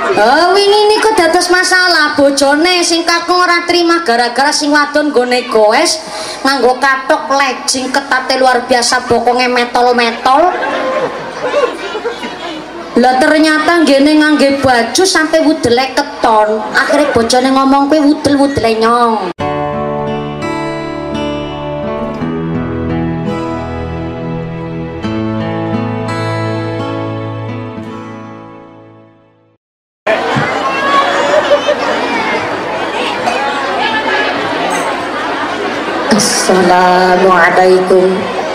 Oh, wingi niku dados masalah bojone sing kakung ora trima gara-gara sing wadon nggone goes nganggo kathok legging ketate luar biasa bokonge metol-metol. Lah ternyata ngene ngangge baju sampai wudele keton. Akhirnya bojone ngomong kuwi wudel-wudele nyong. Assalamualaikum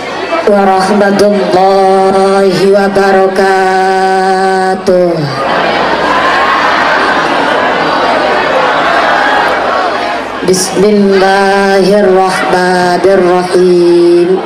warahmatullahi wabarakatuh. Bismillahirrahmanirrahim.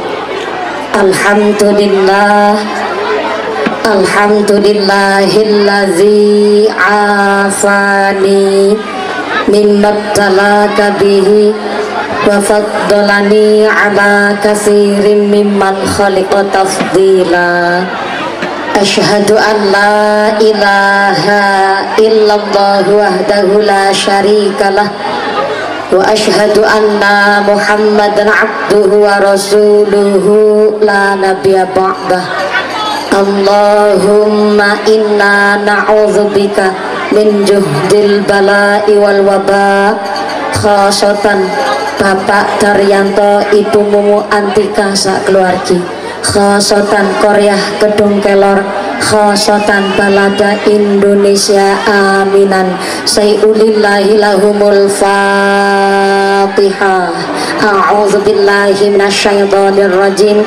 Alhamdulillahilladzi afani mimma talaka bihi wa faddalani ala katsirin mimman khaliqa tafdila. Asyhadu an la ilaha illallah wahdahu la syarikalah wa asyhadu anna muhammadan abduhu wa rasuluhu la nabiyya ba'dah. Allahumma inna na'udzubika min juhdil bala'i wal waba. Khasatan Bapak Daryanto, Ibu Mumu Antika sak keluargi, khasatan Koryah Kedung Kelor, khasatan balada Indonesia aminan. Sayulillahi lahumul Fatihah. A'udzubillahi minasyaitonir rajim.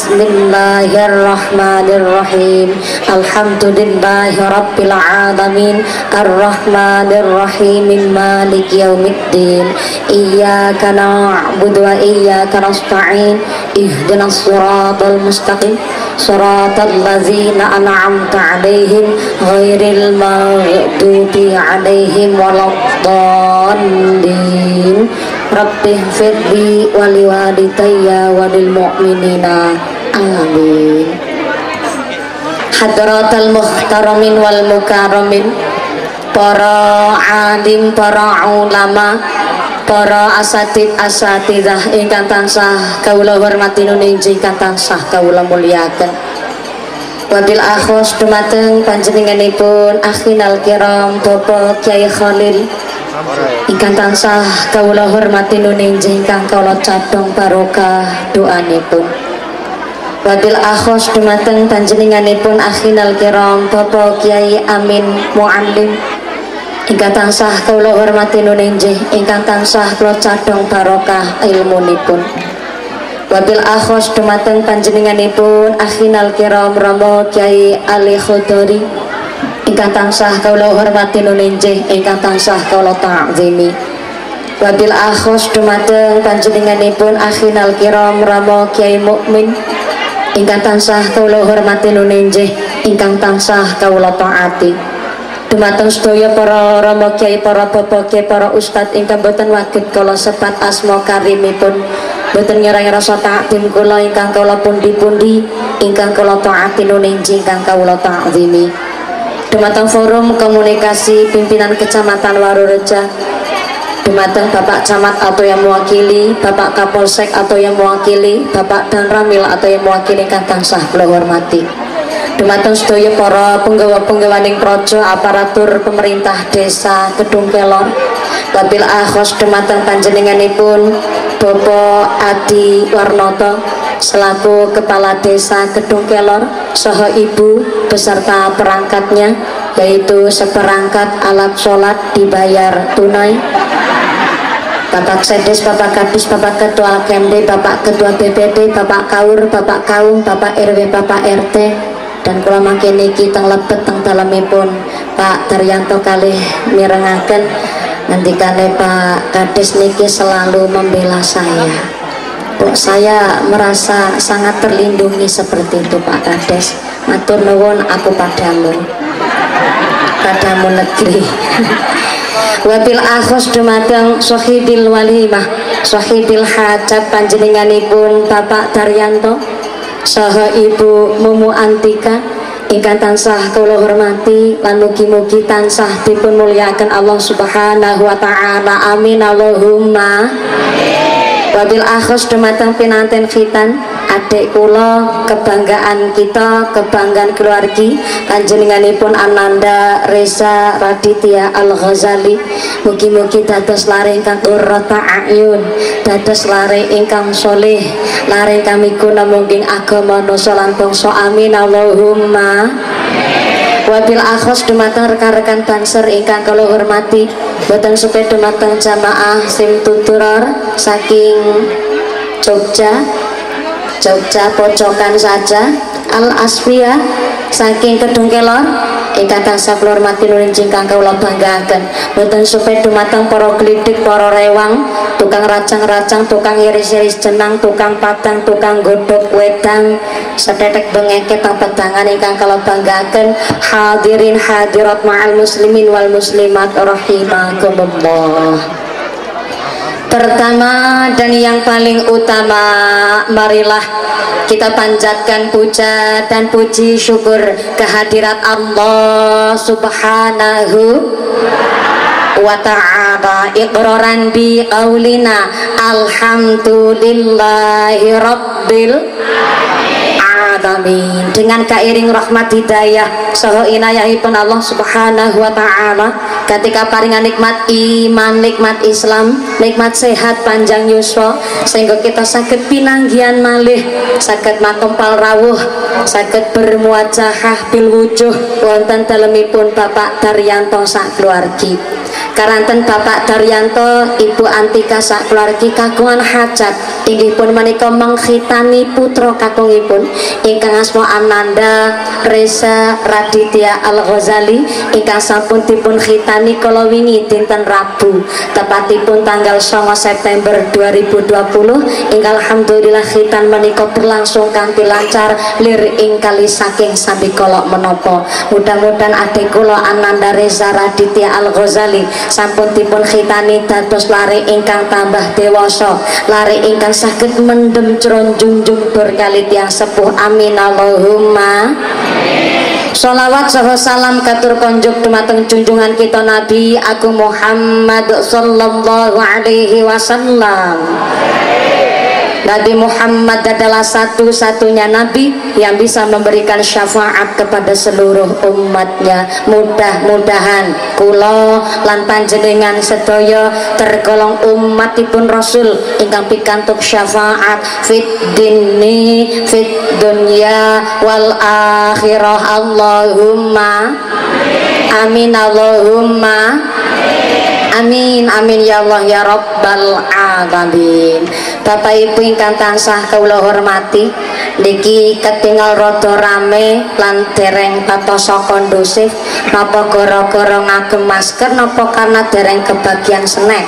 Bismillahirrahmanirrahim. Alhamdulillahi rabbil alamin. Arrahmanir rahim. Maliki yaumiddin. Iyyaka na'budu wa iyyaka nasta'in. Ihdinas siratal mustaqim. Siratal ladzina an'amta 'alaihim ghairil maghdubi 'alaihim waladdallin. Rabbi firli wali walidayya walil mu'minina amin. Hadratal muhtaramin wal mukarramin, para alim, para ulama, para asatidzah ingkang tansah kawula hormati nuninji ingkang tansah kawula mulyakaken. Wabil akhos dumateng panjenenganipun akhinal kiram Bapak Kyai Khalil ingkang tansah kawula hormati nuninji ingkang kawula cadhong barokah doanipun. Wabil akhos dumateng panjenenganipun akhinal kiram Bapak Kyai Amin Muallim ingkang tansah kawula hormati nuninji ingkang tansah kawula cadhong barokah ilmunipun. Wabil akhos dumateng panjenenganipun akhinal kiram Rama Kyai Ali Khudori ingkang tansah kawula hormati nuninji ingkang tansah kawula ta'zimi. Wabil akhos dumateng panjenenganipun akhinal kiram Rama Kyai Mukmin ingkang tansah kawula hormati nuninji ingkang tansah kawula taati. Dumateng sedaya para Rama Kyai, para Bapak Kyai, para Ustad ingkang boten waget kala sebat asma karimipun, boten ngirangi rasa ta'zim kula ingkang kawula pundi-pundi ingkang kawula taati nuninji ingkang kawula ta'zimi. Dumateng forum komunikasi pimpinan Kecamatan Warureja, dumateng Bapak Camat atau yang mewakili, Bapak Kapolsek atau yang mewakili, Bapak Danramil atau yang mewakili ingkang tansah kula hormati. Dumateng sedaya para penggawa-penggawaning praja, aparatur pemerintah desa Kedung Kelor. Wabil akhos dumateng panjenenganipun Bapak Adi Warnoto selaku Kepala Desa Kedung Kelor saha Ibu beserta perangkatnya, yaitu seperangkat alat sholat dibayar tunai. Bapak Sedes, Bapak Kadis, Bapak Ketua KMD, Bapak Ketua BPD, Bapak Kaur, Bapak Kaum, Bapak RW, Bapak RT, dan kula mangke niki teng lebet teng dalemipun Pak Daryanto kalih mirengaken ngendikane Pak Kades niki selalu membela saya. Kok saya merasa sangat terlindungi seperti itu Pak Kades. Matur nuwun aku padamu negeri. Wabil akhos dumateng sahibil walimah, sahibil hajat panjenenganipun Bapak Daryanto saha Ibu Mumu Antika ingkang tansah kula hormati lan mugi-mugi tansah dipun mulyakaken Allah Subhanahu wa taala. Amin Allahumma amin. Wabil akhos dumateng pinanten khitan adik kula, kebanggaan kita, kebanggaan keluargi panjenenganipun Ananda Reza Raditya Al-Ghazali. Mugi-mugi dados lare ingkang qurrata a'yun, dados lare ingkang soleh, lare ingkang miguna mungging agama nusa lan bangsa. Amin Allahumma amin. Wabil akhos dumateng rekan-rekan banser ingkang kula hormati, boten supe dumateng jamaah sim tuturor saking Jogja pojokan saja, Al Asfia saking Kedung Kelor ingkang tansah kula hormati nurin ingkang kula banggaken, boten supe dumateng para glidik, para rewang, tukang racang-racang, tukang iris-iris jenang, tukang patang, tukang godhog wedang, setetek bengeke tang pedangan ingkang kula banggaken. Hadirin hadirat ma'al muslimin wal muslimat rahimakumullah. Pertama dan yang paling utama, marilah kita panjatkan puja dan puji syukur kehadirat Allah Subhanahu wa ta'ala. Iqraran bi qaulina alhamdulillahi rabbil alamin. Dengan kairing rahmat hidayah saha inayahipun Allah Subhanahu wa taala, ketika paringan nikmat iman, nikmat Islam, nikmat sehat panjang yuswa, sehingga kita saged pinanggihan malih, saged makompal rawuh, saged bermuajahah bil wujuh wonten dalemipun Bapak Daryanto sak keluargi. Karanten Bapak Daryanto, Ibu Antika sak keluargi kagungan hajat inggih pun menika mengkhitani putra kakungipun ingkang asma Ananda Reza Raditya Al-Ghazali ingkang sampun dipun khitani kala wingi dinten Rabu tepatipun tanggal 9 September 2020 ingkang alhamdulillah khitan menika berlangsung kanthi lancar lir ing kali saking sami kala menapa. Mudah-mudahan adik kula Ananda Reza Raditya Al-Ghazali sampun dipun khitani dados lare ingkang tambah dewasa, lare ingkang saged mendem junjung berkali tiang sepuh. Amin Allahumma amin. Sholawat saha salam katur konjuk dumateng junjungan kita Nabi Agung Muhammad sallallahu alaihi wasallam. Nabi Muhammad adalah satu-satunya Nabi yang bisa memberikan syafaat kepada seluruh umatnya. Mudah-mudahan kula lan panjenengan sedaya tergolong umatipun Rasul ingkang pikantuk syafaat fit dini fit dunya wal akhirah. Allahumma amin Allahumma amin amin ya Allah ya Rabbal alamin. Bapak Ibu ingkang tansah kula hormati, niki ketinggal rada rame lan dereng patosa kondusif. Napa gara-gara ngagem masker, napa karena dereng kebagian snack?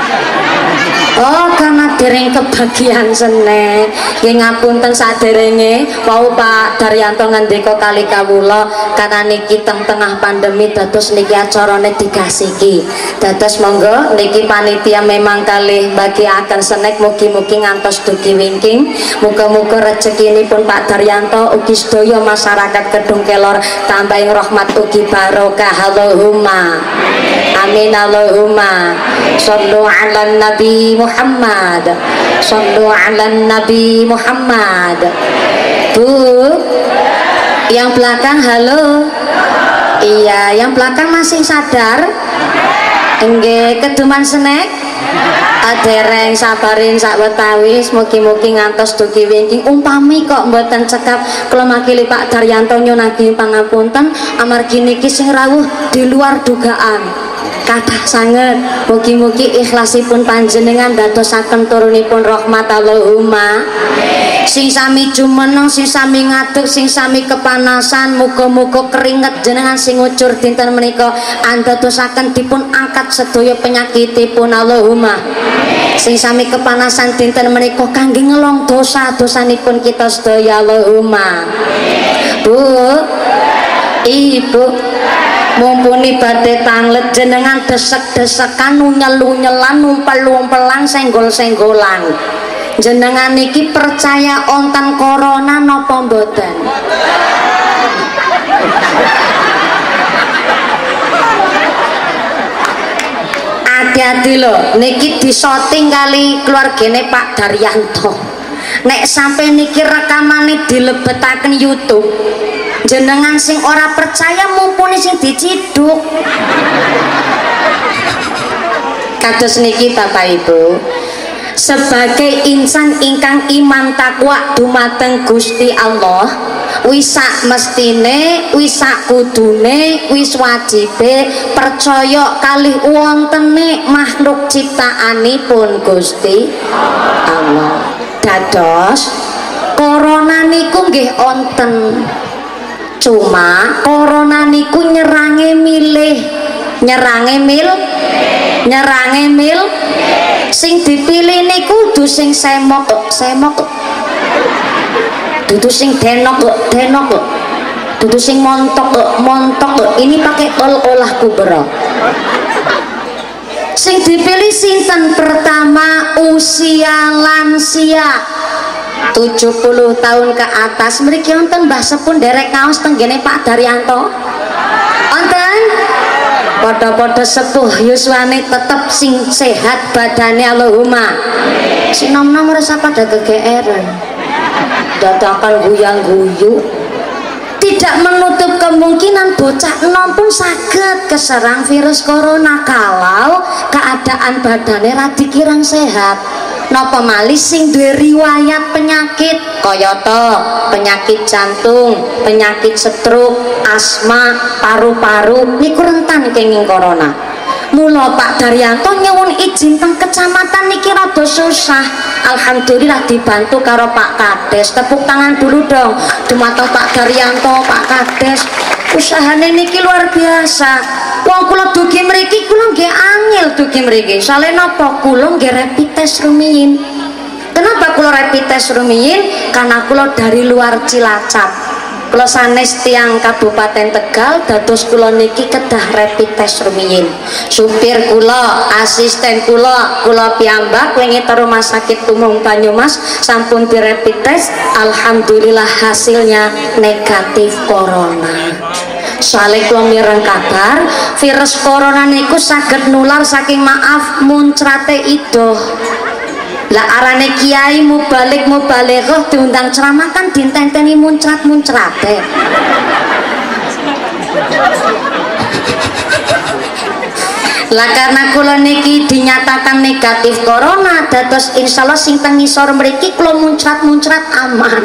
Oh, karena dereng kebagian snack. Nggih ngapunten saderenge wau Pak Daryanto ngendika kali kawula karena niki tengah pandemi dados niki acarane digasiki. Dados monggo niki panitia memang kalih bagiaken snack, mugi-mugi ngantos dugi wingking. Muga-muga rezekinipun Pak Daryanto ugi sedaya masyarakat Kedung Kelor tambahin rahmat ugi barokah. Allahumma amin Allahumma shollu ala nabi Muhammad shollu ala nabi Muhammad. Bu yang belakang halo. Iya, yang belakang masih sadar? Enggak keduman snack? Adereng sabarin sak wetawis, mugi-mugi ngantos dugi wingking. Umpami kok mboten cekap kula makili Pak Daryanto nyunahi pangapunten amargi niki sing rawuh di luar dugaan. Kathah sanget, mugi-mugi ikhlasipun panjenengan dadosaken turunipun rahmat. Allahumma sing sami jumeneng, sing sami ngadeg, sing sami kepanasan, muga-muga keringet jenengan sing ngucur dinten menika andadosaken dipun angkat sedaya penyakitipun. Allahumma sing sami kepanasan dinten menika kangge ngelong dosa-dosanipun kita sedaya. Allahumma. Bu Ibu mumpuni badhe tanglet jenengan desek-desekan, unyel-unyelan, umpel-umpelan, senggol-senggolan, jenengan niki percaya ontan corona napa mboten? Hati-hati lho, niki disoting kali keluargane Pak Daryanto. Nek sampai niki rekamane dilebetaken YouTube, jenengan sing ora percaya mumpuni sing diciduk. Kados niki Bapak Ibu, sebagai insan ingkang iman takwa dumateng Gusti Allah, wis sak mestine, wis sak kudune, wis wajibe percaya kalih wontene makhluk ciptaanipun Gusti Allah. Dados corona niku nggih wonten, cuma corona niku nyerange mil sing dipilih niku dudu sing semok dudu sing denok dudu sing montok ini pakai olah kubra. Sing dipilih sinten? Pertama usia lansia 70 tahun ke atas. Mriki wonten Mbah Sepun derek kaos tenggene Pak Daryanto wonten podo-podo sepuh yuswane tetep sing sehat badane Allahumma. Si nom-nom rasa pada kegeeran dadakan guyang-guyu. Tidak menutup kemungkinan bocah enom pun saged keserang virus corona kalau keadaan badannya radi kirang sehat. Napa malih sing duwe riwayat penyakit kayata penyakit jantung, penyakit stroke, asma, paru-paru niku rentan kenging corona. Mula Pak Daryanto nyuwun izin teng kecamatan niki rada susah. Alhamdulillah dibantu karo Pak Kades. Tepuk tangan dulu dong dumateng Pak Daryanto, Pak Kades. Usahane niki luar biasa. Wong kula dugi mriki kula nggih angel dugi mriki. Sale napa kula nggih rapid test rumiyin. Kenapa kula rapid test rumiyin? Karena kula dari luar Cilacap. Kula sanes tiang Kabupaten Tegal dados kula niki kedah rapid test rumiyin. Supir kula, asisten kula piyambak wingi teng Rumah Sakit Umum Banyumas sampun di rapid test, alhamdulillah hasilnya negatif corona. Soalnya kula mireng kabar virus corona niku saged nular saking maaf muncrate idoh. Lah arane kiai mubalighah diundang ceramah kan dintenteni muncrat-muncrate. Lah karena kula niki dinyatakan negatif corona, dados insyaallah sing teng ngisor mriki kula muncrat-muncrat aman.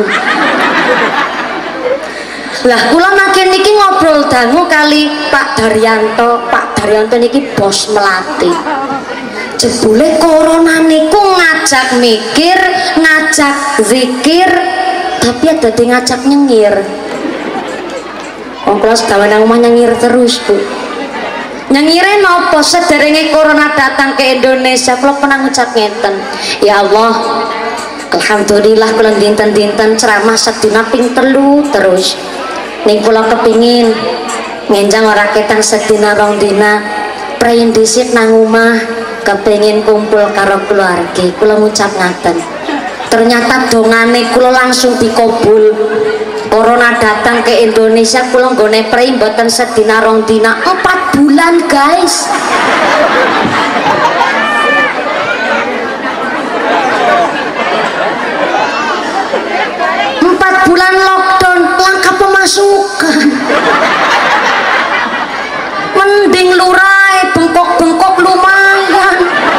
Lah kula makin niki ngobrol dangu kali Pak Daryanto. Pak Daryanto niki bos melati. Jebule corona niku ngajak mikir, ngajak zikir, tapi ada di ngajak nyengir. Wong kula sedawan nang omah nyengir terus, Bu. Nyengire napa sederenge corona datang ke Indonesia kula pernah ngucap ngeten. Ya Allah, alhamdulillah kula dinten-dinten ceramah sedina ping 3 terus. Ning kula kepingin ngenjang ora ketang sedina rong dina, prayen dhisik nang omah kepengin kumpul karo keluarga. Kula ngucap ngaten, ternyata dongane kula langsung dikabul. Corona datang ke Indonesia kula nggone prei mboten sedina rong dina, 4 bulan guys. Bulan lockdown, langkah pemasukan. Mending lurai bengkok-bengkok lumayan.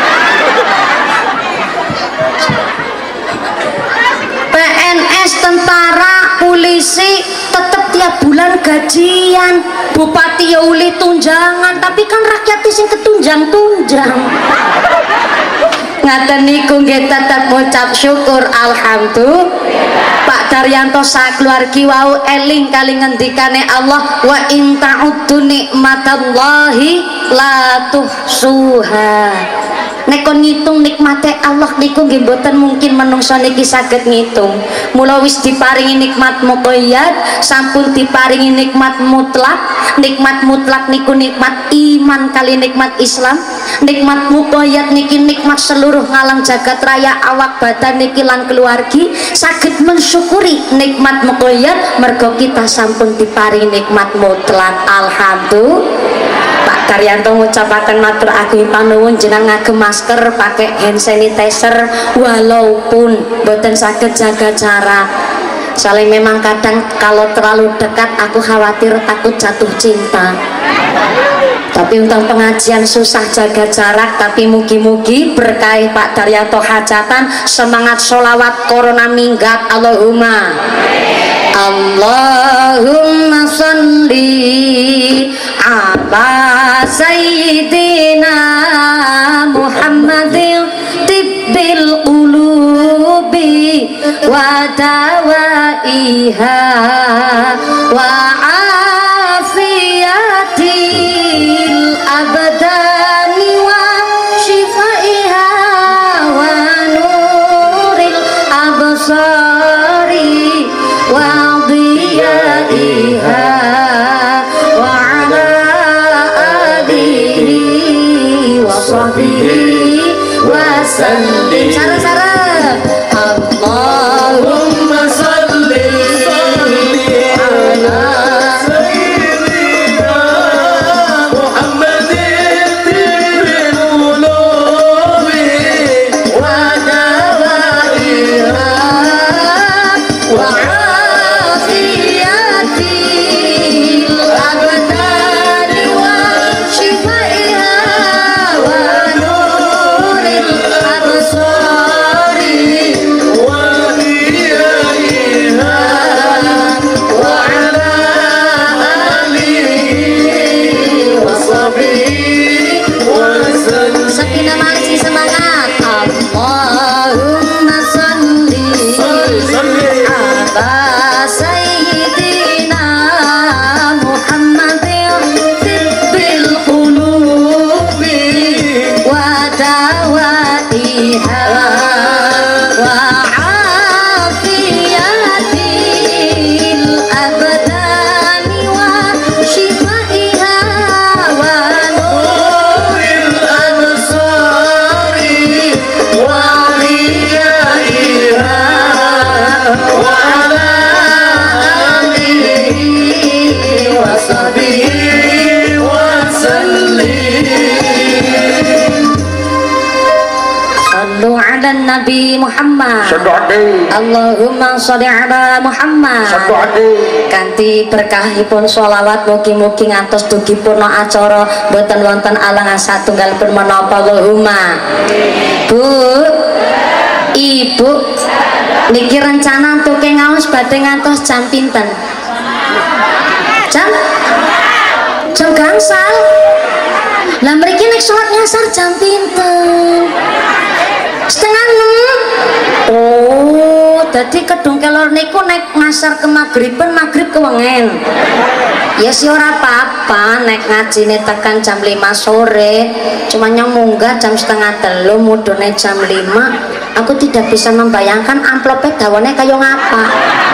PNS, tentara, polisi tetap tiap bulan gajian. Bupati ya uli tunjangan, tapi kan rakyat sing ketunjang-tunjang. Ngaten niku nggih tetep ngucap syukur alhamdulillah. Pak Daryanto sakeluargi wau eling kali ngendikane Allah, wa in ta'uddu nikmatallahi la tuhsuha. Nek nek kon ngitung nikmate Allah niku nggih mboten mungkin menungso niki saged ngitung. Mula wis diparingi nikmat muqayyad, sampun diparingi nikmat mutlak. Nikmat mutlak niku nikmat iman kali nikmat Islam. Nikmat muqayyad niki nikmat seluruh ngalam jagat raya awak badan niki lan keluargi. Saged mensyukuri nikmat muqayyad mergo kita sampun diparingi nikmat mutlak. Alhamdulillah. Pak Daryanto ngucapaken matur agung panuwun jenengan ngagem masker, pakai hand sanitizer walaupun boten saged jaga jarak. Soalnya memang kadang kalau terlalu dekat aku khawatir takut jatuh cinta. Tapi untuk pengajian susah jaga jarak, tapi mugi-mugi berkah Pak Daryanto hajatan, semangat sholawat corona minggat. Allahumma Allahumma sholli ala sayyidina Muhammadin tibbil qulubi wa dawaiha wa afiyatil abdani wa shifaiha wa nuril absari wa diyaiha wa ala alihi wa sahbihi wa sallim. Sarah-sarah Allahumma salli ala sayyidina Muhammadin tibbil qulubi wa dawaiha wa afiyatil abdani wa shifaiha wa nuril absari wa diyaiha wa ala alihi wa sahbihi wa sallim. Sakinah maksi semangat. Allahumma salli ala sayyidina Muhammadin tibbil qulubi wa dawaiha wa afiyatil abdani wa shifaiha wa nuril absari wa diyaiha wa ala alihi wa sahbihi wa sallim. Sallu ala Nabi Muhammad. Allahumma sholli ala Muhammad. Kanthi berkahipun sholawat mugi-mugi ngantos dugi purna acara boten wonten alangan satunggalipun menapa. Allahumma. Bu, Ibu, niki rencana untuk ngaos badhe ngantos jam pinten? Jam gangsal. Lah mriki nek salat nyasar jam pinten? Setengah 6. Oh, dadi kedung kelor niku nek ngasar ke maghriban, maghrib kewengen. Ya sih ora apa-apa nek ngajine tekan jam 5 sore, cuma yang munggah jam 2:30 mudune jam 5. Aku tidak bisa membayangkan amplopnya dawane kaya ngapa.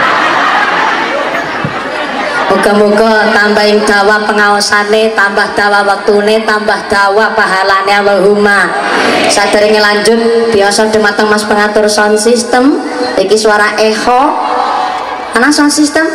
Moga-moga tambahin dawa pengaosane, tambah dawa waktune, tambah dawa pahalane. Allahumma. Sadurunge lanjut biasa dumateng Mas pengatur sound system, iki suara echo. Ana sound system?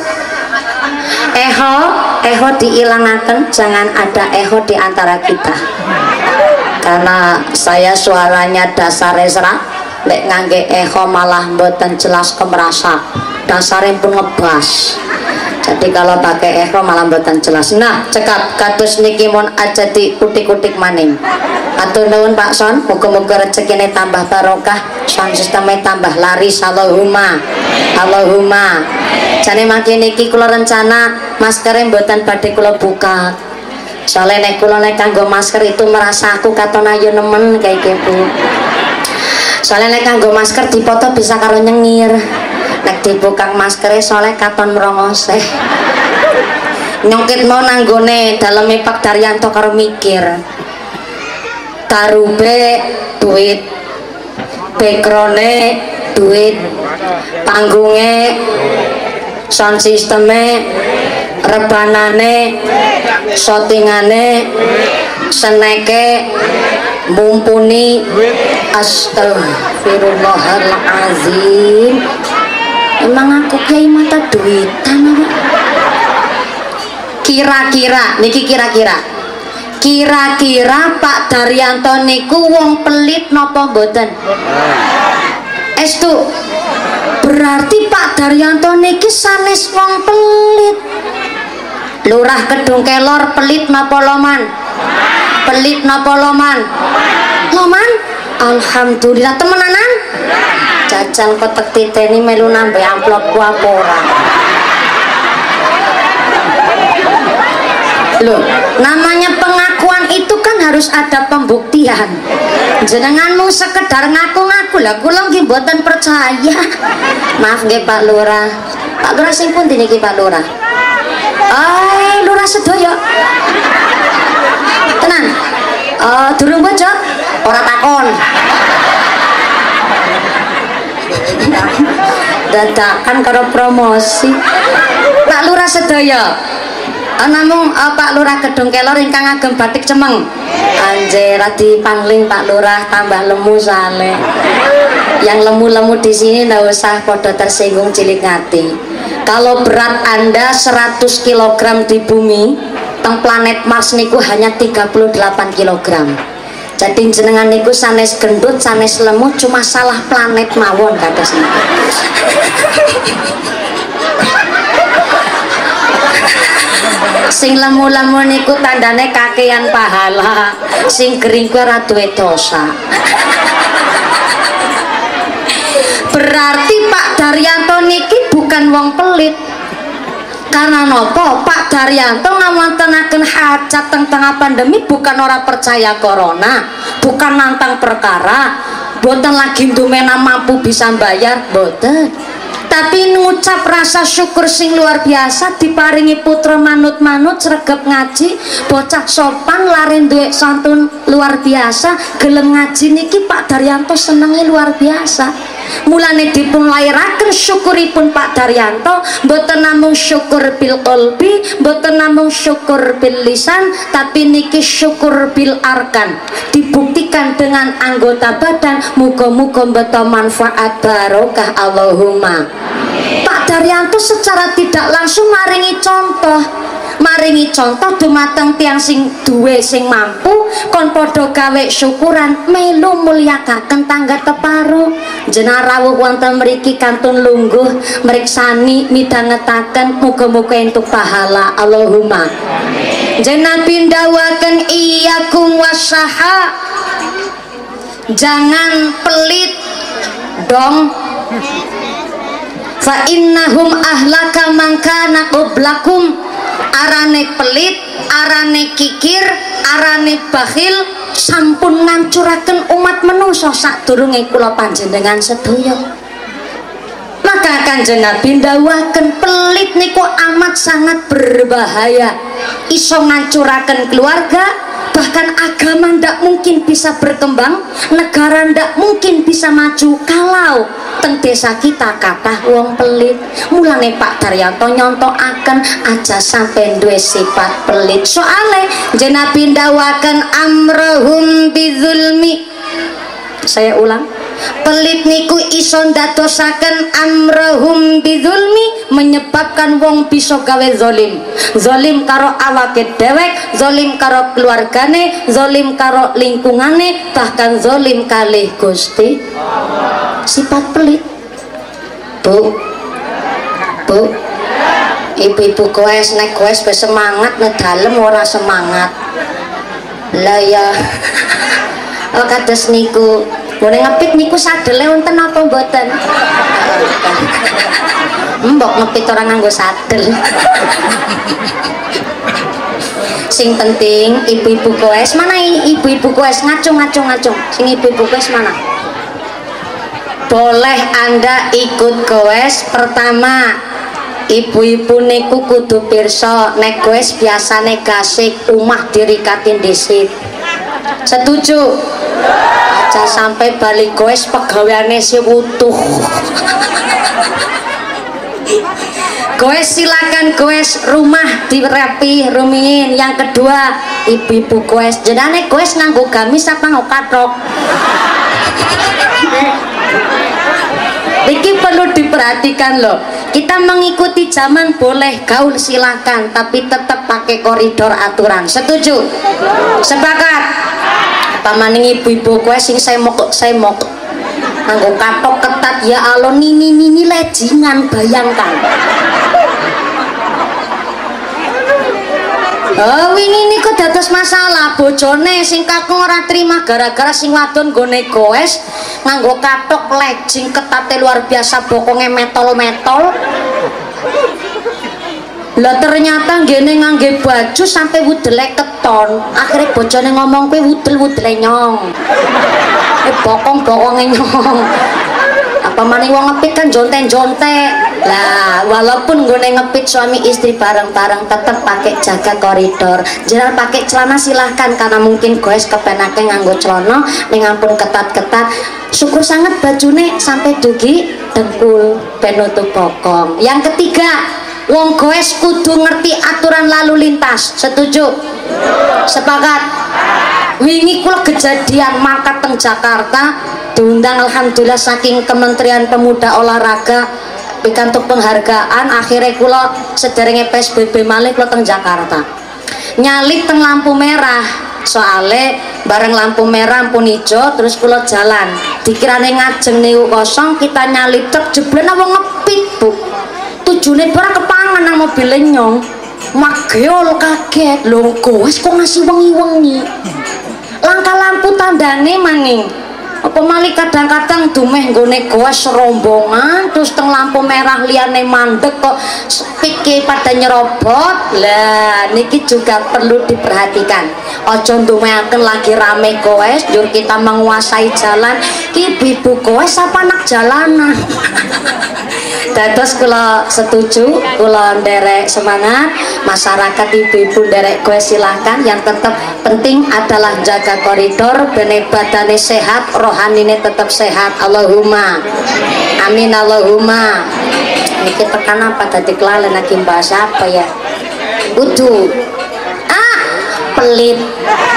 Echo diilangaken, jangan ada echo di antara kita. Karena saya suaranya dasare serak, lek ngangge echo malah mboten jelas kemerasa. Dasare pun ngebas. Jadi kalau pakai echo malah mboten jelas. Nah, cekap kados niki mon aja di kutik-kutik maning. Atur nuwun Pak Son, muga-muga rezekine tambah barokah, sound sistemnya tambah laris. Allahumma. Allahumma. Jane mangke niki kula rencana maskere mboten badhe kula buka. Soalnya nek kula nek kanggo masker itu merasa aku katon ayu nemen kayak gitu. Soalnya nek kanggo masker dipoto bisa karo nyengir. Nek dibuka maskernya soalnya katon merongose. Nyongkit mau nanggone daleme Pak Daryanto karo mikir. Tarube duit, backgroundnya duit, panggungnya, sound systemnya, rebanane, shootingane, seneke, mumpuni. Astagfirullahaladzim. Emang aku kiai mata duitan apa? Kira-kira niki kira-kira Pak Daryanto niku wong pelit napa mboten? Estu berarti Pak Daryanto niki sanes wong pelit. Lurah Kedung Kelor pelit napa loman? Pelit napa loman? Loman? Alhamdulillah temenanan. Jajal kotek titeni melu nambah amplopku apa ora? Loh, namanya pengakuan itu kan harus ada pembuktian. Jenenganmu sekedar ngaku-ngaku lah, kula nggih mboten percaya. Maaf nggih Pak Lurah. Pak Lurah sing pundi niki Pak Lurah? Lurah sedaya. Tenan. Durung bojo? Ora takon. Dadakan karo promosi. Pak Lurah sedaya. Namung Pak Lurah Kedung Kelor ingkang agem batik cemeng. Anjir radi pangling Pak Lurah tambah lemu sale. Yang lemu-lemu di sini ndak usah podo tersinggung cilik ngati. Kalau berat Anda 100 kg di bumi, teng planet Mars niku hanya 38 kg. Jadi jenengan niku sanes gendut, sanes lemu, cuma salah planet mawon kados niku. Sing lemu-lemu niku tandane kakean pahala, sing gering kuwi ora duwe dosa. Berarti Pak Daryanto niki bukan wong pelit. Karena nopo Pak Daryanto ngawontenaken hajat tengah pandemi bukan orang percaya corona, bukan nantang perkara, boten lagi ndumena mampu bisa bayar, boten. Tapi ngucap rasa syukur sing luar biasa diparingi putra manut-manut sregep ngaji, bocah sopan laren duwe santun luar biasa, gelem ngaji niki Pak Daryanto senenge luar biasa. Mulane dipun lairaken syukuripun Pak Daryanto mboten namung syukur bil qalbi, mboten namung syukur bil lisan, tapi niki syukur bil arkan, dibuktikan dengan anggota badan. Muga-muga mbeta manfaat barokah Allahumma. Pak Daryanto secara tidak langsung maringi contoh dumateng tiang sing duwe sing mampu kon padha gawe syukuran melu mulyakaken tangga teparo. Jenengan rawuh wonten mriki kantun lungguh mriksani midhangetaken muga-muga entuk pahala Allahumma. Jenengan pindahaken iyyakum wasaha, jangan pelit dong. Fa innahum ahlaka man kana qablakum. Arane pelit, arane kikir, arane bakhil sampun ngancuraken umat manusa sadurunge kula panjenengan sedaya. Maka Kanjeng Nabi ndhawuhaken pelit niku amat sangat berbahaya, iso ngancuraken keluarga, bahkan agama ndak mungkin bisa berkembang, negara ndak mungkin bisa maju kalau teng desa kita kathah wong pelit. Mulane Pak Daryanto nyontokaken aja sampai duwe sifat pelit. Soale jeneng Nabi ndhawuhaken amrohum bizulmi. Saya ulang, pelit niku iso ndadosaken amrohum bizulmi, menyebabkan wong bisa gawe zalim. Zalim karo awake dhewek, zalim karo keluargane, zalim karo lingkungane, bahkan zalim kalih Gusti Allah. Sifat pelit. Bu, ibu-ibu goes nek goes wis semangat nek dalem ora semangat. Lah ya. Oh kados niku, mulai ngepit niku sadele wonten apa mboten? Mbok ngepit orang nganggo sadel. Sing penting ibu-ibu goes mana? Ibu-ibu goes ngacung. Sing ibu-ibu goes mana? Boleh Anda ikut goes. Pertama, ibu-ibu niku kudu pirsa nek goes biasane gasik umah dirikatin dhisik. Setuju? Aja sampai balik goes pegawaiane si utuh. Goes silakan goes rumah dirapi rumiin. Yang kedua ibu-ibu goes jenane goes nganggo gamis apa nggo kathok. Iki perlu diperhatikan loh. Kita mengikuti zaman boleh gaul silakan, tapi tetap pakai koridor aturan. Setuju? Sepakat? Apa maning ibu-ibu kowe sing saya mok nganggo katok ketat ya Allah nini lejingan bayangkan. Oh ini kok dados masalah bojone sing kakung ora terima gara-gara sing wadon nggone goes nganggo katok lejing ketate luar biasa bokonge metol-metol. Lah ternyata ngene ngangge baju sampai wudele keton. Akhirnya bojone ngomong kowe wudel-wudele nyong. Bokong-bokonge nyong. Apa maning wong ngepit kan jonte-jonte. Lah walaupun gue ngepit suami istri bareng-bareng tetap pakai jaga koridor. Jangan pakai celana silahkan karena mungkin guys kepenake nganggo celana ning ampun ketat-ketat. Syukur sangat bajune sampai dugi dengkul penutup bokong. Yang ketiga, wong goes kudu ngerti aturan lalu lintas. Setuju? Sepakat? Wingi kula kejadian mangkat teng Jakarta diundang alhamdulillah saking Kementerian Pemuda Olahraga pikantuk penghargaan. Akhirnya kula sederenge PSBB malih kula teng Jakarta nyalip teng lampu merah soale bareng lampu merah ampun ijo terus kula jalan dikirane ngajeng niku kosong kita nyalip truk jeblen wong ngepit bu tujune ora kepangan nang mobil nyong mageol kaget lho goes kok ngasih wengi-wengi langkah lampu tandane maning apa malih kadang-kadang dumeh nggone goes rombongan terus teng lampu merah liyane mandek kok spike pada nyerobot. Lah niki juga perlu diperhatikan aja ndumehaken lagi rame goes jur kita menguasai jalan ibu-ibu goes apa anak jalanan. Dados kula setuju, kula nderek semangat masyarakat ibu-ibu nderek goes silahkan. Yang tetap penting adalah jaga koridor bene badane sehat rohanine tetap sehat. Allahumma amin Allahumma. Niki tekan apa tadi kelalen lagi bahasa apa ya kudu pelit.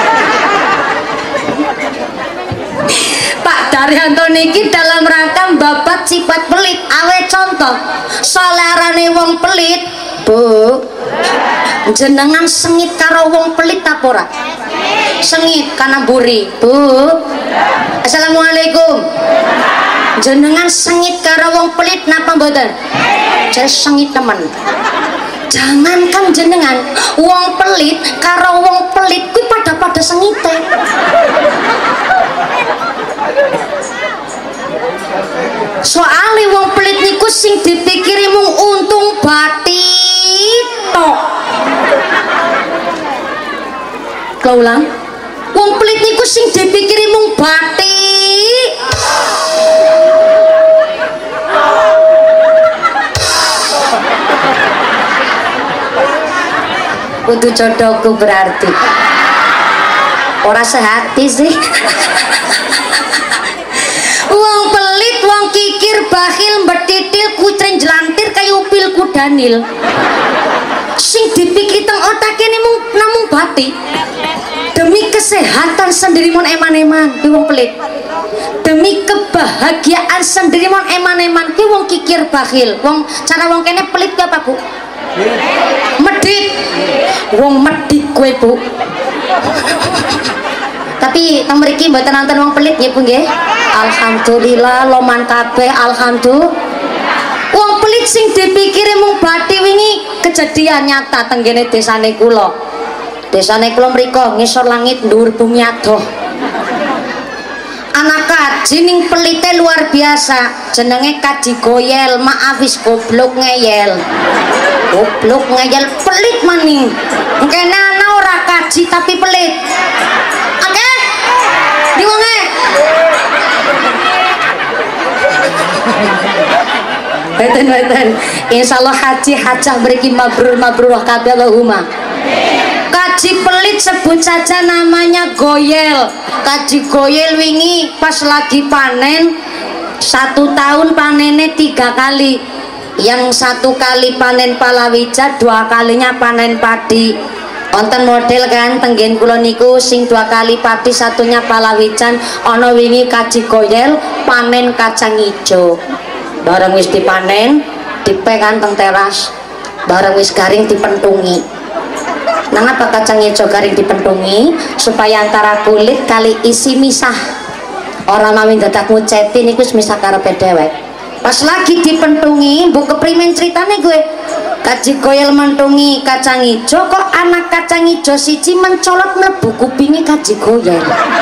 Pak Daryanto niki dalam rangka babat sifat pelit awe contoh solarane wong pelit bu jenengan sengit karo wong pelit apa ora sengit karena buri bu. Assalamualaikum. Jenengan sengit karo wong pelit napa mboten jadi sengit teman. Jangankan jenengan wong pelit karo wong pelit kuwi pada sengite. Soale wong pelit niku sing dipikiri mung untung batik tok. Kaulang wong pelit niku sing dipikiri mung batik. Kudu jodohku berarti ora sehati sih. Wong pelit, wong kikir, bakhil, mbetitil, kucren jelantir kayu upil kudanil. Sing dipikir teng otake namung batik. Demi kesehatan sendiri mon eman-eman ki wong pelit. Demi kebahagiaan sendiri mon eman-eman ki wong kikir bakhil. Wong cara wong kene pelit ki apa, Bu? Medit. Wong medit kowe, Bu. Tapi teng mriki mboten nonton wong pelit nggih Bu nggih. Alhamdulillah loman kabeh alhamdulillah. Wong pelit sing dipikire mung bathi wingi kejadian nyata teng kene desane kula. Desane kula mriko ngisor langit dhuwur bumi adoh. Anak kaji ning pelite luar biasa jenenge Kaji Goyel maafis goblok ngeyel. Goblok ngeyel pelit maning. Kene ana ora kaji tapi pelit. Oke? Diwonge. Beten. Insyaallah haji hajah mriki mabrur kabeh Allahumma. kaji pelit sebut saja namanya Goyel. Kaji Goyel wingi pas lagi panen 1 tahun panennya 3 kali. Yang 1 kali panen palawija, 2 kalinya panen padi. Wonten model kan tenggen kula niku sing 2 kali padi, satunya palawijan. Ana wingi kaji Goyel panen kacang ijo. Bareng wis dipanen, dipek kan teng teras. Bareng wis garing dipentungi. Nang apa kacang ijo garing dipentungi supaya antara kulit kali isi misah. Orang mawin dadak nguceti niku misah karepe dhewek. Pas lagi dipentungi, mbok keprimen ceritane gue. Kaji Goyel mentungi kacang ijo, kok anak kacang ijo siji mencolot mlebu kupinge Kaji Goyel.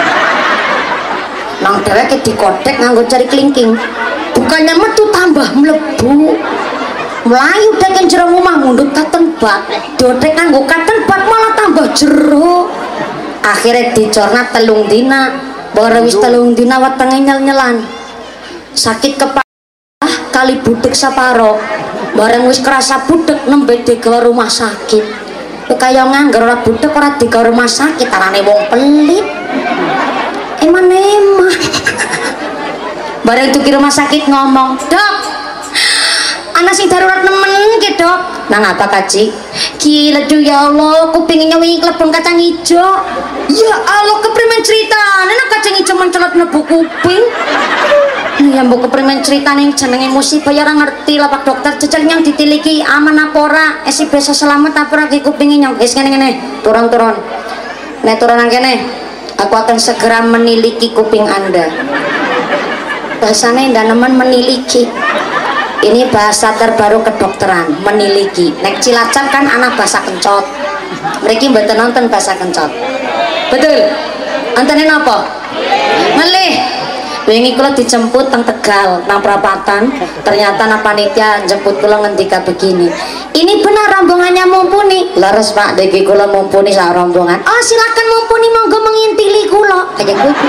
Nang dheweke dikodek nganggo jari klingking. Bukannya metu tambah mlebu. Melayu dek jero omah mundut katen bak, dodek nganggo katen bak malah tambah jero. Akhirnya dicorna 3 dina, baru wis 3 dina wetenge nyel-nyelan. Sakit kepala kali budek saparo, bareng wis kerasa budek nembe digawa rumah sakit. Kaya ngangger ora budek ora digawa rumah sakit, arane wong pelit. Emang. Bareng tuh ke rumah sakit ngomong, "Dok, anak sing darurat nemen ki, Dok." Nang apa kaji? Gila ya Allah, kupingnya wingi klepon kacang ijo. Ya Allah, keprimen ceritane nek kacang ijo mencolot mlebu kuping. Ya mbok keprimen ceritane jenenge musibah ya ora ngerti lah Pak Dokter. Jejal yang ditiliki aman apa ora? Esi bisa selamat apa ora ki kupinge nyong. Wis ngene-ngene, turun-turun. Nek turun nang kene, aku akan segera meniliki kuping Anda. Bahasane ndak nemen meniliki. Ini bahasa terbaru kedokteran, meniliki. Nek Cilacap kan anak bahasa kencot. Mereka mboten nonton bahasa kencot. Betul? Nontonin apa? Ngelih. Wingi kula dijemput teng Tegal nang perapatan, ternyata nang panitia jemput kula ngendika begini. Ini benar rombongannya mumpuni. Leres Pak, deki kula mumpuni sak rombongan. Oh, silakan mumpuni, monggo mengintili kula. Kayak gitu.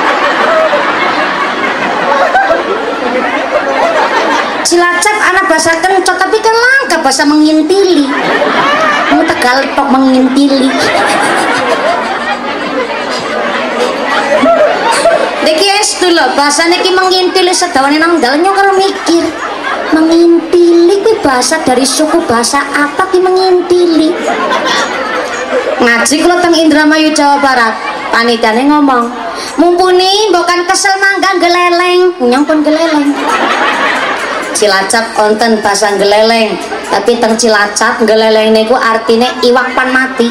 Cilacap anak bahasa kencot tapi kan langka bahasa mengintili. Mau Tegal tok mengintili. Deki es dulu bahasanya ki mengintili sedawane nang dalannya kalau mikir mengintili ki bahasa dari suku bahasa apa ki mengintili. Ngaji kalau teng Indramayu Jawa Barat panitiane ngomong mumpuni bukan kesel mangga geleleng nyong pun geleleng. Cilacap konten bahasa geleleng tapi teng Cilacap geleleng niku artinya iwak pan mati.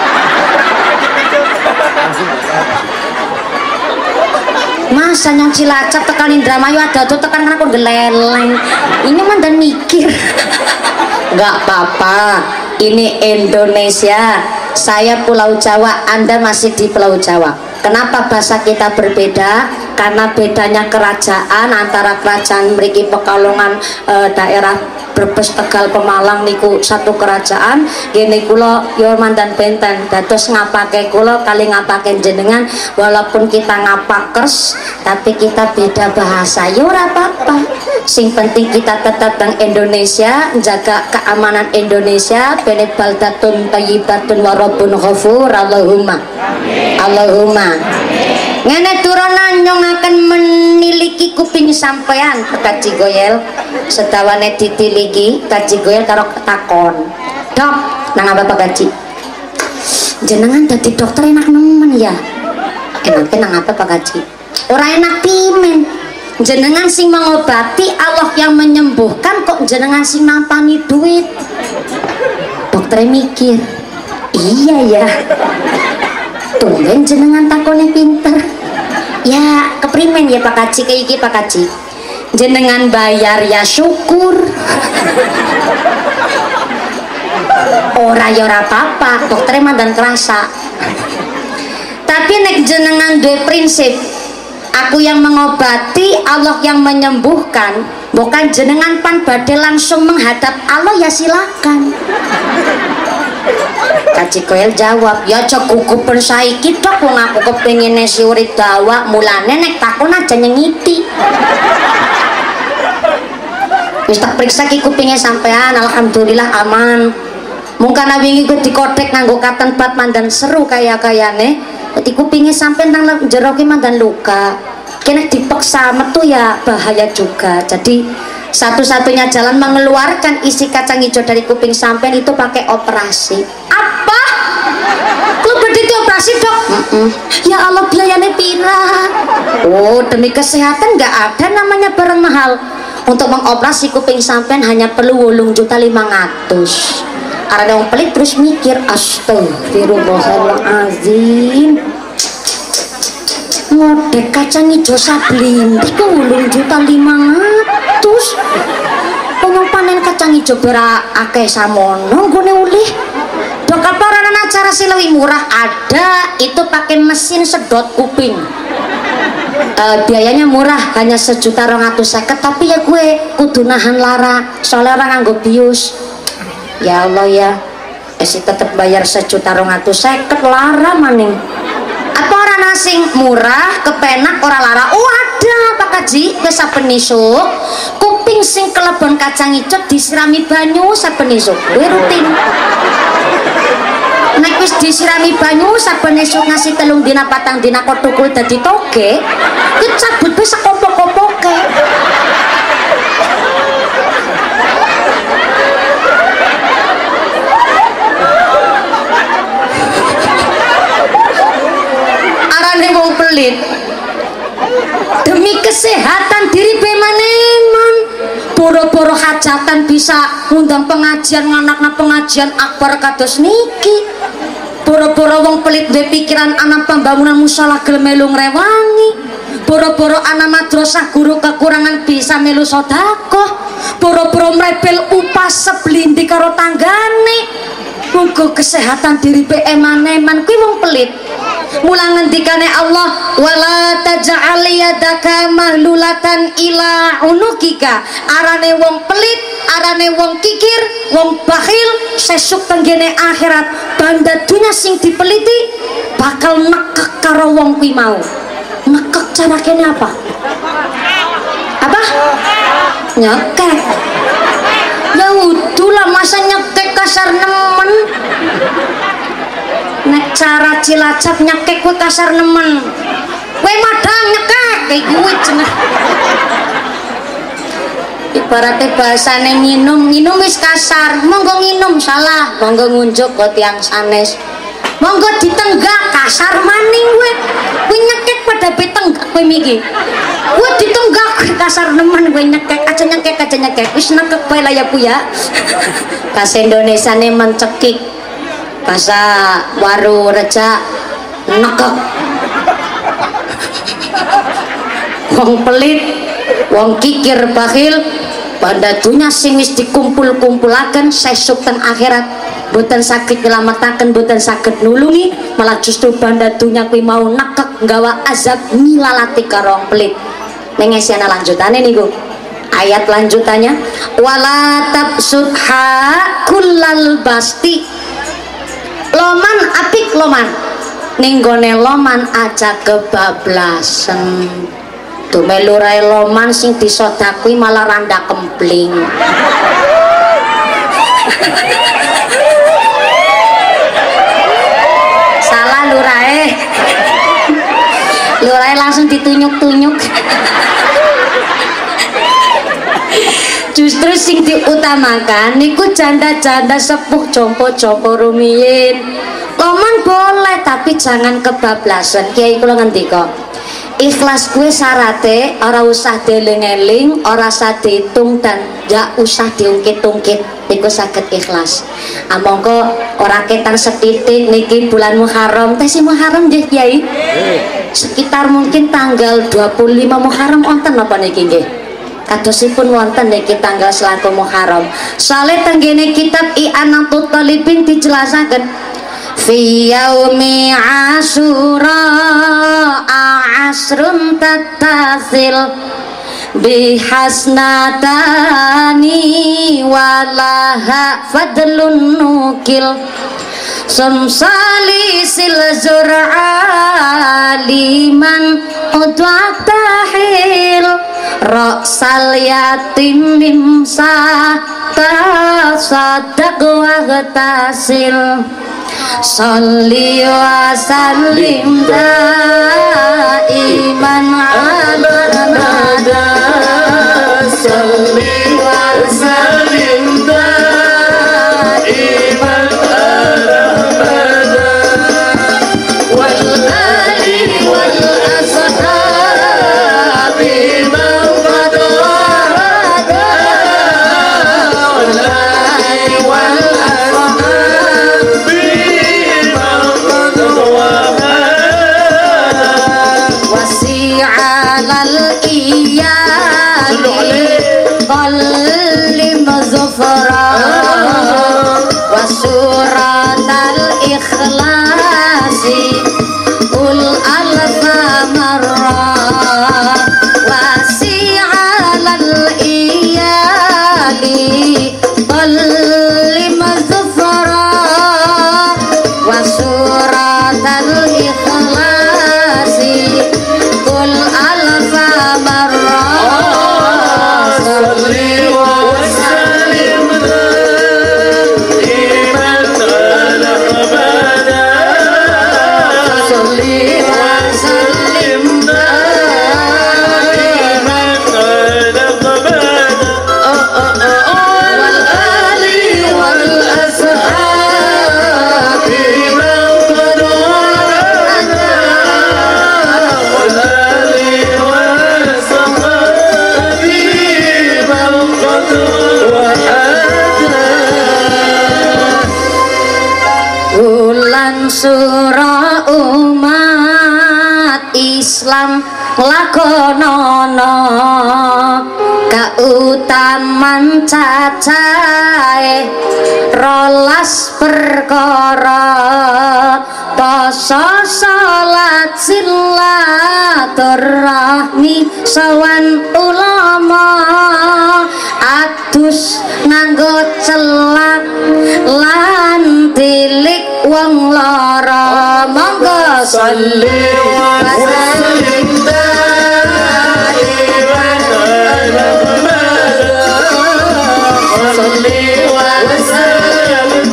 Masa nyong Cilacap tekan Indramayu ada tuh tekan aku geleleng. Ini mah dan mikir. Nggak apa-apa, ini Indonesia, saya Pulau Jawa, Anda masih di Pulau Jawa. Kenapa bahasa kita berbeda? Karena bedanya kerajaan antara kerajaan mriki Pekalongan daerah Brebes, Tegal, Pemalang niku satu kerajaan. Gini kula yo mandan benten. Dados ngapake kula kali ngapake jenengan walaupun kita ngapakers tapi kita beda bahasa. Yo ora apa-apa. Sing penting kita tetap teng Indonesia, jaga keamanan Indonesia. Bene baldatun thayyibatun wa rabbun ghafur. Allahumma. Amin. Allahumma. Amin. Ngene turunan nyong akan meniliki kuping sampean Kaji Goyel. Sedawane ditiliki Kaji Goyel karo takon. Dok, nang apa Pak Kaji? Jenengan dadi dokter enak nemen ya. Enake nang apa Pak Kaji? Ora enak pimen. Jenengan sing mengobati, Allah yang menyembuhkan, kok jenengan sing nampani duit. Dokter mikir, iya ya. Tumben jenengan takone pinter. Ya keprimen ya Pak Kaji, kayak iki Pak Kaji. Jenengan bayar ya syukur. Ora ya ora apa-apa, dokter mandan kerasa. Tapi nek jenengan duwe prinsip, aku yang mengobati, Allah yang menyembuhkan, bukan jenengan pan badhe langsung menghadap Allah ya silakan. Kaji Goyel jawab, ya aja gugupen saiki Dok, wong aku kepengin nesi urip dawa, mulane nek takon aja nyengiti. Wis tak periksa ki kupinge sampean, alhamdulillah aman. Mungkin wingi ku dikotek nganggo katen bat mandan seru kaya-kayane. Dadi kupinge sampean nang jero ki mandan luka. Kena dipaksa metu ya bahaya juga. Jadi satu-satunya jalan mengeluarkan isi kacang hijau dari kuping sampean itu pakai operasi. Apa? Lu berdiri operasi, Dok? Ya Allah, biayanya pira? Oh, demi kesehatan nggak ada namanya barang mahal. Untuk mengoperasi kuping sampean hanya perlu 8.500.000. Karena orang pelit terus mikir, astagfirullahaladzim, ngodek kacang hijau sablindi ke 8.500.000. Pengen panen kacang hijau berak akeh samono gune ulih. Dok apa orang acara sih lebih murah? Ada, itu pakai mesin sedot kuping. Biayanya murah, hanya 1.250.000, tapi ya gue kudu nahan lara soalnya orang nganggo bius. Ya Allah ya, esi tetep bayar 1.250.000 lara maning. Apa orang asing murah kepenak orang lara? Oh ada Pak Kaji, ke saben esuk kuping sing kelebon kacang hijau disirami banyu saben esuk. Gue rutin. Nek wis disirami banyu saben esuk ngasih 3 dina 4 dina kok tukul dadi toge, ku cabut wis sekopok-kopoke. Arane wong pelit. Demi kesehatan diri bemaneman. Boro-boro hajatan bisa ngundang pengajian nganakna pengajian akbar kados niki. Boro-boro wong pelit duwe pikiran anak pembangunan musala gelem melu ngrewangi. Boro-boro anak madrasah guru kekurangan bisa melu sedekah. Boro-boro mrebel upah seblindi karo tanggane. Muga kesehatan diri be eman-eman kuwi wong pelit. Mula ngendikane Allah, wala taj'al yadaka mahlulatan ila unukika. Arane wong pelit, arane wong kikir, wong bakhil sesuk tenggene akhirat banda dunya sing dipeliti bakal nekek karo wong kuwi mau. Nekek cara kene apa? Apa? Nyekek. Ya udah masa nyekek kasar nemen. Nek cara Cilacap nyekek kuwi kasar nemen. Kowe madang nyekek kayak gue cenah. Ibaratnya bahasane nginum wis kasar, monggo nginum salah, monggo ngunjuk kok tiang sanes. Monggo ditenggak kasar maning gue. Kowe nyekek pada betenggak kowe miki. Gue ditenggak kasar nemen gue nyekek aja nyekek. Wis nekek bae lah ya Bu ya. Bahasa Indonesiane mencekik. Bahasa waru reja nekek. Wong pelit, wong kikir bakhil, pada dunia sing wis dikumpul-kumpulaken sesuk teng akhirat boten saged nyelametaken, boten saged nulungi, malah justru banda dunia kuwi mau nekek nggawa azab nilalati karo wong pelit. Nengesiana lanjutane niku. Ayat lanjutannya wala tabsudha kullal basti. Loman apik loman ning gone loman aja kebablasan. Tuh melu rae loman sing disodakui malah randa kempling. Salah lurae. Lurae langsung ditunyuk-tunyuk. Justru sing diutamakan niku janda-janda sepuh jompo-jompo rumiyin. Loman boleh tapi jangan kebablasan. Kiai kula ngendika, ikhlas kuwi syarate ora usah dieling-eling, ora usah diitung dan gak usah diungkit-ungkit. Niku saged ikhlas. Monggo ora ketan setitik niki bulan Muharram. Teh si Muharram nggih Kiai? Sekitar mungkin tanggal 25 Muharram wonten napa niki nggih? Kadosipun wonten niki tanggal selatu Muharram. Soale tenggene kitab I'anatul Talibin dijelasaken fi yaumi asyura asrun tattasil bihasnatani walaha fadlun nukil sumsali silzur'a liman udwa tahil Raksal yatim mimsa tasadak wa tasil Salli wa sallim daiman ala nada Salli wa sallim daiman ala nada wal ali wal ashabi man qad warada wal ali wal ashabi wasi'alal iyali qallim zufra wasuratal ikhlasi ul alfa marra wasi'alal iyali qallim zufra wasuratal ikhlasi kul alfa marra salli wa sallim daiman ala abada salli wa sallim daiman ala abada wal ali wal ashabi man qad warada wal ali wal ashabi man qad warada bulan surah umat Islam lakonono kautaman cacahe rolas perkara poso salat silaturahmi sawan ulama adus nganggo celak lan tilik wong lara monggo salli wa sallim daiman ala abada salli wa sallim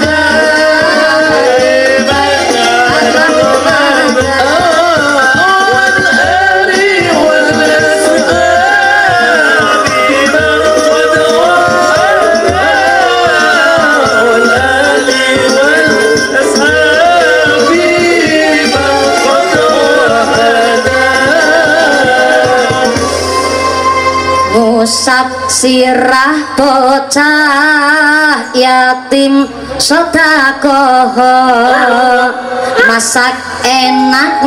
daiman ala abada wal ali wal ashabi man qad warada wal ali wal ashabi man qad warada ngusap sirah bocah yatim sedekah masak enak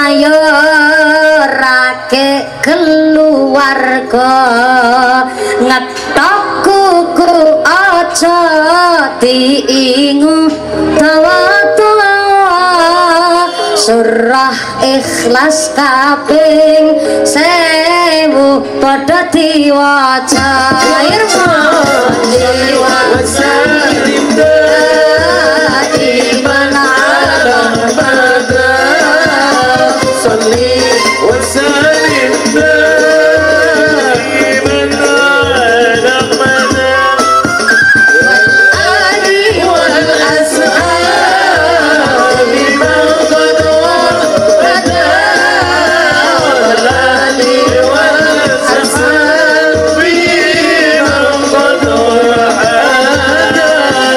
mayorake keluarga ngetok kuku aja diingu dawa-dawa surah ikhlas kaping 1000 padha diwaca irmani wa sallim daiman ala abada salli wa sallim daiman ala abada wal ali wal ashabi man qad warada wal ali wal ashabi man qad warada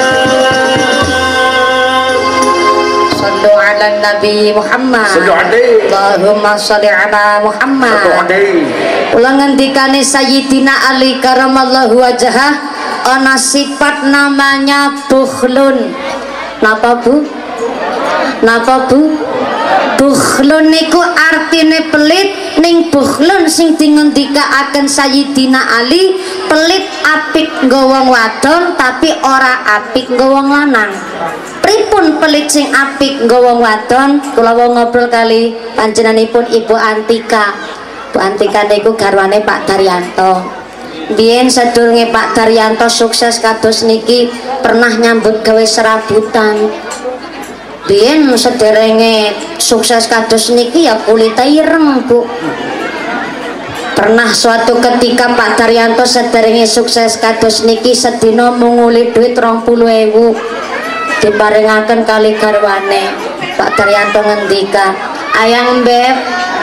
sallu ala nabi Muhammad Sallu alaihi. Allahumma sholli ala Muhammad Sallu alaihi. ulang ngendikane Sayyidina Ali karamallahu wajhah ana sifat namanya bukhlun. Napa Bu? Napa Bu? Bukhlun niku artine pelit, ning bukhlun sing dingendikaaken Sayyidina Ali pelit apik nggo wong wadon tapi ora apik nggo wong lanang. Pripun pelit sing apik nggo wong wadon? Kula wong ngobrol kali panjenenganipun Ibu Antika. Bu Antika niku garwane Pak Daryanto. Biyen sedurunge Pak Daryanto sukses kados niki pernah nyambut gawe serabutan. Biyen sederenge sukses kados niki ya kulite ireng Bu. Pernah suatu ketika Pak Daryanto sederenge sukses kados niki sedina munguli duit 20.000 diparingaken kali garwane. Pak Daryanto ngendika, "Ayang Beb."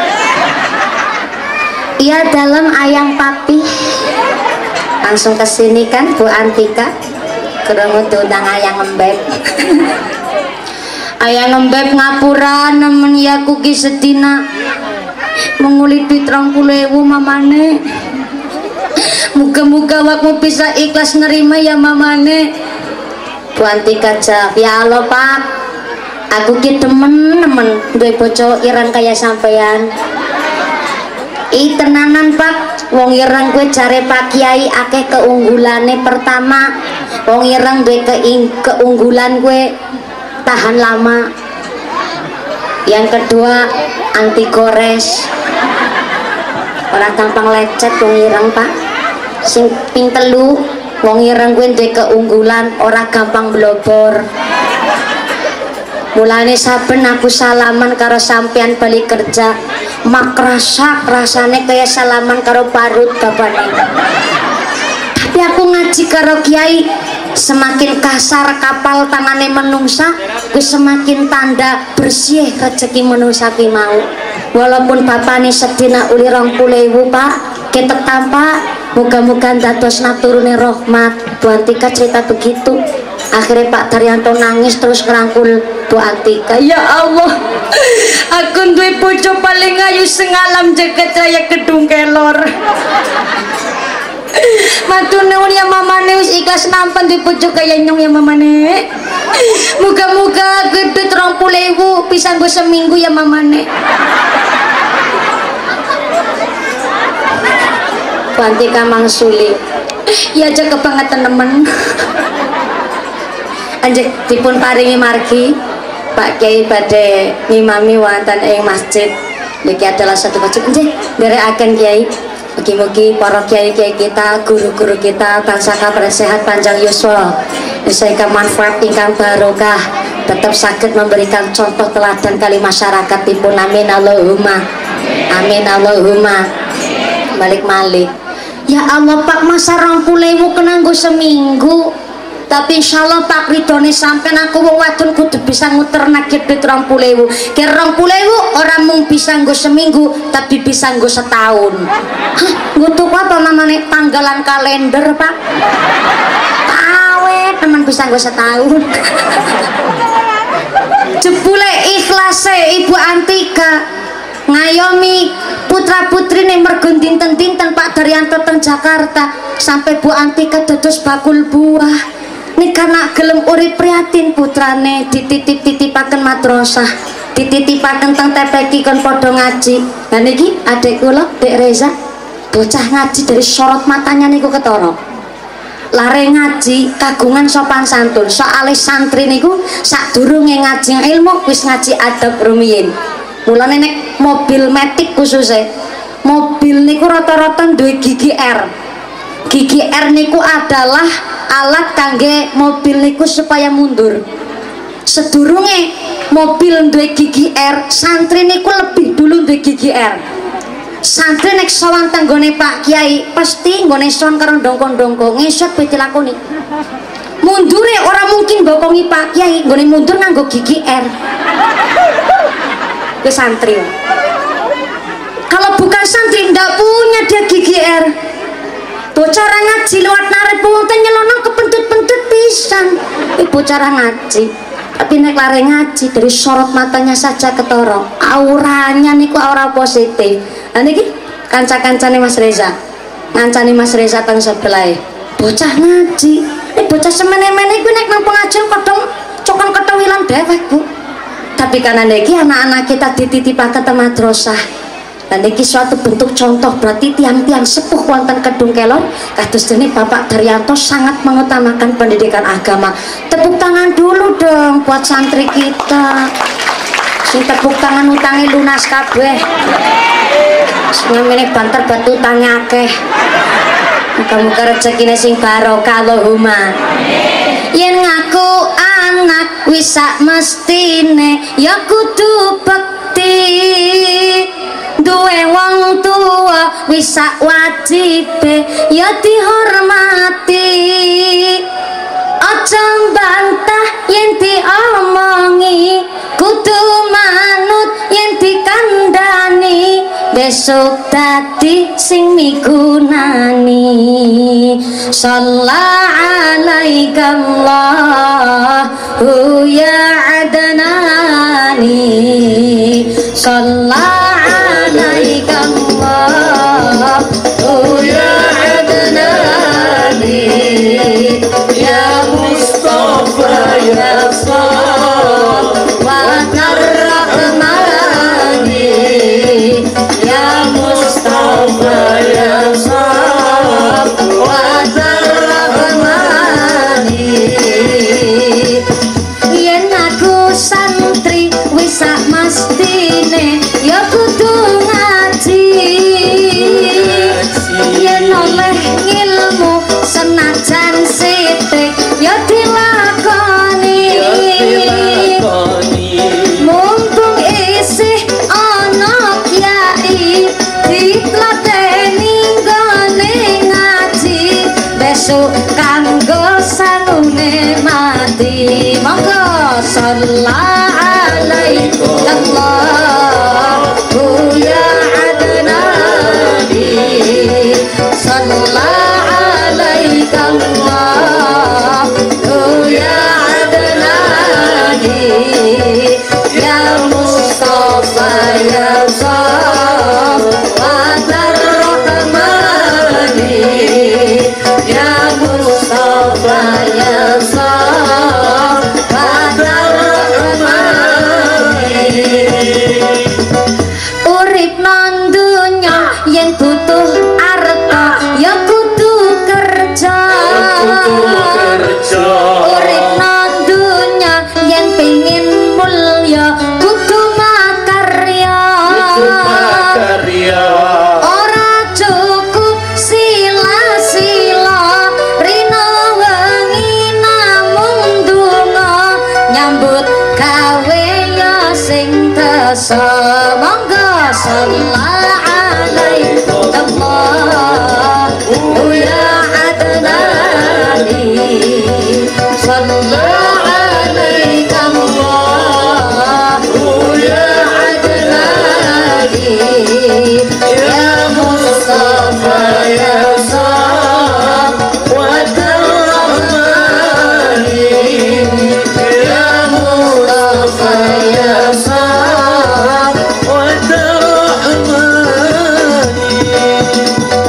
"Iya dalam ayang papi." Langsung kesini kan Bu Antika, kerungu diundang ayang Beb. Ayang Beb ngapura nemen ya kuki sedina menguli duit 20.000 mamane. Muga-muga wakmu bisa ikhlas nerima ya mamane. Bu Antika jawab, "Ya Allah Pak, aku ki demen duwe bojo ireng kaya sampean." "I tenanan Pak, wong ireng gue jare Pak Kiai akeh keunggulane. Pertama, wong ireng duwe keunggulan gue tahan lama. Yang kedua, anti gores. Orang gampang lecet wong ireng Pak. Sing ping telu, wong ireng gue duwe keunggulan ora gampang blobor. Mulane saben aku salaman karo sampean balik kerja, mak rasane kayak salaman karo parut bapane. Tapi aku ngaji karo kiai, semakin kasar kapal tangane menungsa, wis semakin tanda bersih rezeki menungsa ki mau. Walaupun bapane sedina uli 20.000 Pak, ketek tampak, muga-muga ndadosna turune rahmat." Bu Antika cerita begitu. Akhirnya Pak Daryanto nangis terus ngerangkul Bu Antika, "Ya Allah, aku duwe bojo paling ayu sengalam jagat raya Kedung Kelor. Matur nuwun ya mamane, wis ikhlas nampan duwe bojo kaya nyong ya mamane. Muga-muga gede 20.000 bisa nggo seminggu ya mamane." Bu Antika mangsuli, "Ya aja kebangetan temen." Anjek dipun paringi margi Pak Kiai badhe ngimami wonten ing masjid. Niki adalah satu masjid nggih nderekaken Kiai. Mugi-mugi para kiai-kiai kita, guru-guru kita tansah kabar sehat panjang yuswa, ingkang manfaat ingkang barokah, tetap saged memberikan contoh teladan kali masyarakat dipun. Amin Allahumma. Amin Allahumma. Malik-malik. Ya Allah Pak, masa 20.000 kena nggo seminggu. Tapi insyaallah Pak ridone sampean aku wong wadon kudu bisa nguterna duit 20.000. Ki 20.000 orang mung bisa nggo seminggu, tapi bisa nggo setahun. Hah, nggo tuku apa namanya tanggalan kalender Pak? Awet teman bisa nggo setahun. Jebule ikhlase Ibu Antika ngayomi putra putri nih mergo dinten-dinten Pak Daryanto teng Jakarta sampai Bu Antika dados bakul buah. Nih karena gelem urip prihatin putrane dititip-titipaken madrasah, dititipaken teng TPQ kon padha ngaji. Lah niki adek kula Dek Reza bocah ngaji dari sorot matanya niku ketara. Lare ngaji kagungan sopan santun. Soale santri niku sadurunge ngaji ilmu wis ngaji adab rumiyin. Mulane nek mobil metik khususnya mobil niku rata-rata duwe gigi R. Gigi R niku adalah alat kangge mobil niku supaya mundur. Sedurunge mobil duwe gigi R, santri niku lebih dulu duwe gigi R. Santri nek sowan tanggone Pak Kiai pasti nggone sowan karo ndongkon-ndongkon ngesot pe dilakoni. Mundure ora mungkin bokongi Pak Kiai, nggone mundur nganggo gigi R. Ke santri. Kalau bukan santri ndak punya dia gigi R. Bocah ngaji lewat narik punten nyelono kepentut-pentut pisan. Bocah ngaji. Tapi nek lare ngaji dari sorot matanya saja ketoro. Auranya niku aura positif. Lah niki kanca-kancane Mas Reza. Ngancani Mas Reza teng sebelah. Bocah ngaji. Bocah semene-mene iku nek nang pengajian kodong cokon ketowilan dewek, Bu. Tapi karena niki anak-anak kita dititipaken ke madrasah. Dan ini suatu bentuk contoh berarti tiang-tiang sepuh wonten Kedung Kelor kados dene Bapak Daryanto sangat mengutamakan pendidikan agama. Tepuk tangan dulu dong buat santri kita. Sing tepuk tangan utangnya lunas kabeh. Sing ngene banter batu utangnya akeh. Muga-muga rezekine sing barokah Allahumma. Yen ngaku anak wis sak mestine ya kudu bekti. Duwe wong tua wis sak wajibe ya dihormati. Aja bantah yen diomongi, kudu manut yen dikandani, besok dadi sing migunani. Shallallahu alaika Allahu ya adnani, shallallahu alaika Allahu ya adnani, ya Mustafa ya Shalawat Rahmani, ya Mustafa ya Shalawat Rahmani. Yen aku santri wis sak mestine ya kudu ngaji, yen oleh ilmu senajan sithik ya dilakoni, mumpung isih ana kyai ditlateni nggone ngaji, besok kanggo sanune mati. Monggo sallallahu alaihi Allahu ya adnani, sallallahu alaihi Allahu ya adnani, ya Mustafa ya Shalawat Rahmani, ya Mustafa ya Shalawat Rahmani. Urip nang dunya yen butuh arta ya kudu kerja, urip nang dunya yen pengin mulya kudu makarya, ora cukup sila-sila rina wengi namung donga, nyambut gawe ya sing desa. Monggo sallallahu alaihi Allahu ya adnani, sallallahu alaihi Allahu ya adnani, ya Mustafa ya Shalawat Rahmani, ya Mustafa ya Shalawat Rahmani.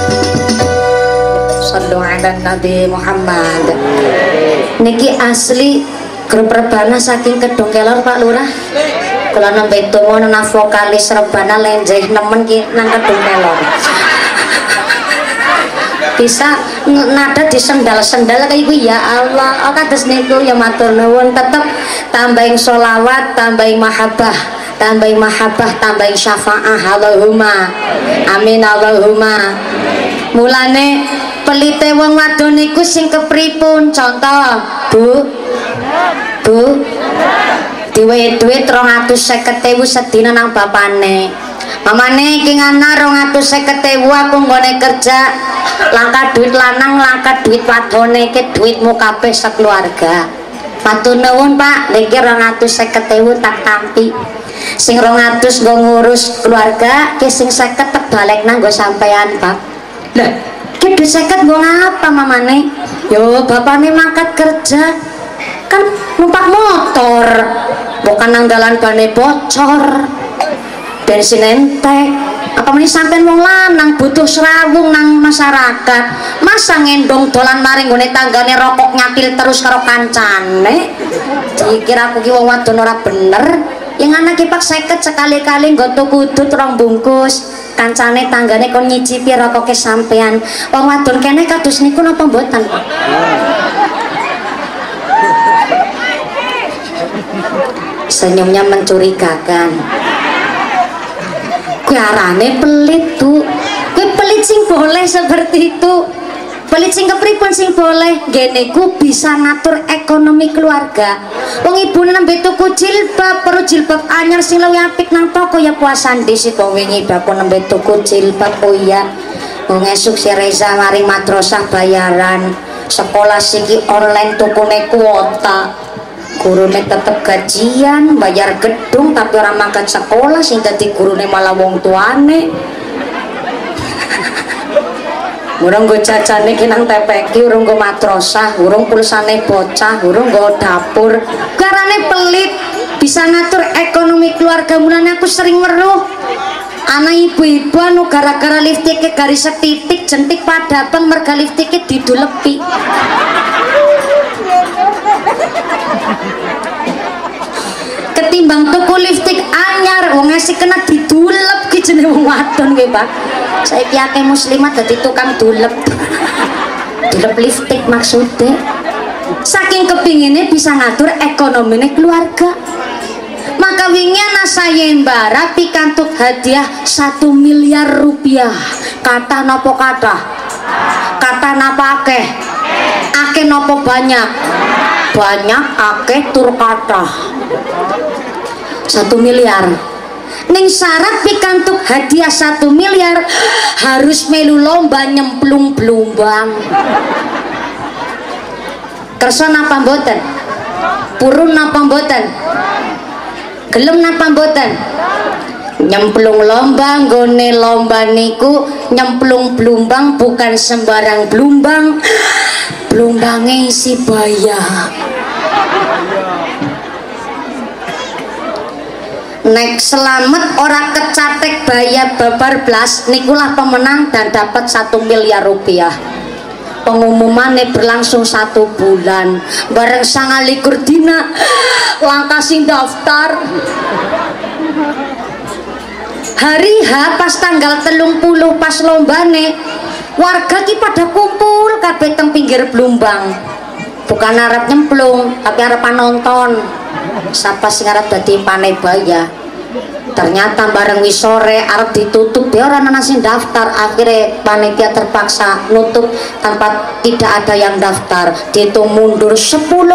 Sallu ala Nabi Muhammad. Niki asli grup rebana saking Kedung Kelor Pak Lurah. Kula nembe donga nang vokalis rebana lenjeh nemen ki nang Kedung Kelor. Bisa nada di sendal-sendal kayak iku ya Allah. Oh kados niku ya matur nuwun, tetep tambahin sholawat, tambahin mahabbah, tambahin mahabbah, tambahin syafaah. Allahumma amin Allahumma. Mulane pelite wong wadon niku sing kepripun? Contoh, Bu. Duwe duit 250.000 sedina nang bapane. Mamane iki ngana 250.000 aku nggone kerja. Langka duit lanang, langka duit wadone, iki duitmu kabeh sekeluarga. Matur nuwun Pak, niki 250.000 tak tampi. Sing 200 nggo ngurus keluarga, ki sing 50 tak balik nang nggo sampean, Pak. Lah, ki duit 50 nggo ngapa mamane? Yo, bapane mangkat kerja. Kan numpak motor. Bukan nang dalan bane bocor. Bensin entek. Apa meneh sampean wong lanang butuh serawung nang masyarakat. Masa ngendong dolan maring nggone tanggane rokok nyakil terus karo kancane. Dikira aku ki wong wadon ora bener. Yang anak ki pak 50 sekali-kali nggo tuku udut 2 bungkus. Kancane tanggane kon nyicipi rokoke sampean. Wong wadon kene kados niku napa mboten? Senyumnya mencurigakan. Kue arane pelit tuh, kue pelit sing boleh seperti itu. Pelit sing kepripun sing boleh ngene ku bisa ngatur ekonomi keluarga. Wong ibune nembe tuku jilbab, perlu jilbab anyar sing luwih apik nang toko ya puasan dhisik kok wingi baku nembe tuku jilbab. Oh iya. Wong esuk si Reza mari madrasah bayaran. Sekolah siki online tukune kuota. Gurune tetep gajian, bayar gedung tapi orang mangkat sekolah sing dadi gurune malah wong tuane. Urung go jajane ki nang TPQ, urung go madrasah, urung pulsane bocah, urung go dapur. Karane pelit bisa ngatur ekonomi keluarga. Mulane aku sering weruh anak ibu-ibu anu gara-gara liftike garis setitik jentik padabang merga liftike didulepi. Ketimbang tuku lipstik anyar wong ngasih kena didulep ki jenenge wong wadon kuwi Pak. Saiki akeh muslimat dadi tukang dulep. Dulep lipstik maksudnya saking kepinginnya bisa ngatur ekonomine keluarga. Maka wingi anak saya embara pikantuk hadiah 1 miliar rupiah. Kata nopo kata? Kata napa akeh? Akeh nopo banyak? Banyak akeh tur kata 1 miliar. Ning syarat pikantuk hadiah 1 miliar harus melu lomba nyemplung blumbang. Kersa napa mboten? Purun napa mboten? Gelem napa mboten? Nyemplung lomba, nggone lomba niku nyemplung blumbang bukan sembarang blumbang. Blumbange isi baya. Nek selamat ora kecatek baya babar blas nikulah pemenang dan dapat 1 miliar rupiah. Pengumumannya berlangsung 1 bulan. Bareng 29 dina langkah sing daftar. Hari H pas tanggal 30 pas lombane warga ki pada kumpul kabeh teng pinggir blumbang. Bukan arep nyemplung tapi arep nonton. Siapa sing arep dadi panebaya. Ternyata bareng wis sore arep ditutup ya ora ana sing daftar. Akhirnya panitia terpaksa nutup tanpa tidak ada yang daftar. Dihitung mundur 10 9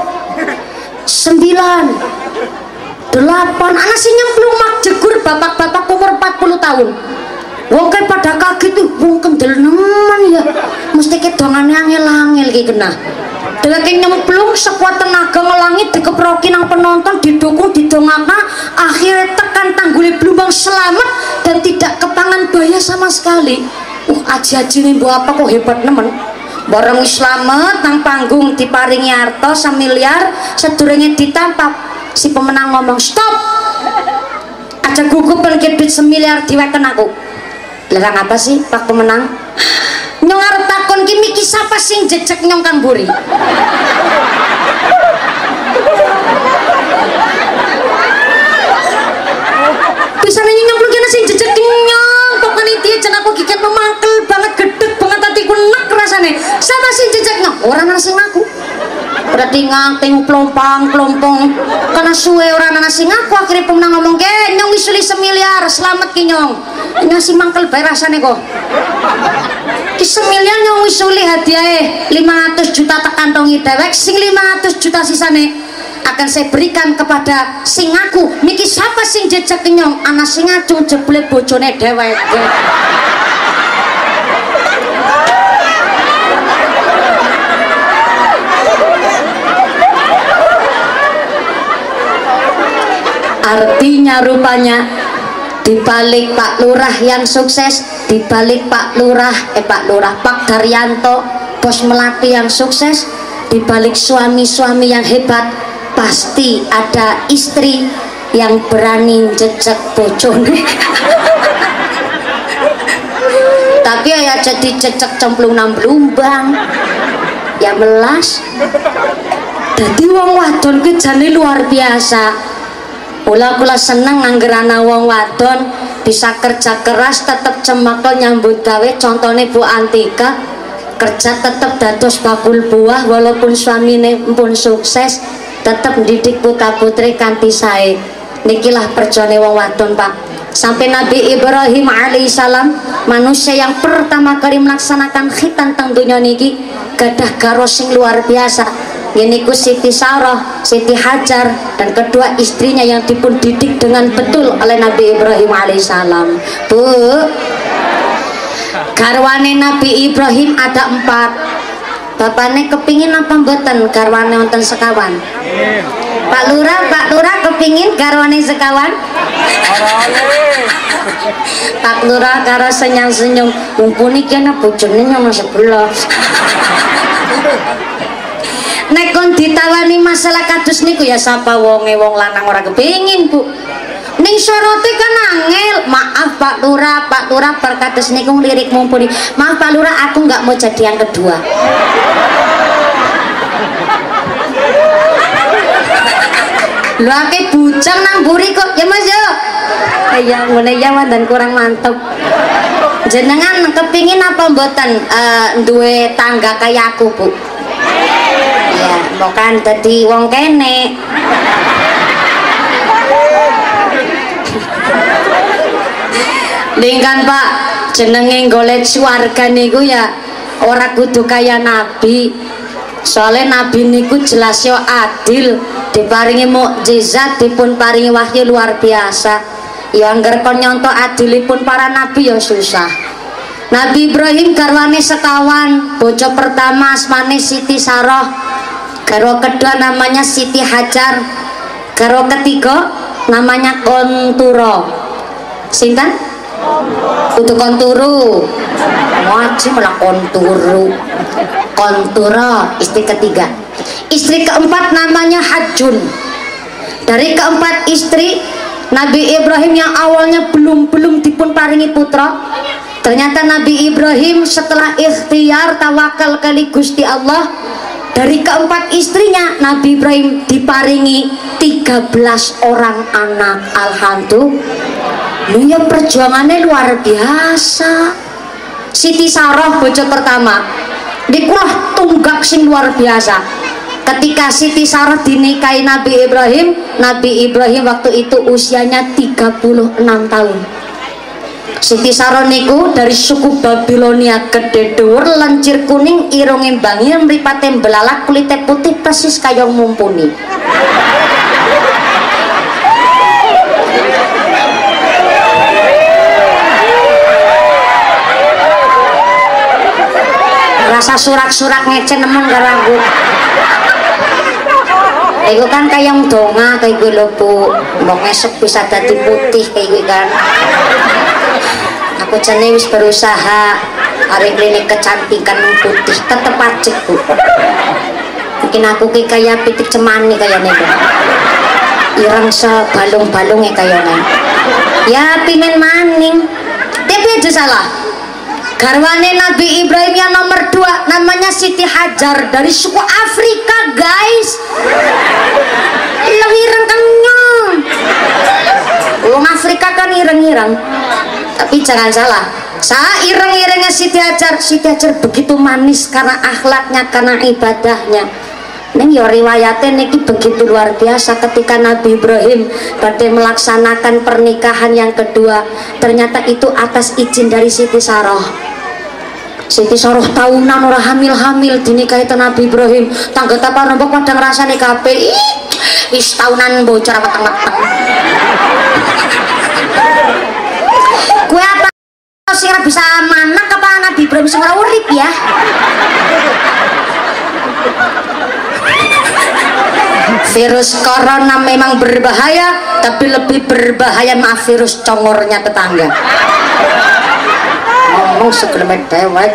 8 anak sing nyemplung mak jegur bapak-bapak umur 40 tahun. Wong kae pada kaget tuh, wong kendel nemen ya. Mesti kedongane angel-angel iki kena. Dheweke nyemplung sekuat tenaga ngelangit dikeproki nang penonton didukung didongakna akhirnya tekan tanggule blumbang selamat dan tidak kepangan baya sama sekali. Aji-aji nih mbok apa kok hebat nemen. Bareng wis slamet nang panggung diparingi harta 1 miliar sedurunge ditampap si pemenang ngomong stop. Aja gugup ki duit 1 miliar diweken aku. Larang apa sih Pak pemenang? Nyong arep takon ki miki sapa sing jejek nyong Kang Buri? Bisa nanya nyong kena sing jejek nyong kok panitia jan aku giket memangkel banget gedeg banget hatiku nek rasane. Sapa sing jejek nyong? Ora ana sing ngaku. Berarti nganteng plompang-plompong karena suwe orang ana sing ngaku. Akhirnya pemenang ngomong ke nyong wis 1 miliar selamat ki nyong. Ngasih mangkel bae rasane kok. Ki 1 miliar nyong wis uli hadiahe 500 juta tak kantongi dewek sing 500 juta sisane akan saya berikan kepada sing ngaku. Niki siapa sing jejak nyong? Ana sing ngacung jebule bojone dewek. Artinya rupanya dibalik Pak Lurah yang sukses, dibalik Pak Daryanto bos melati yang sukses, dibalik suami-suami yang hebat pasti ada istri yang berani jejak bojone. Tapi ya jadi jejak cemplung nang blumbang ya melas. Jadi wong wadon ki jane luar biasa. Kula seneng anggerana wong wadon bisa kerja keras tetep cemekel nyambut gawe. Contohnya Bu Antika kerja tetep dados bakul buah walaupun suamine pun sukses tetep mendidik putra putri kanthi sae. Nikilah perjone wong wadon Pak. sampai Nabi Ibrahim alaihissalam manusia yang pertama kali melaksanakan khitan teng dunia niki gadah garo sing luar biasa. Ini ku Siti Sarah, Siti Hajar, dan kedua istrinya yang dipun didik dengan betul oleh Nabi Ibrahim alaihissalam. Bu, garwane Nabi Ibrahim ada 4. Bapaknya kepingin apa mboten garwane wonten sekawan? Pak Lurah kepingin garwane sekawan? Pak Lurah karo senyum-senyum, mumpuni kena bojone nyong sebelah. Nek kon ditawani masalah kados niku ya sapa wonge wong lanang ora kepengin, Bu. Ning syarote kan angel. Maaf Pak Lurah perkados niku lirik mumpuni. Maaf Pak Lurah, aku nggak mau jadi yang kedua. Lu ake bujang nang buri kok. Ya Mas yo. Ya ngene ya dan kurang mantep. Jenengan kepingin apa mboten duwe tangga kayak aku, Bu? Ya, bukan tadi wong kene. Lingkan Pak, jenenge golek swarga niku ya ora kudu kaya nabi. Soalnya nabi niku jelas yo adil, diparingi mukjizat, dipun paringi wahyu luar biasa. Ya angger kon nyontok adilipun para nabi ya susah. Nabi Ibrahim garwane sekawan, bojo pertama asmane Siti Sarah, garwa kedua namanya Siti Hajar, garwa ketiga namanya Konturo. Sinten? Kudu Konturu. Wajib malah Konturu. Konturo istri ketiga. Istri keempat namanya Hajjun. Dari keempat istri Nabi Ibrahim yang awalnya belum dipun paringi putra, ternyata Nabi Ibrahim setelah ikhtiar tawakal kali Gusti Allah, dari keempat istrinya Nabi Ibrahim diparingi 13 orang anak. Alhamdulillah, ya perjuangannya luar biasa. Siti Sarah bojo pertama dikulah tunggak sing luar biasa. Ketika Siti Sarah dinikahi Nabi Ibrahim waktu itu usianya 36 tahun. Siti Sarah niku dari suku Babilonia, gede dhuwur, lancir kuning, irunge bangir, mripate belalak, kulite putih persis kaya mumpuni. Rasa surak-surak ngece nemen karo aku. Iku kan kayak donga kayak gue lho Bu, mbok esok bisa dadi putih kayak gue kan. Aku jane wis berusaha hari klinik kecantikan putih tetep pacet Bu. Mungkin aku kayak pitik cemani kayaknya Bu. Ireng sebalung-balungnya kayaknya. Ya pingin maning. Tapi aja salah. Garwane Nabi Ibrahim yang nomor 2 namanya Siti Hajar dari suku Afrika, guys. Ireng kenyang. Wong Afrika kan ireng-ireng. Tapi jangan salah. Ireng-irengnya Siti Hajar begitu manis karena akhlaknya, karena ibadahnya. Neng yo riwayatnya niki begitu luar biasa ketika Nabi Ibrahim badhe melaksanakan pernikahan yang kedua, ternyata itu atas izin dari Siti Sarah. Siti Sarah tahunan ora hamil dinikahi Nabi Ibrahim. Tangga tapa nombok pada ngrasani kabeh. Wis tahunan bocor mateng-mateng. Kue apa sih bisa manak apa Nabi Ibrahim sing ora urip ya? Virus corona memang berbahaya, tapi lebih berbahaya virus congornya tetangga. Ngomong segelemet dewek.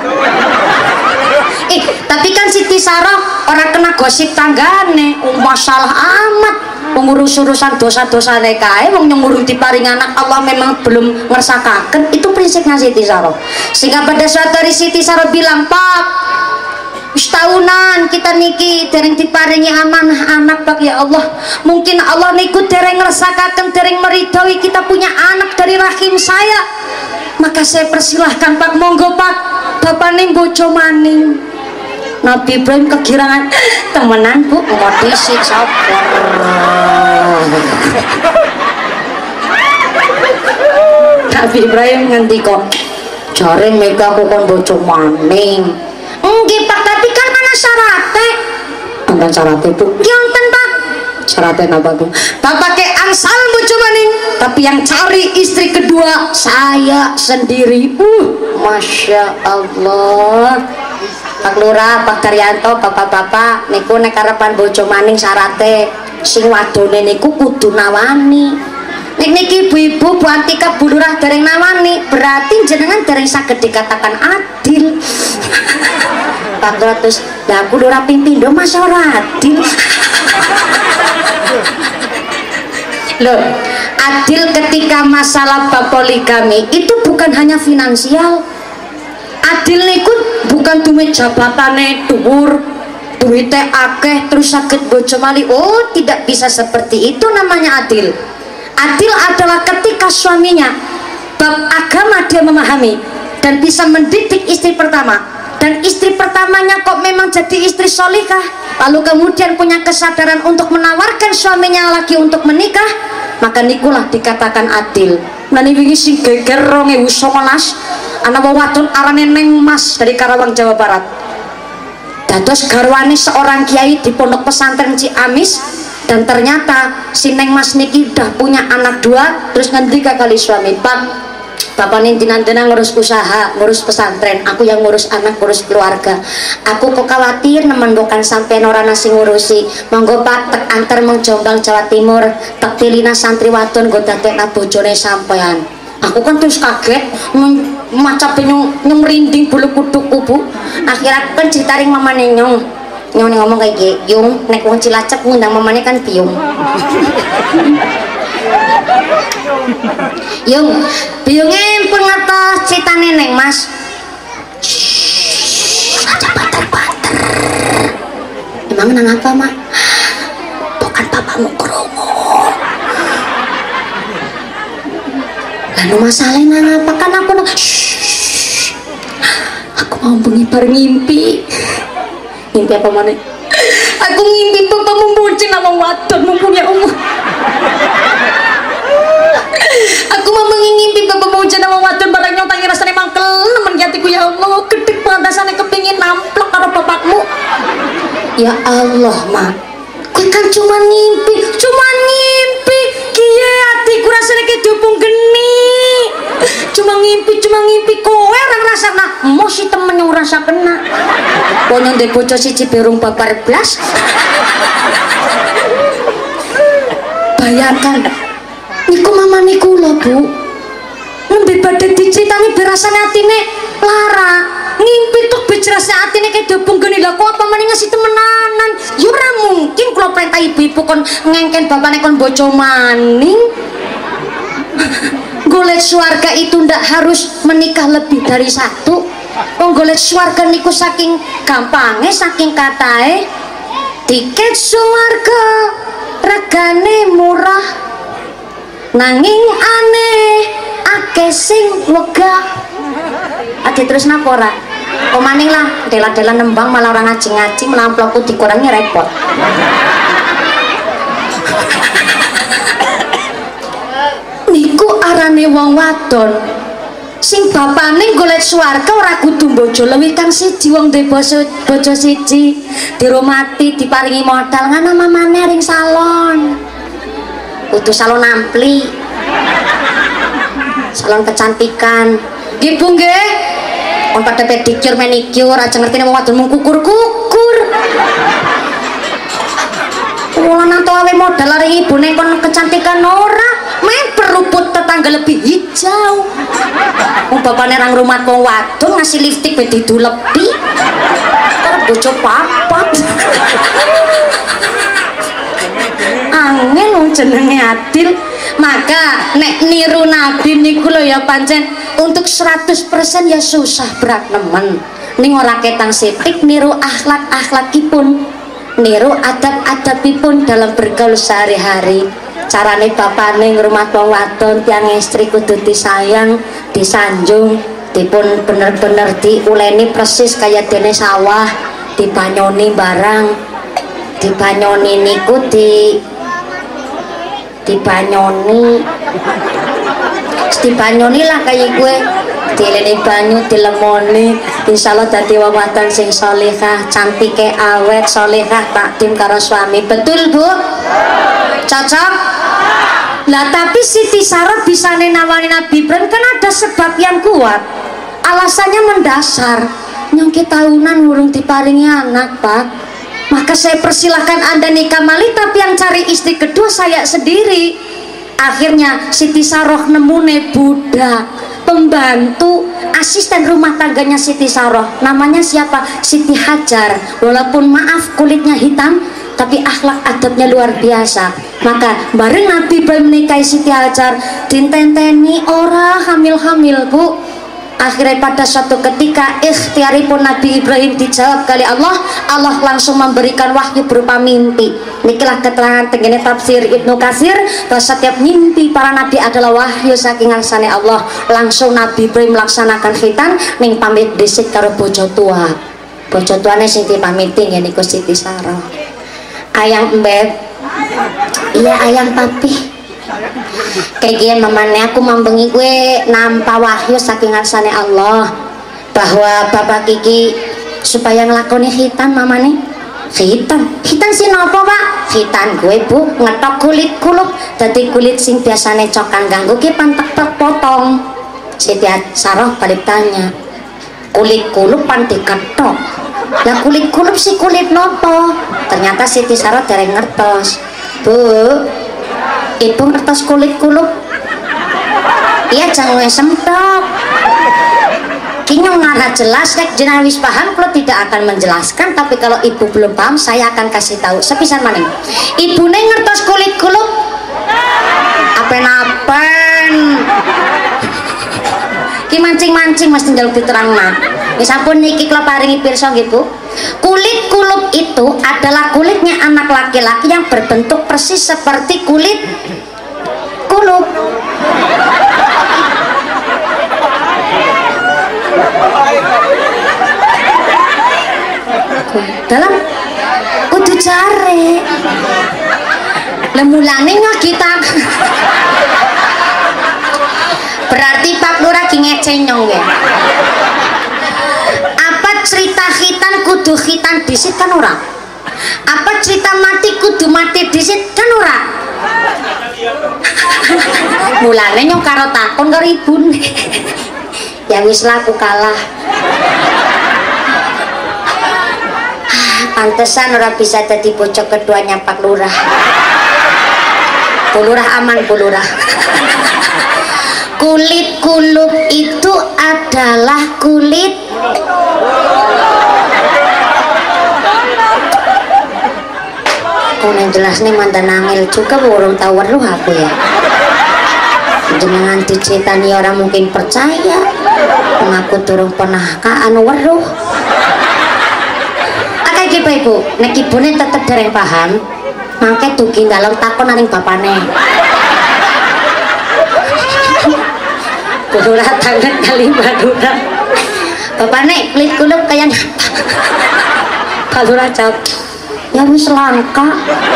Tapi kan Siti Sarah orang kena gosip tanggane, masalah amat. Pengurus-urusan dosa-dosa kae wong nyengurung diparing anak Allah memang belum ngersakaken. Itu prinsipnya Siti Sarah. Sehingga pada suatu hari Siti Sarah bilang, "Pak, tahunan kita niki dereng diparingi amanah anak Pak ya Allah. Mungkin Allah niku dereng ngersakaken, dereng meridhoi kita punya anak dari rahim saya. Maka saya persilahkan Pak, monggo Pak, Bapak ning bojo maning." Nabi Ibrahim kegirangan, temenan Bu, mau disik sabar. Nabi Ibrahim ngendika, jare mega aku kon bojo maning. Nggih Pak, tapi kan ana syaratnya. Wonten syaratnya Bu? Nggih wonten Pak. Syaratnya apa Bu? Bapak ke angsal bojo maning, tapi yang cari istri kedua saya sendiri. Masya Allah. Pak Lurah, Pak Daryanto, bapak-bapak niku nek karepan bojo maning syaratnya sing wadone niku kudu nawani. Nek niki ibu-ibu Bu Antika Bu Lurah dereng nawani, berarti jenengan dereng saged dikatakan adil. Pak Lurah terus, lah Bu Lurah ping pindho masa ora adil. Loh, adil ketika masalah bab poligami itu bukan hanya finansial. Adil niku bukan duit jabatane dhuwur, duitnya akeh terus sakit bojo mali. Oh, tidak bisa seperti itu namanya adil. Adil adalah ketika suaminya bab agama dia memahami dan bisa mendidik istri pertama, dan istri pertamanya kok memang jadi istri solikah, lalu kemudian punya kesadaran untuk menawarkan suaminya lagi untuk menikah, maka nikulah dikatakan adil. Nani wingi sing geger 2019 ana wadon arane Neng Mas dari Karawang Jawa Barat. Dados garwane seorang kiai di pondok pesantren Ciamis, dan ternyata si Neng Mas niki udah punya anak 2, terus ngendika kali suami, Pak, bapak nintinan-tinan ngurus usaha, ngurus pesantren, aku yang ngurus anak, ngurus keluarga. Aku kok khawatir nemendokan sampai ora nasi ngurusi. Monggo Pak tek antar meng Jombang Jawa Timur, tek pilina santri wadon nggo dadekna bojone sampean. Aku kan terus kaget, maca nyong merinding bulu kuduku Bu. Akhirnya kan ceritaring mamane nyong ngomong kayak gini, Yung nek wong Cilacap ngundang mamane kan Piung. Yung Piungnya pun ngertos ceritane Neng Mas. Aja banter-banter. Emang nang apa Mak? Bukan bapakmu krungu. Lalu masalahnya nang apa kan aku aku mau bengi bareng ngimpi. Ngimpi apa mana? Aku ngimpi bapak membucin nama wadon mempunyai umur. Aku mau mengimpi bapak membucin nama wadon barang nyotangi rasanya mangkel nemen hatiku. Ya Allah, gede pantasannya kepingin namplok karo bapakmu. Ya Allah Mak, kau kan cuma ngimpi kiye hatiku rasanya kayak dupung geni. Cuma ngimpi kowe orang rasa nah mau si temen yang rasa kena pokoknya ndek bocah siji berung babar blas. Bayangkan niku mama niku lho Bu, nembe badhe diceritani berasane atine lara ngimpi tuh bejerasane atine kayak dupung geni. Lah kok apa meneh ngasih temenanan? Ya ora mungkin kula perintah ibu-ibu kon ngengken bapane kon bojo maning. Golek swarga itu ndak harus menikah lebih dari 1. Golek swarga niku saking gampangnya, saking katae tiket swarga regane murah nanging aneh akeh sing wegah. Ade terus napa ora? Omaning lah dela-dela nembang malah orang ngaji-ngaji melamploku dikurangi repot. Niku arane wong wadon sing bapane golek swarga ora kudu bojo luwih kang siji, wong duwe bojo siji dirumati diparingi modal ngana mamane ring salon, kudu salon ampli, salon kecantikan. Nggih Bu nggih, kon pada pedicure manicure aja ngerti nek wong wadon mung kukur-kukur. Wong lanang awe modal ring ibune kon kecantikan ora, men peruput tetangga lebih hijau. Wong bapane nang rumah wong wadon ngasih lipstik ben didulepi. Karo bojo papat. Angel wong jenenge adil. Maka nek niru Nabi niku lho ya pancen untuk 100% ya susah berat nemen. Ning ora ketang sithik niru akhlak-akhlakipun, niru adab-adabipun dalam bergaul sehari-hari. Carane bapane ngrumat wong wadon tiang istri kudu disayang, disanjung, dipun bener-bener diuleni persis kaya dene sawah, dibanyoni barang, dibanyoni niku dibanyoni Mesti banyune lah kaya gue. Dilene banyu dilemoni, insyaallah dadi wong wadon sing salehah, cantike awet, salehah takdim karo suami. Betul, Bu? Cocok? Lah tapi Siti Sarah bisa nawani Nabi Ibrahim kan ada sebab yang kuat. Alasannya mendasar. Nyongki tahunan urung diparingi anak, Pak. Maka saya persilahkan Anda nikah mali, tapi yang cari istri kedua saya sendiri. Akhirnya Siti Sarah nemune budak, pembantu, asisten rumah tangganya Siti Sarah. Namanya siapa? Siti Hajar. Walaupun maaf kulitnya hitam, tapi akhlak adabnya luar biasa. Maka bareng Nabi Ibrahim menikahi Siti Hajar, dintenteni ora hamil-hamil, Bu. Akhirnya pada suatu ketika ikhtiaripun Nabi Ibrahim dijawab kali Allah. Allah langsung memberikan wahyu berupa mimpi. Nikilah keterangan tengene tafsir Ibnu Katsir bahwa setiap mimpi para nabi adalah wahyu saking ngarsane Allah. Langsung Nabi Ibrahim melaksanakan khitan ning pamit dhisik karo bojo tua. Bojo tuane sing dipamiti niku Siti Sarah. Ayang Mbeb. Iya ayang papi. Kayak gini mamane aku membengi gue nampa wahyu saking ngarsane Allah bahwa bapak Kiki supaya ngelakoni khitan mamane. Khitan sih nopo Pak? Khitan gue Bu ngetok kulit kulup dadi kulit sing biasane cokan ganggu ki pantek potong. Siti Sarah balik tanya, kulit kulup pan diketok. Lah kulit kulup si kulit nopo? Ternyata Siti Sarah dereng ngertos. Bu, Ibu ngertos kulit kulup? Iya jangan semtok. Kinyong ngarah jelas nek jenengan wis paham, kalau tidak akan menjelaskan, tapi kalau ibu belum paham saya akan kasih tahu. Sepisan maning. Ibu neng ngertos kulit kulup? Apen-apen. Ki mancing-mancing mesti njaluk diterangna. Wis sampun niki kula paringi pirsa nggih Bu. Kulit kulup itu adalah kulitnya anak laki-laki yang berbentuk persis seperti kulit kulup. Dalam kudu jare. Lemulane kita. Berarti Pak Lurah ki ngecenyong ya. Apa cerita khitan kudu khitan disit kan ora? Apa cerita mati kudu mati disit kan ora? Mulane nyong karo takon karo ibune. Ya wis lah aku kalah. Pantesan ora bisa jadi bocok keduanya Pak Lurah. Bu Lurah aman Bu Lurah. Kulit kulup itu adalah kulit yang jelas nih mantan angel juga burung tahu weruh aku ya. Jenengan diceritani orang mungkin percaya, mengaku turun pernah anu weruh. Akeh iki Ibu, nek ibune tetep dereng paham, mangke dugi dalam takon aning bapane. Lurah tangan kali Madura. Bapane kulit kulup kayak Pak Lurah jawab, ya wis langka.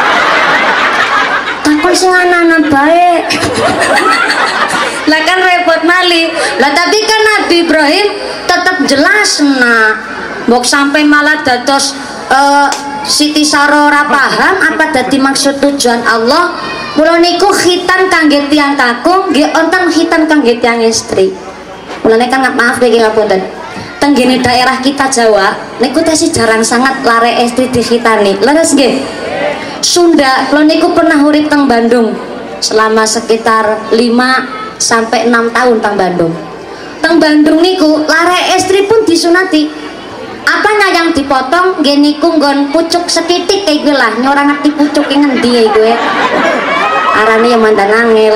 Takon sing anak-anak baik. Lah kan repot mali. Lah tapi kan Nabi Ibrahim tetap jelas nah. Mbok sampai malah dados Siti Sarah ora paham apa dadi maksud tujuan Allah. Mula niku khitan kangge tiyang kakung, nggih wonten khitan kangge tiyang istri. Mulane kan maaf nggih ngapunten. Tenggene daerah kita Jawa niku tesi jarang sangat lare istri dikhitani. Leres nggih. Sunda, kula niku pernah urip teng Bandung selama sekitar 5 sampai 6 tahun teng Bandung. Teng Bandung niku lare istri pun disunati. Apanya yang dipotong nggih niku nggon pucuk setitik kayak gue lah, nyora ngerti pucuk ngendi ya gue. Arane yang mandan angel.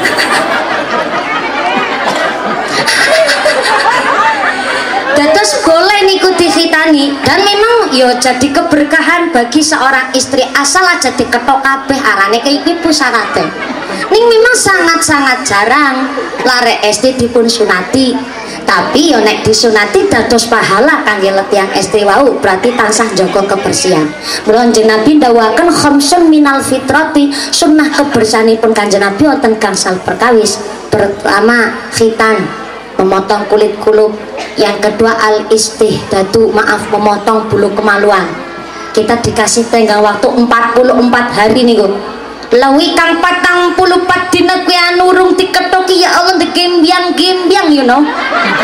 Dados boleh niku dikhitani dan memang yo jadi keberkahan bagi seorang istri asal aja diketok kabeh arane kayak ibu sarate. Ning memang sangat-sangat jarang lare istri dipun sunati. Tapi yo nek disunati dados pahala kangge tiyang istri wau berarti tansah jaga kebersihan. Mula Kanjeng Nabi ndawuhaken khamsun minal fitrati, sunnah kebersihanipun Kanjeng Nabi wonten gangsal perkawis. Pertama khitan, memotong kulit kulub. Yang kedua al-istihdadu, maaf, memotong bulu kemaluan. Kita dikasih tenggang waktu 44 hari nih gue. Lewi kang 44 dina kuwi anu urung diketoki ya Allah digembyang-gembyang you know.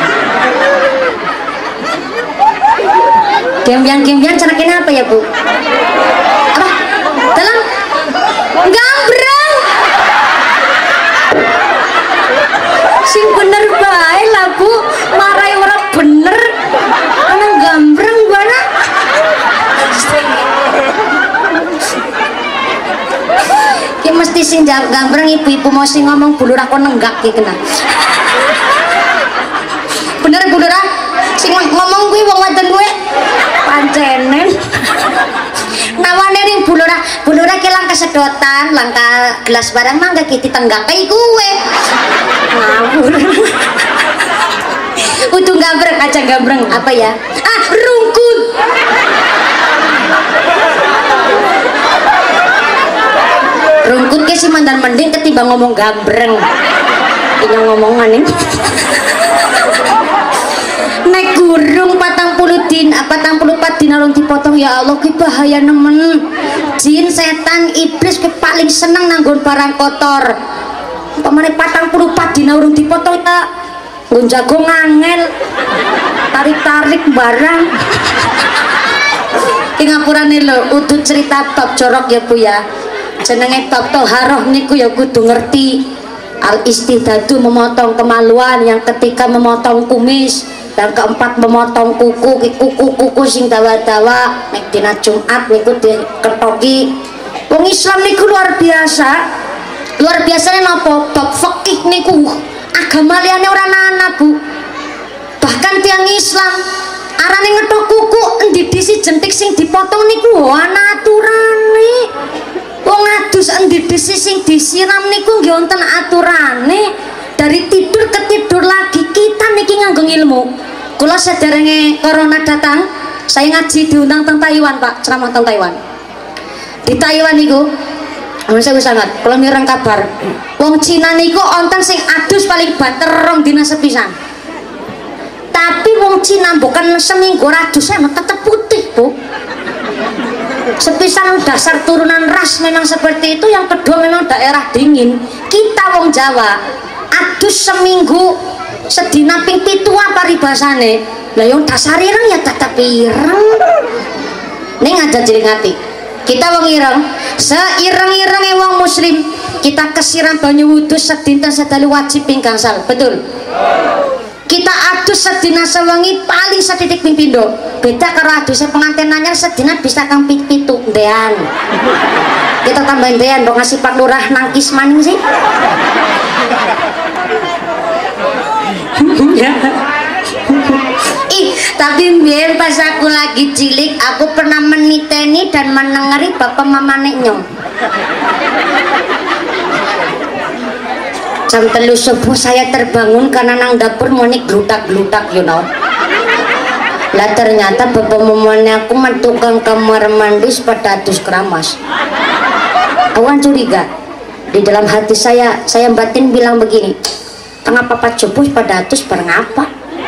Gembyang-gembyang cenaknya apa ya Bu? Apa? Dalam gambrang. Sing bener bae lah Bu, marai orang bener. Ana gambrang bana. Ki mesti sing gambrang ibu-ibu mau sing ngomong bulur aku nenggak ki kena. Bener bulur ah? Sing ngomong kuwi wong wadon kuwi pancenen. Nawane ning bulura ki lang kesedotan, langka gelas barang mangga ki ditenggake kuwe. Ngawur. Udah gambreng aja gambreng apa ya? Ah, rungkut. Rungkut ke sih mandan mending ketimbang ngomong gambreng. Ini ngomongan nih. Nek gurung 40 din alung dipotong ya Allah ki bahaya nemen. Jin setan iblis ki paling seneng nanggon barang kotor. Pamane 44 dina urung dipotong ya nggon jago ngangel. Tarik-tarik barang. Ki ngapurane lho udut cerita bab jorok ya Bu ya. Jenenge bab toharoh niku ya kudu ngerti. Al istihdadu memotong kemaluan, yang ketiga memotong kumis, yang keempat memotong kuku sing dawa-dawa nek dina Jumat niku diketoki. Wong Islam niku luar biasa. Luar biasane napa? Bab fikih niku agama liyane ora ana Bu. Bahkan tiang Islam arane ngetok kuku endi disi jentik sing dipotong niku ana aturane. Wong adus endi disi sing disiram niku nggih wonten aturane. Dari tidur ke tidur lagi kita niki nganggo ilmu. Kula sederenge corona datang, saya ngaji diundang teng Taiwan Pak, ceramah teng Taiwan. Di Taiwan niku saya sangat, kalau mireng kabar wong Cina niku onten sing adus paling banter 2 dina sepisan. Tapi wong Cina bukan seminggu adusnya tetap putih Bu. Sepisan dasar turunan ras memang seperti itu. Yang kedua memang daerah dingin. Kita wong Jawa adus seminggu sedina ping 7 apa ribasane. Lah yang dasar ireng ya tetap ireng. Ning aja jelingati. Kita wong ireng, seireng-irenge wong muslim, kita kesiram banyu wudu sedinten sedalu wajib ping gangsal. Betul? Kita adus sedina sewengi paling setitik ping pindho. Beda karo adusnya pengantin anyar sedina bisa kang ping 7 ndean. Kita tambahin ndean kok ngasih Pak Lurah nangkis maning sih. Tapi biar pas aku lagi cilik aku pernah meniteni dan menengeri bapak mama nyong. Jam 3 subuh saya terbangun karena nang dapur monik glutak-glutak you know. Lah ternyata bapak mamanya aku mentukang kamar mandi pada adus keramas. Awan curiga. Di dalam hati saya batin bilang begini, tengah papa subuh pada adus bareng apa?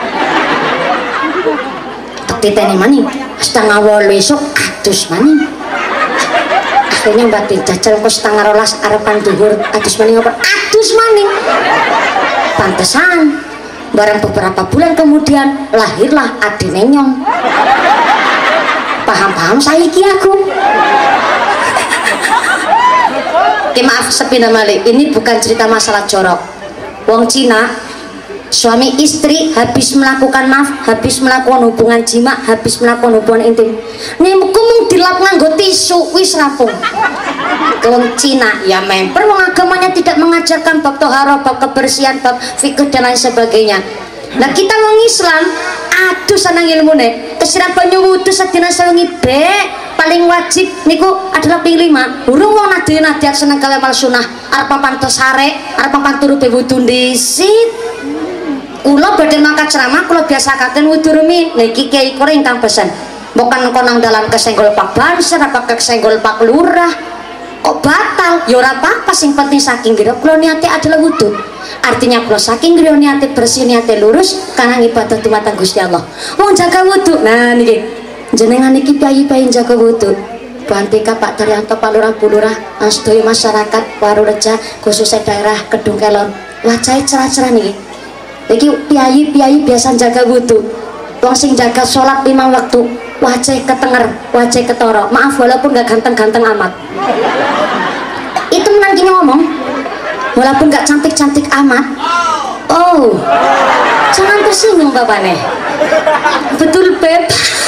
Titeni maning setengah 8 esok adus maning. Akhirnya batin jajal kok setengah 12 arepan duhur adus maning apa? Adus maning. Pantesan barang beberapa bulan kemudian lahirlah adine nyong. Paham saiki aku. Oke maaf sepina malih, ini bukan cerita masalah jorok. Wong Cina suami istri habis melakukan hubungan jima, habis melakukan hubungan intim, niku mung dilap nganggo tisu wis rampung. Wong Cina ya member wong agamanya tidak mengajarkan bab toharo, bab kebersihan, bab fikih dan lain sebagainya. Nah kita wong Islam aduh sanang ilmune kesiram banyu wudu sedina sewengi paling wajib niku adalah ping 5. Urung wong nadiat seneng kale mal sunah arep papan sare, arep papan turu wudu dhisit. Kula badhe mangkat ceramah kula biasakaken wudu rumin. Niki kiai kore ingkang pesen. Bukan konang dalan kesenggol Pak Banser apa kesenggol Pak Lurah. kok batal ya ora apa-apa, sing penting saking griya kula niate adalah wudu. Artinya kula saking griya niate bersih, niate lurus karena ibadah dumateng Gusti Allah. Wong jaga wudu. Nah niki jenengan iki piye-piye jaga wudu. Bantika Pak Daryanto, Pak Lurah, Bu Lurah, sedaya masyarakat Warureja khususnya daerah Kedung Kelon. Wajahe cerah-cerah niki. Iki piye-piye biasa jaga wudu. Wong sing jaga sholat 5 waktu wajah ketenger, wajah ketoro. Maaf walaupun gak ganteng-ganteng amat. Itu nanti ngomong walaupun gak cantik-cantik amat. Oh, jangan tersinggung bapaknya. Betul Beb.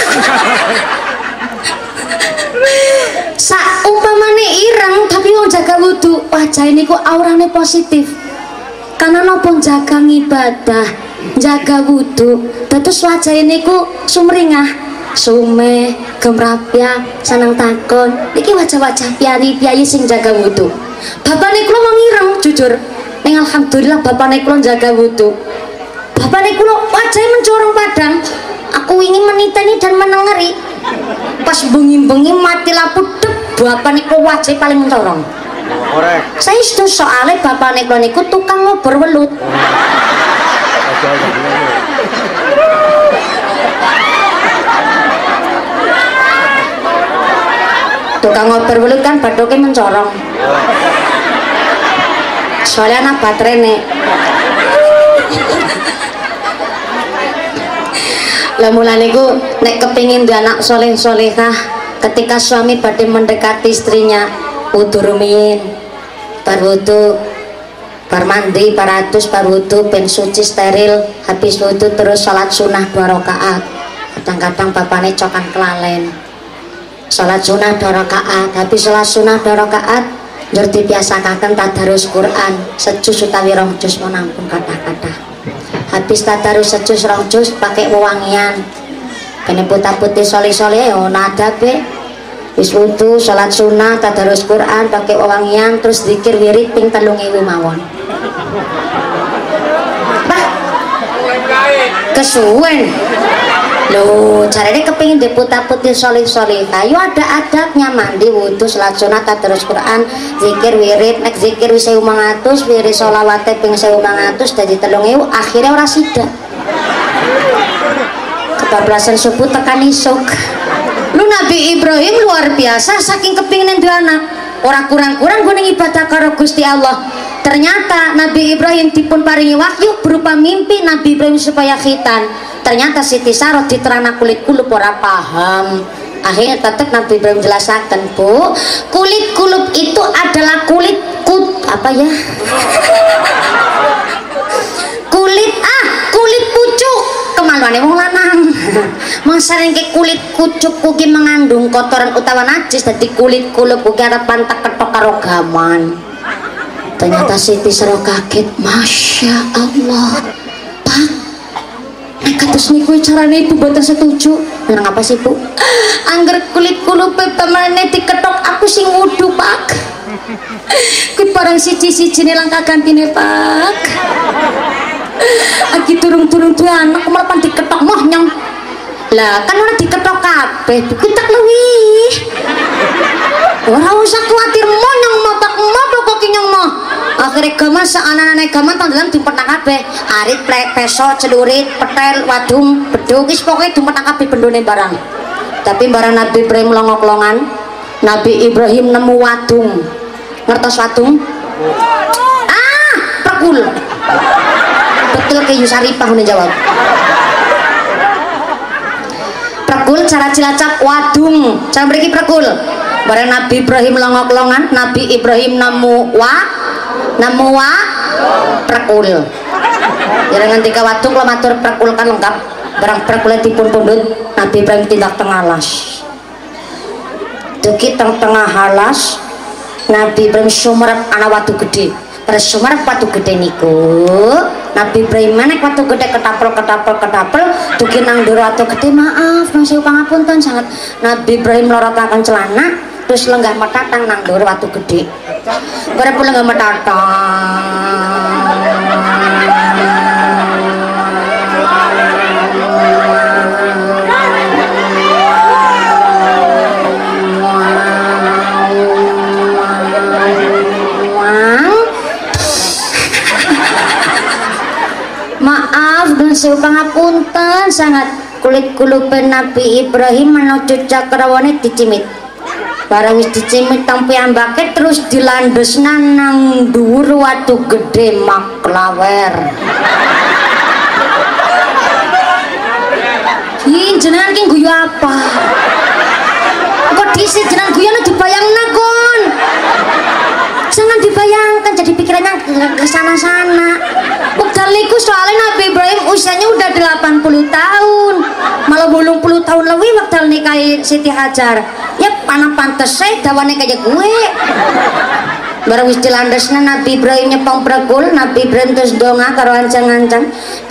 Umpamane ireng tapi wong jaga wudu, wajah ini ku aurane positif. Karena nopo jaga ibadah, jaga wudu, terus wajah ini ku sumringah, sume, gemrapya, senang takon. Niki wajah-wajah piyayi sing jaga wudu. Bapakne kula wong ireng jujur. Ning alhamdulillah bapakne kula jaga wudu. Bapakne kula wajahnya mencorong padang. Aku ingin meniteni dan menengeri. Pas bengi-bengi mati lampu dep, bapakne kula wajah paling mencorong. Saya itu soalnya bapakne kula niku tukang ngobor welut. Tukang ngobor welut kan badoke mencorong. Soalnya anak baterai nek. Lah mulane ku nek kepingin duwe anak soleh-solehah, ketika suami badhe mendekati istrinya, wudu rumiyin, bar wudu, bar mandi, bar adus, bar wudu, ben suci steril, habis wudu terus salat sunah 2 rakaat. Kadang-kadang bapakne cokan kelalen. Salat sunah 2 rakaat, habis salat sunah 2 rakaat, njur dibiasakaken tadarus Quran, sejus utawi 2 juz menampung kata-kata. Habis tadarus sejus 2 juz pakai wewangian. Kene putar-putih soleh-soleh yo nadabe. Wis wudu, salat sunah, tadarus Quran, pakai wewangian, terus zikir wirid ping 3000 mawon. Bah. Kesuwen. Loh, caranya kepingin diputar-putih soleh-soleh. Ayo ada adabnya, mandi, wudu, salat sunah, tadarus Quran, zikir wirid, nek zikir wis 1500, wirid sholawate ping 1500 dadi 3000, akhirnya ora sida. Kebablasan subuh tekan isuk. Lu Nabi Ibrahim luar biasa saking kepingin duwe anak. Ora kurang-kurang gue ibadah karo Gusti Allah. Ternyata Nabi Ibrahim dipun paringi wahyu berupa mimpi Nabi Ibrahim supaya khitan. Ternyata Siti Sarah diterana kulit kulup ora paham. Akhirnya tetap Nabi Ibrahim jelaskan, Bu, kulit kulup itu adalah kulit apa ya? Kulit pucuk. Kemaluane wong lanang. Masaringke kulit kucuk kuki mengandung kotoran utawa najis, dadi kulit kulup kuki arep pantak ketok karo gaman. Ternyata Siti Sarah kaget, Masya Allah, Pak, kados niku carane ibu boten setuju. Nang apa sih Bu? Angger kulit kulup pamane diketok aku sing wudu Pak. Kuwi barang siji-sijine langkah gantine Pak. Aki turung-turung duwe anak malah pan diketok moh nyong. Lah kan ora diketok kabeh, kuwi tak luwih. Ora usah kuwatir monyong mapak kok nyong moh. Akhirnya gaman anak-anak gaman tanggalan dimpetnak kabeh. Arit, peso, celurit, petel, wadung, beduk, wis pokoke dimpetnak kabeh bendone barang. Tapi barang Nabi Ibrahim longok-longan, Nabi Ibrahim nemu wadung. Ngertos wadung? Prekul. Betul ke Yusaripah ngene jawab. Prekul cara Cilacap wadung. Cara mriki prekul. Barang Nabi Ibrahim longok-longan, Nabi Ibrahim nemu prekul. Jangan tiga wadung lo matur prekul kan lengkap. Barang prekul dipun pundhut, Nabi Ibrahim tindak tengah alas. Duki tengah alas, Nabi Ibrahim sumerep ana watu gede. Terus sumerep watu gede niku, Nabi Ibrahim menek watu gede ketapel, duki nang ndoro watu gede, maaf nang sewu pangapunten sangat. Nabi Ibrahim lorotaken celana, terus lenggah metatang nang ndoro watu gede. Bareng pun lenggah metatang. sangat kulit kulupen Nabi Ibrahim menuju Cakrawane dicimit. Barang wis dicimit tang piyambake terus dilandesna nang dhuwur watu gede maklawer. Ih, jenengan ki guyu apa? Kok dhisik jenengan guyune dibayangna kon. Jangan dibayangkan jadi pikirannya ke sana-sana. Wekdal niku soalnya Nabi Ibrahim usianya udah 80 tahun. Malah 80 tahun lebih wekdal nikahi Siti Hajar. Ya panah pantes saya dawane kayak gue. Barang wis dilandesna Nabi Ibrahim nyepong pregul, Nabi Ibrahim terus donga karo ancang-ancang.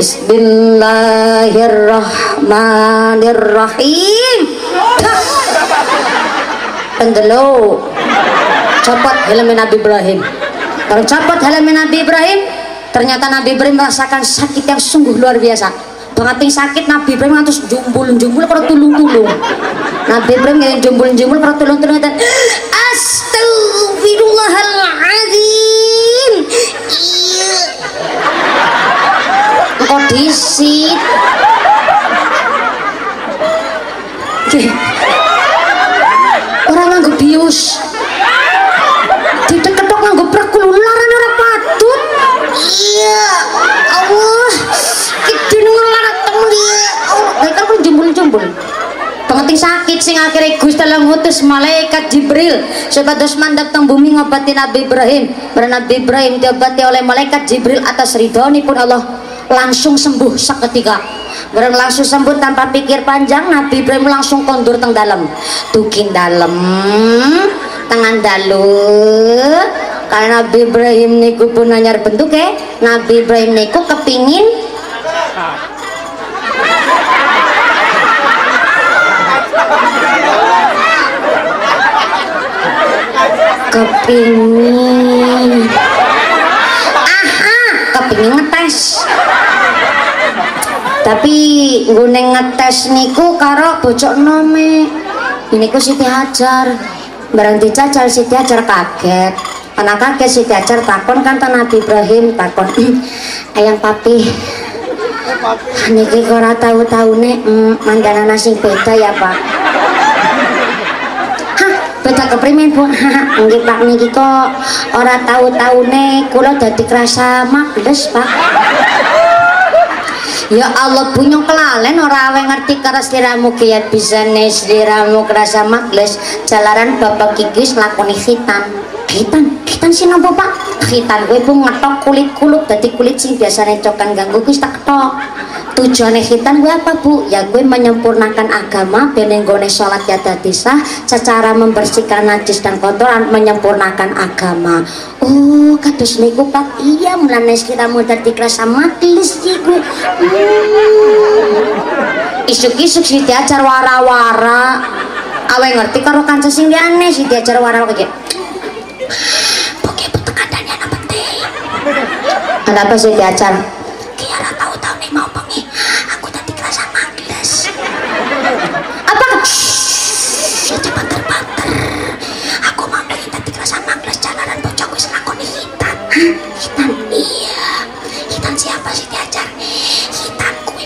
Bismillahirrahmanirrahim. Pendelo. Copot helmnya Nabi Ibrahim. Kalau copot helmnya Nabi Ibrahim, ternyata Nabi Ibrahim merasakan sakit yang sungguh luar biasa. Banget sakit Nabi Ibrahim terus jumbul-jumbul kalau tulung-tulung. Nabi Ibrahim yang jumbul-jumbul kalau tulung-tulung dan astagfirullahaladzim. Iya. Kok disit? Orang nganggo bius. Tidak ketok nganggo prekul ularan ora patut. Iya. Allah. Kita ngelarat temu dia. Baik kan jumbul-jumbul. Pengerti sakit sing akhirnya Gusti Allah ngutus malaikat Jibril sebatas mandap teng bumi ngobati Nabi Ibrahim. Karena Nabi Ibrahim diobati oleh malaikat Jibril atas ridhonipun Allah langsung sembuh seketika. Bareng langsung sembuh tanpa pikir panjang, Nabi Ibrahim langsung kondur teng dalam. Tukin dalam, tangan dalu. Karena Nabi Ibrahim niku pun anyar bentuke, Nabi Ibrahim niku kepingin kepingin ngetes. Tapi nggone ngetes niku karo bojok nome. Niku Siti Hajar. Barang dicacal Siti Hajar kaget. Anak kaget Siti Hajar takon kan Nabi Ibrahim takon. Ayang papi. Niki kok ora tahu-taune mandanana sing beda ya, Pak. Hah, beda keprimen, Bu? Nggih, Pak, niki kok ora tahu-taune kula dadi krasa magles, Pak. Ya Allah bunyong kelalen ora awe ngerti karo sliramu kiat bisane sliramu kerasa magles jalaran bapak kikis lakoni khitan sinapa Pak? Khitan kuwi Bu ngetok kulit kulup dadi kulit sing biasane cokan ganggu kuwi tak ketok. Tujuane khitan kuwi apa Bu? Ya kuwi menyempurnakan agama ben nggone salat ya dadi sah, secara membersihkan najis dan kotoran menyempurnakan agama. Oh, kados niku Pak. Iya, mulane sliramu dadi krasa magles iku. Isuk-isuk Siti Hajar wara-wara. Awe ngerti karo kanca sing liyane Siti Hajar wara-wara iki. Kenapa sih Hajar? Kiara tahu-tahu nih mau bengi aku tadi kerasa magles. Apa? Coba terbanter. Aku mau bengi tadi kerasa magles jalanan bocah wis lakoni hitam. Hitam? Iya. Hitam siapa sih Hajar? Hitam kuwi.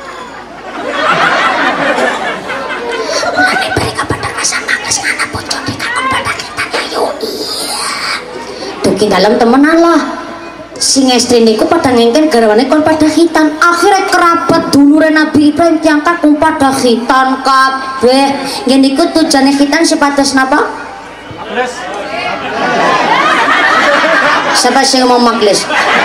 Mulane mereka pada kerasa magles anak bocah dikakon pada hitam ya yo iya. Tuh dalam temenan lah. Sing estri niku pada ngengken garwane kon pada khitan. Akhirnya kerabat dulure Nabi Ibrahim diangkat pun pada khitan kabeh. Nggih niku tujuane khitan sepados napa? Magles. Siapa sing ngomong magles?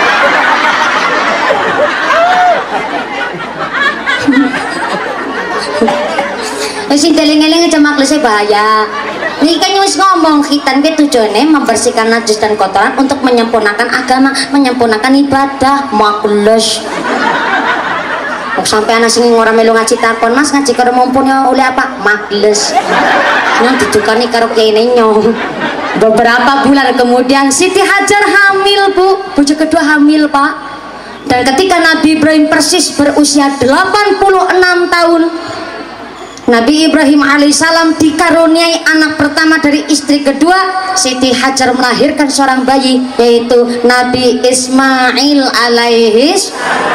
Sing deling-eling aja maglesnya bahaya. Ini kan wis ngomong khitan ke tujuannya membersihkan najis dan kotoran untuk menyempurnakan agama, menyempurnakan ibadah. Magles. Kok sampai anak sing ora melu ngaji takon, Mas ngaji karo mumpuni oleh apa? Magles. Nang didukani karo kene nyong. Beberapa bulan kemudian Siti Hajar hamil, Bu. Bojo kedua hamil, Pak. Dan ketika Nabi Ibrahim persis berusia 86 tahun, Nabi Ibrahim alaihissalam dikaruniai anak pertama dari istri kedua. Siti Hajar melahirkan seorang bayi yaitu Nabi Ismail alaihis.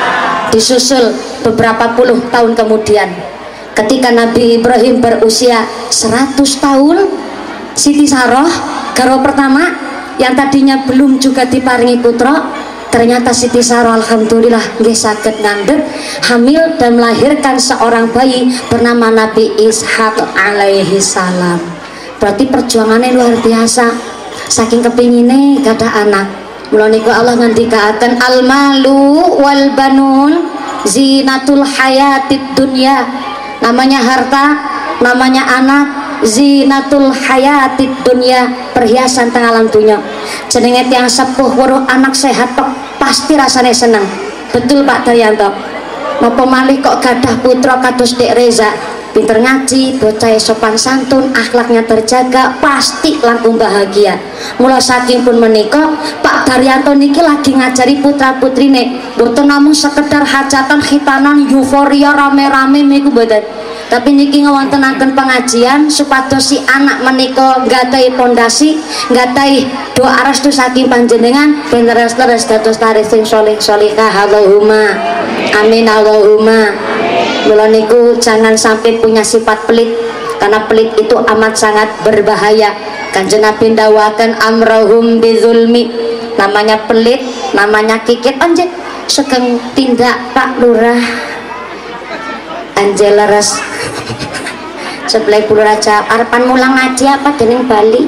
Disusul beberapa puluh tahun kemudian ketika Nabi Ibrahim berusia 100 tahun, Siti Saroh garwa pertama yang tadinya belum juga diparingi putra, ternyata Siti Saroh alhamdulillah nggih saged ngandhut hamil dan melahirkan seorang bayi bernama Nabi Ishak alaihi salam. Berarti perjuangannya luar biasa, saking kepingine gadah anak. Mula niku Allah ngendikaaken al malu wal banun zinatul hayatid dunya. Namanya harta, namanya anak, zinatul hayatid dunya, perhiasan teng alam dunya. Jenenge tiyang sepuh weruh anak sehat kok pasti rasanya seneng. Betul Pak Daryanto. Napa malih kok gadah putra kados Dek Reza, pinter ngaji, bocah sopan santun, akhlaknya terjaga, pasti langkung bahagia. Mula saking pun menika Pak Daryanto niki lagi ngajari putra putrine, boten namung sekedar hajatan khitanan euforia rame-rame niku boten, tapi niki ngewontenaken pengajian supados si anak menika nggadhahi pondasi, nggadhahi doa restu saking panjenengan ben leres-leres dados tarikh sing saleh salihah. Allahumma amin Allahumma. Mula niku jangan sampai punya sifat pelit, karena pelit itu amat sangat berbahaya. Kanjeng Nabi ndawaken amrahum bizulmi, namanya pelit, namanya kikit anjir sekeng tindak Pak Lurah Angela Res sebelah Pulau Raja arepan mulang ngaji apa dening Bali.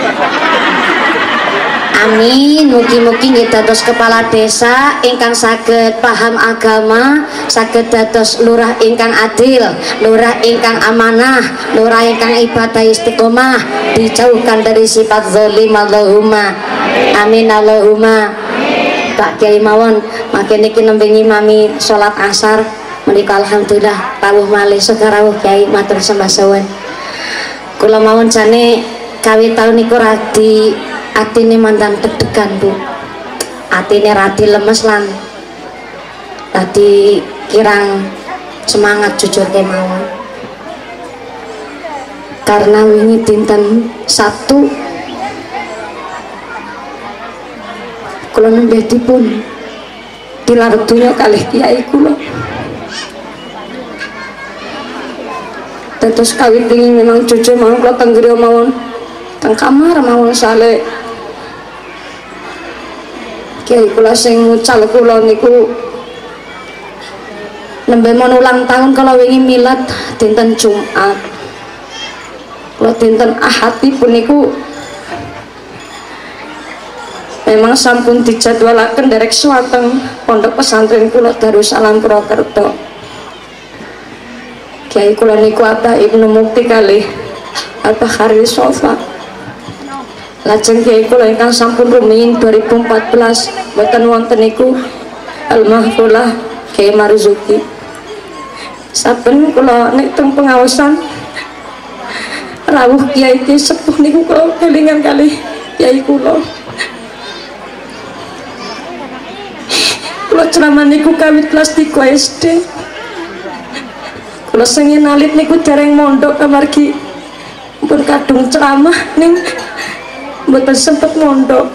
Amin, mugi-mugi nggih dados kepala desa ingkang saged paham agama, saged dados lurah ingkang adil, lurah ingkang amanah, lurah ingkang ibadah istiqomah, dijauhkan dari sifat zalim. Allahumma amin Allahumma. Pak Kiai mawon makin niki nembe ngimami salat asar menika alhamdulillah rawuh malih sekarang Kiai matur sembah suwun. Kula mawon jane kawit taun niku radi atine mandan deg-degan Bu, atine radi lemes lan tadi kirang semangat jujur kemawon, karena wingi dinten Sabtu kula nembe dipun tilar donya kalih kiai kula. Terus kawit dingin memang jujur mawon kula teng griya mawon teng kamar mawon sale kiai kula sing ngucal kula niku nembe mon ulang tahun kalau wingi milad dinten Jumat. Kula dinten Ahad pun niku memang sampun dijadwalaken derek suwateng pondok pesantren kula Darussalam Purwokerto. Kiai kula niku Abah Ibnu Mukti kalih Abah Khairi Sofa. Lajeng kiai kula ingkang sampun rumiyin 2014 boten wonten niku Al-Mahfulah Kiai Marzuki. Saben kula nek teng pengaosan rawuh kiai ki sepuh niku kula kelingan kalih kiai kula. Kula ceramah niku kawit kelas 3 SD. Kula sengin alit niku dereng mondok amargi pun kadung ceramah ning mboten sempet mondok.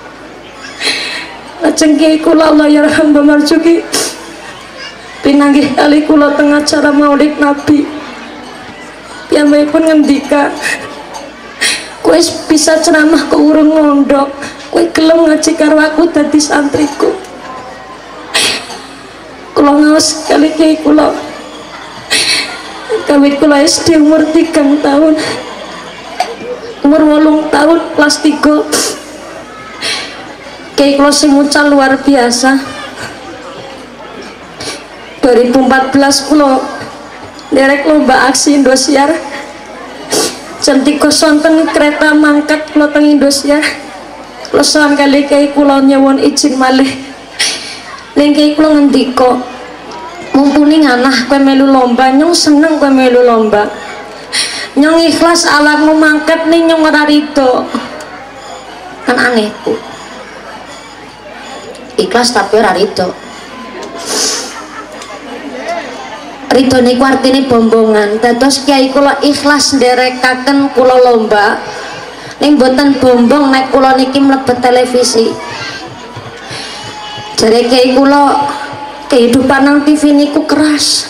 Lajeng kiai kula Allah yarham Mbah Marzuki pinanggih kali kula teng acara Maulid Nabi. Piyambakipun ngendika, kowe bisa ceramah kok urung mondok, kowe gelem ngaji karo aku dadi santriku. Kula ngaos kali kiai kula kawit kula SD umur 3 tahun, umur 8 tahun kelas 3 kiai kula sing mucal luar biasa. 2014 kula derek lomba aksi Indosiar jam 3 sonten kereta mangkat kula teng Indosiar. Kula sowan kali kiai kula nyuwun izin malih ning kiai kula ngendika, mumpuni nganah kowe melu lomba, nyong seneng kowe melu lomba, nyong ikhlas alatmu mangkat nih nyong ora rido. Kan aneh Bu, ikhlas tapi ora rido. Rido niku artine bombongan. Dados kiai kula ikhlas nderekaken kula lomba ning boten bombong nek kula niki mlebet televisi. Jare kiai kula kehidupan nang TV niku keras.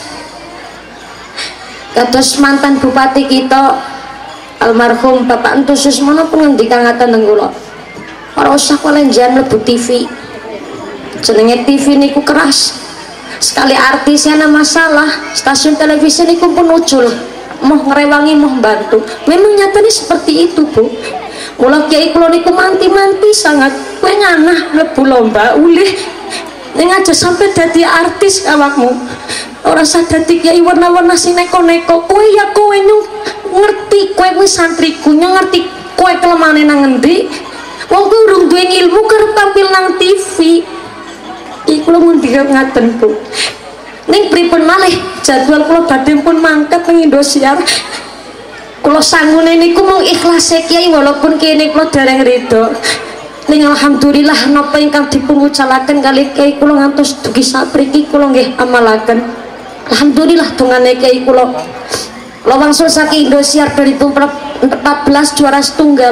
Kados mantan bupati kita almarhum Bapak Entusus mana pun ngendikan ngaten nang kula. Ora usah kolenjan mlebu TV. Jenenge TV niku keras. Sekali artisnya ada masalah, stasiun televisi niku pun ucul. Mau ngerewangi, mau bantu. Memang nyatanya seperti itu, Bu. Mula kiai kula niku manti-manti sangat. Kowe nganah mlebu lomba ulih ning aja sampai dadi artis awakmu. Ora usah dadi kiai warna-warna sing neko-neko. Kowe ya kowe ngerti, kowe kuwi santriku, ngerti kowe kelemane nang endi. Wong kowe urung duwe ilmu kerep tampil nang TV. Iki kula mun ngaten, Bu. Ning pripun malih jadwal kula badhe pun mangkat ning Indosiar. Kula sangune niku mung ikhlas kiai walaupun kene kula dereng rido. Ning alhamdulillah napa ingkang dipun wucalaken kali kiai kula ngantos dugi sapriki kula nggih amalaken. Alhamdulillah dongane kiai kula. Kula wangsul saking Indosiar 2014 juara setunggal.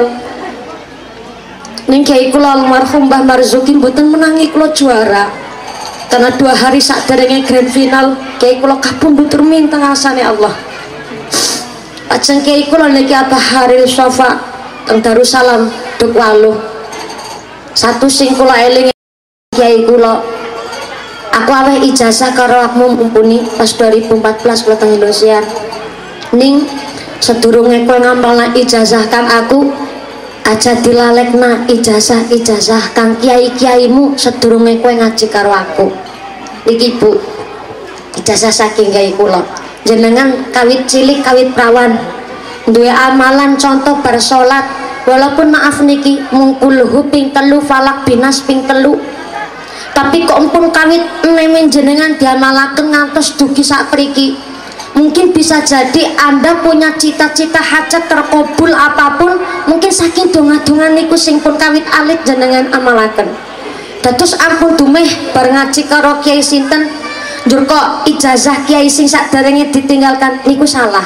Ning kiai kula almarhum Mbah Marzuki mboten menangi kula juara. Karena 2 hari saderenge grand final kiai kula kapundhut minta ngasane Allah. Ajeng kiai kula niki Abah Haril Sofa teng Darussalam Duk Waluh. Satu sing kula eling kiai kula. Aku aweh ijazah karo akmu mumpuni pas 2014 kula teng Indosiar. Ning sedurunge kowe ngampalna ijazah kang aku aja dilalekna ijazah kang kiai-kiaimu sedurunge kowe ngaji karo aku. Iki Bu, ijazah saking kiai kula. Jenengan kawit cilik kawit prawan duwe amalan contoh bar salat walaupun maaf niki mung kulhu ping 3 falak binas ping 3. Tapi kok empun kawit nemen jenengan diamalaken ngantos dugi sapriki. Mungkin bisa jadi Anda punya cita-cita hajat terkabul apapun, mungkin saking donga-dongan niku sing pun kawit alit jenengan amalaken. Dados ampun dumeh bar ngaji karo kiai sinten, njur kok ijazah kiai sing saderenge ditinggalkan niku salah.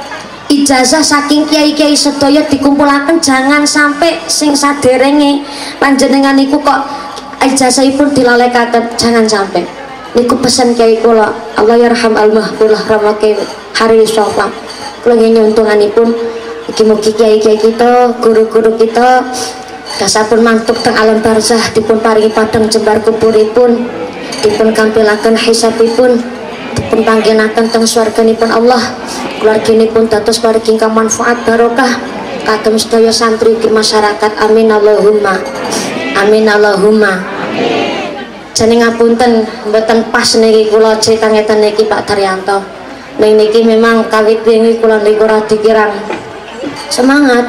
Ijazah saking kiai-kiai sedaya dikumpulaken jangan sampai sing saderenge panjenengan niku kok ijazahipun dilalekaken, jangan sampai. Niku pesan kiai kula, Allah yarham al-mahfulah ramake hari sofa. Kula nyuntunganipun mugi-mugi kiai-kiai kita, guru-guru kita dasapun mantuk teng alam barzah dipun paringi padang jembar kuburipun, dipun kampilaken hisabipun, dipun panggenaken teng swarganipun Allah. Keluarginipun dados paring ingkang manfaat barokah kagem sedaya santri di masyarakat. Amin Allahumma. Amin Allahumma. Jane ngapunten mboten pas niki kula crita ngeten niki Pak Daryanto. Ning niki memang kawit wingi kula niku ora dikirang semangat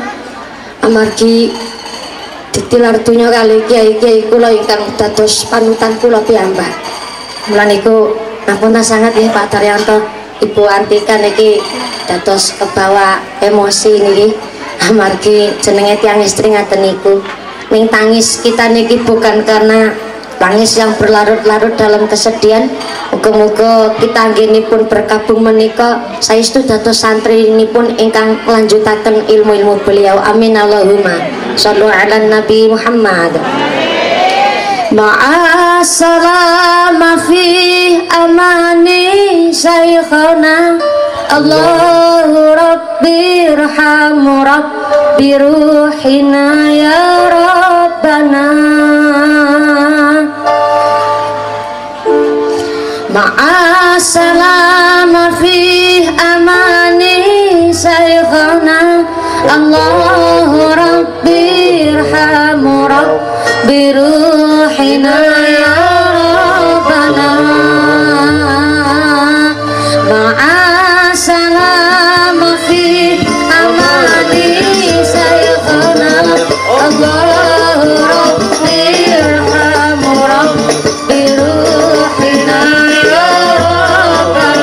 amargi ditilar dunya kali kiai-kiai kula ingkang dados panutan kula piyambak. Mula niku ngapunten sangat nggih Pak Daryanto. Ibu Antika niki dados kebawa emosi niki amargi jenenge tiyang istri ngaten niku. Ning tangis kita niki bukan karena tangis yang berlarut-larut dalam kesedihan. Muga-muga kita anggenipun berkabung menika saestu dados santri ini pun ingkang lanjutaken ilmu-ilmu beliau. Amin Allahumma. Shallu ala Nabi Muhammad. Ma'assalama fi amani syekhana Allahu Rabbi irhamu Rabbi ruhina ya Rabbana. Ma'assalama fi amani syekhana Allahu Rabbi irhamu Rabbi ruhina ya Rabbana. Ma'assalama fi amani syekhana Allahu Rabbi irhamu Rabbi ruhina ya Rabbana.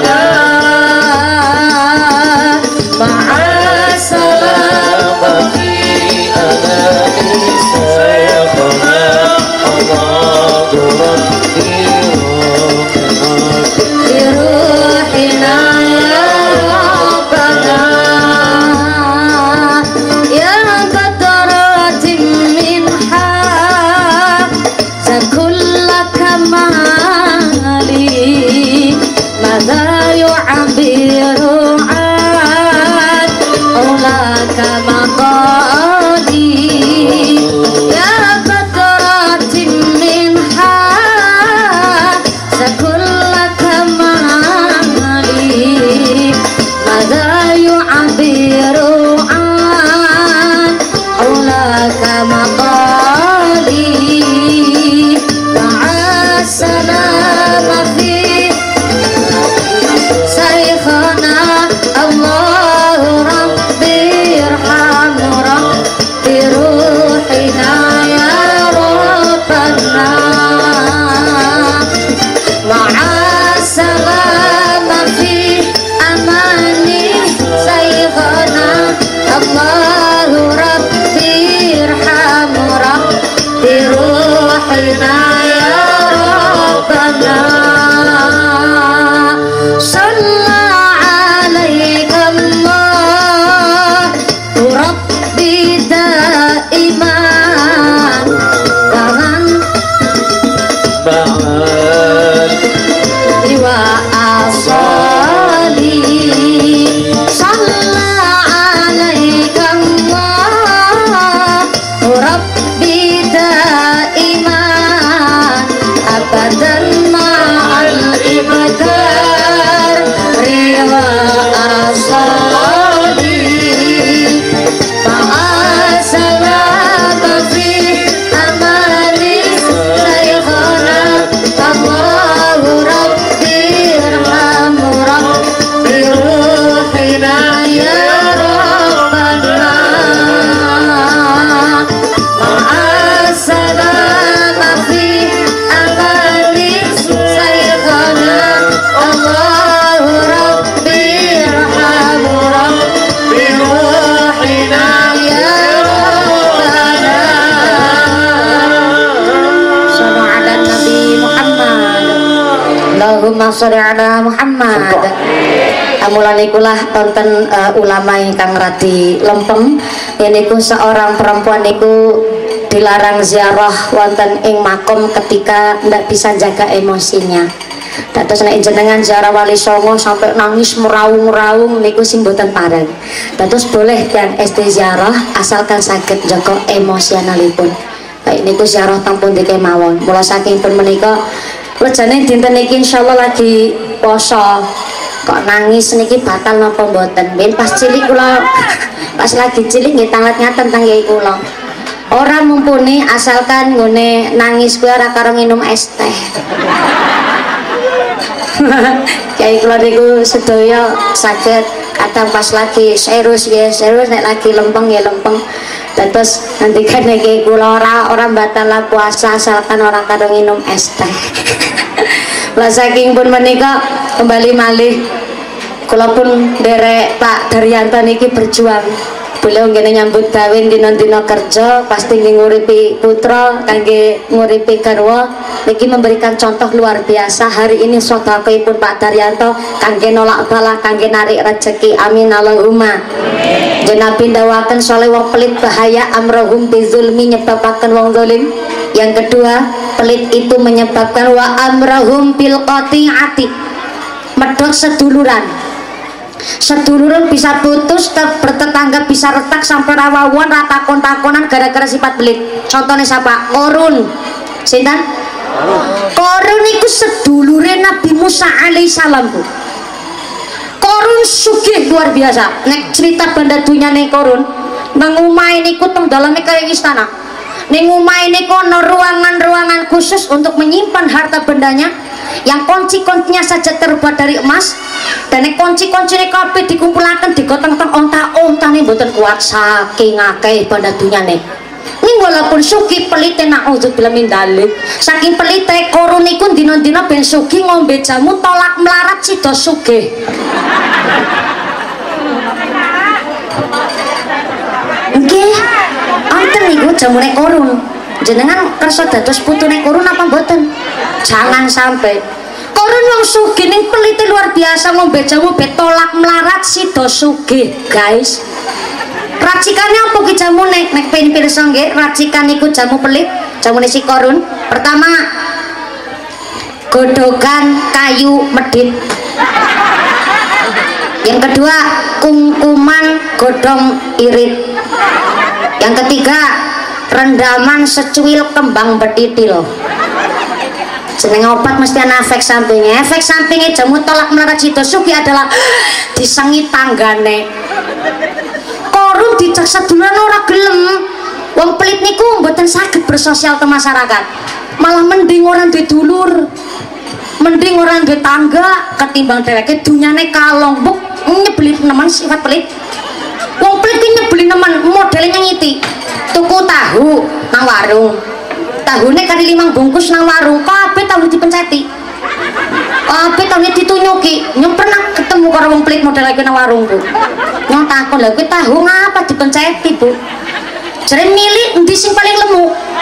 sholli ala Muhammad. Mulane ikulah tonton ulama ingkang radi lempeng yaiku seorang perempuan niku dilarang ziarah wonten ing makom ketika ndak bisa jaga emosinya. Dados nek jenengan ziarah Wali Songo sampai nangis meraung-raung niku sing mboten pareng. Dados boleh kan ziarah asalkan saged jaga emosionalipun. Kayak niku ziarah teng pundi kemawon. Mula saking pun menika rejane dinten iki insyaallah lagi poso. Kok nangis niki batal napa mboten? Ben pas cilik kula pas lagi cilik nggih tanglet ngaten teng yai kula. Ora mumpuni asalkan ngene nangis kuwi ora karo minum es teh. Kyai kula niku sedaya saged kadang pas lagi serius ya serius nek lagi lempeng ya lempeng. Terus nanti kan iki kula ora batal puasa asalkan ora karo minum es teh. Lah saking pun menika kembali malih kula pun derek Pak Daryanto niki berjuang. Beliau ngene nyambut gawe dina-dina kerja pasti nguripi putra kangge nguripi garwa niki memberikan contoh luar biasa. Hari ini sedekahipun Pak Daryanto kangge nolak bala kangge narik rezeki. Amin Allahumma. Jenab pindawaken soleh wong pelit bahaya amrohum bizulmi nyebabaken wong zalim. Yang kedua, pelit itu menyebabkan wa amrohum bil qati'ati medhot seduluran. Seduluran bisa putus, bertetangga bisa retak sampai rawawan ratakon-takonan gara-gara sifat pelit. Contohnya siapa? Korun. Sinten? Korun itu sedulure Nabi Musa alaihissalam bu. Korun sugih luar biasa. Nek cerita banda dunia nih Korun nang omahe niku teng daleme kaya istana. Ning omahe niku ana ruangan-ruangan khusus untuk menyimpan harta bendanya yang kunci-kuncinya saja terbuat dari emas. Dan kunci-kuncine kabeh dikumpulaken digotong-tong onta-ontane mboten kuat saking akeh banda dunyane. Ning walaupun sugih pelite naudzubillah min dzalik. Saking pelite Korun niku dina-dina ben sugih ngombe jamu tolak melarat sida sugih. Nggih. Wonten niku jamune Korun. Jenengan kersa dados putune Korun apa mboten? Jangan sampai Korun wong sugih ning pelite luar biasa ngombe jamu betolak melarat sida sugih, guys. Racikane apa ki jamune? Nek pengen pirsa nggih, racikan niku jamu pelit, jamune si Korun. Pertama, godhogan kayu medit. Yang kedua, kungkuman godhong irit. Yang ketiga, rendaman secuil kembang betitil. Jeneng obat mesti ana efek sampingnya. Efek sampingnya jamu tolak melarat sida sugih adalah disengi tanggane. Korun dicek seduluran ora gelem. Wong pelit niku mboten saged bersosial ke masyarakat. Malah mending orang duwe dulur. Mending orang duwe tangga ketimbang dheweke dunyane kalong. Buk nyebeli nemen sifat pelit. Wong pelit ki nyebeli nemen modelnya nyiti. Tuku tahu nang warung. Tahune kali 5 bungkus nang warung kabeh tahu dipenceti. Kabeh tahu ditunyuki. Nyong pernah ketemu karo wong pelit model iki nang warung, Bu. Nyong takon, "Lha kuwi tahu ngapa dipenceti, Bu?" Jare milih endi sing paling lemu.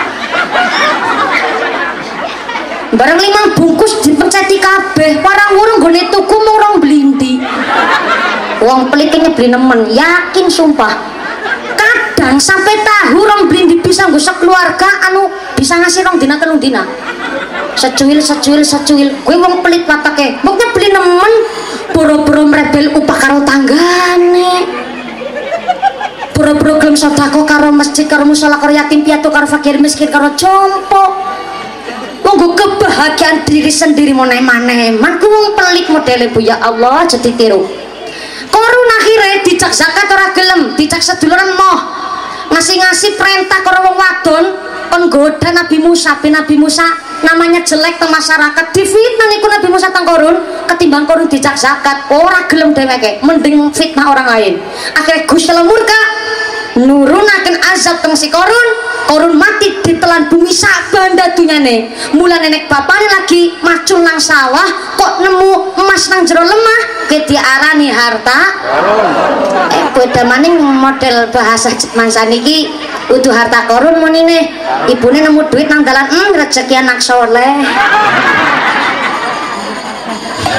Barang 5 bungkus dipenceti kabeh. Warang urung gone tuku mung rong blindi. Wong pelit ki nyebeli nemen, yakin sumpah. Kadang sampai tahu rong blindi bisa nggo keluarga anu bisa ngasih rong dina telung dina. Secuil gue wong pelit watake mungkin beli nemen boro-boro merebel upah karo tanggane, boro-boro gelem sedekah karo masjid karo musala karo yatim piatu karo fakir miskin karo compo. Monggo kebahagiaan diri sendiri maneh-maneh man ku wong pelit modele Bu. Ya Allah jadi tiru. Korun akhirnya dicak zakat ora gelem, dicak seduluran moh ngasih perintah karo wong wadon penggoda Nabi Musa. Nabi Musa namanya jelek teng masyarakat, difitnah niku Nabi Musa teng Korun ketimbang Korun dicak zakat ora gelem dheweke mending fitnah orang lain. Akhirnya Gusti Allah murka nurunaken azab teng si Korun mati ditelan bumi sak banda dunyane. Mulane nek bapane lagi macul nang sawah kok nemu emas nang jero lemah ke diarani harta beda maning model bahasa mangsa niki utuh harta Korun munine ibune nemu duit nang dalan rezeki anak soleh.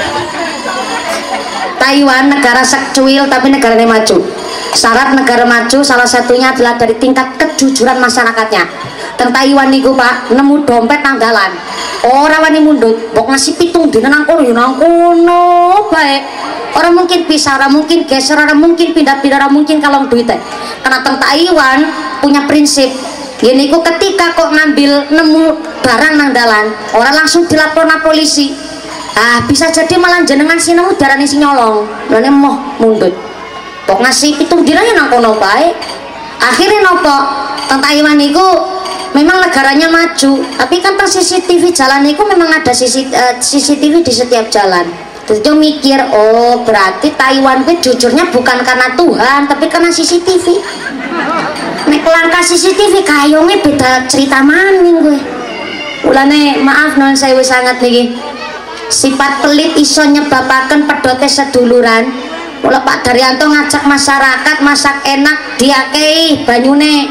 Taiwan negara sekcuil tapi negaranya maju. Syarat negara maju salah satunya adalah dari tingkat kejujuran masyarakatnya. Teng Taiwan niku Pak, nemu dompet nang dalan ora wani mundut, mbok ngasih pitung dina nang kono ya nang kono bae. Orang mungkin pisah, orang mungkin geser, orang mungkin pindah-pindah, orang mungkin kalong duit. Karena teng Taiwan punya prinsip gini, kok ketika kok ngambil nemu barang nang dalan, orang langsung dilapor na polisi. Bisa jadi malah jenengan si nemu darane si nyolong, lane moh mundut. Kok ngasih pitung dinanya nang kono bae. Akhirnya nopo teng Taiwan niku memang negaranya maju, tapi kan teng CCTV jalan niku memang ada CCTV di setiap jalan. Terus dia mikir, oh berarti Taiwan itu jujurnya bukan karena Tuhan tapi karena CCTV. Nek langkah CCTV kayongnya beda cerita maning gue. Ulane maaf non sewu sangat nih. Sifat pelit iso nyebabaken pedote seduluran. Mula Pak Daryanto ngajak masyarakat masak enak diakei banyune.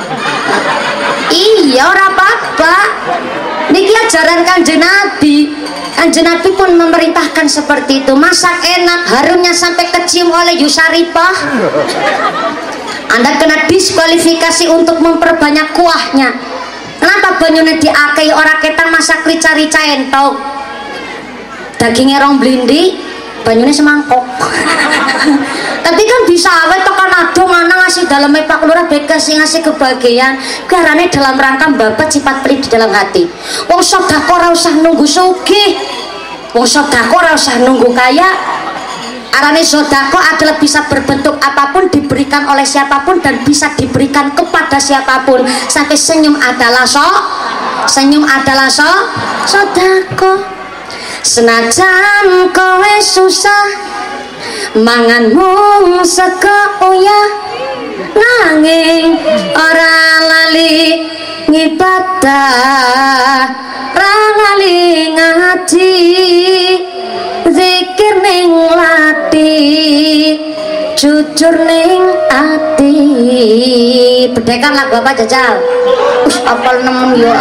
Iya ora apa-apa. Niki ajaran Kanjeng Nabi. Kanjeng Nabi pun memerintahkan seperti itu, masak enak, harumnya sampai kecium oleh Yusaripah. Anda kena diskualifikasi untuk memperbanyak kuahnya. Kenapa banyune diakei orang ketang masak rica-rica entok, dagingnya rong blindi, banyune semangkok. Tapi kan bisa awet tekan adong mana ngasih dalam Pak Lurah bekas ngasih kebahagiaan karena dalam rangka babat sifat pelit di dalam hati. Wong sedekah ora usah nunggu sugih, wong sedekah ora usah nunggu kaya. Arane sedekah adalah bisa berbentuk apapun, diberikan oleh siapapun dan bisa diberikan kepada siapapun. Sampai senyum adalah sedekah. Senajan kowe susah manganmu seko ya, nanging ora lali ngibadah, ora lali ngaji, zikir ning lati, jujur ning ati. Bedekan lagu apa Jajal? Apal nemen ya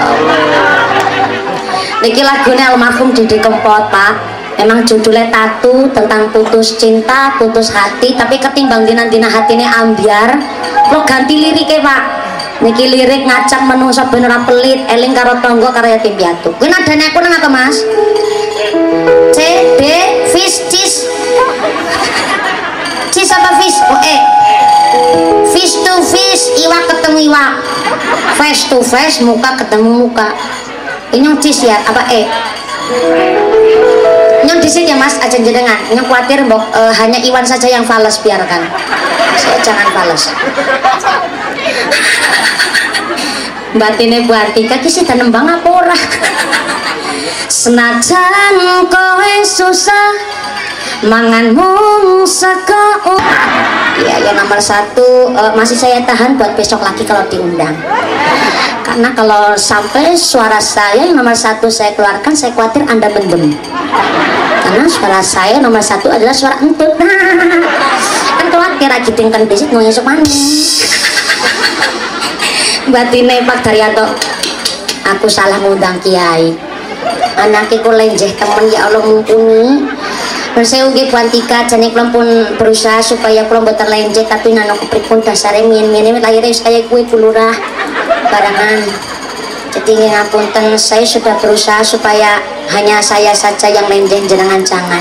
niki lagunya almarhum Didi Kempot Pak. Memang judulnya Tatu, tentang putus cinta, putus hati, tapi ketimbang dina-dina hatine ambiar lo ganti liriknya Pak. Niki lirik ngacak menungso ben ora pelit, eling karo tangga karo yatim piatu. Kuwi nadane aku nang apa Mas? C D fish cheese. Cheese apa fish? Oh fish to fish, iwak ketemu iwak. Face to face, muka ketemu muka. Ini cheese ya, apa nyong di sini ya Mas, aja jenengan. Nyong khawatir hanya Iwan saja yang fales, biarkan. Saya jangan fales. Batine Bu Artika ki sida nembang apa ora? Senajan kowe susah manganmu seko. Ya, yang nomor satu masih saya tahan buat besok lagi kalau diundang. Karena kalau sampai suara saya yang nomor satu saya keluarkan, saya khawatir Anda mendem. Karena suara saya nomor satu adalah suara entut. Kan khawatir lagi tingkan besok mau nyesuk manis. Batine Pak Daryanto, aku salah ngundang kiai. Anakku lenjeh temen, ya Allah mumpuni. Saya ugi Bu Antika, jane kula pun berusaha supaya kula mboten lenjeh, tapi nano kepripun dasare mien-mien lahirnya saya kuwi Lurah barangan. Jadi ngapunten, saya sudah berusaha supaya hanya saya saja yang lenjeh, jenengan jangan.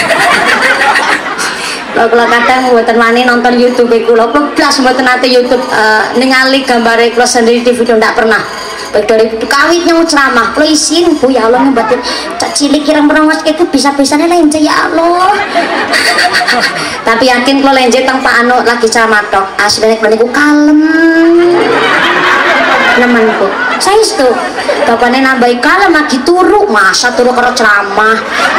Kalau kadang mboten wani nonton YouTube kula, blas mboten nate YouTube ningali gambare kula sendiri di video, ndak pernah. Baik dari kawit nyong ceramah, kula isin Bu ya Allah ngebatin cak cilik kirang merawat itu bisa-bisanya lenjeh ya Allah. Tapi yakin kula lenjeh teng Pak Anu lagi ceramah tok, asline kula niku kalem. Nemenku saya itu bapaknya nambahi kalem lagi turu, masa turu karo ceramah.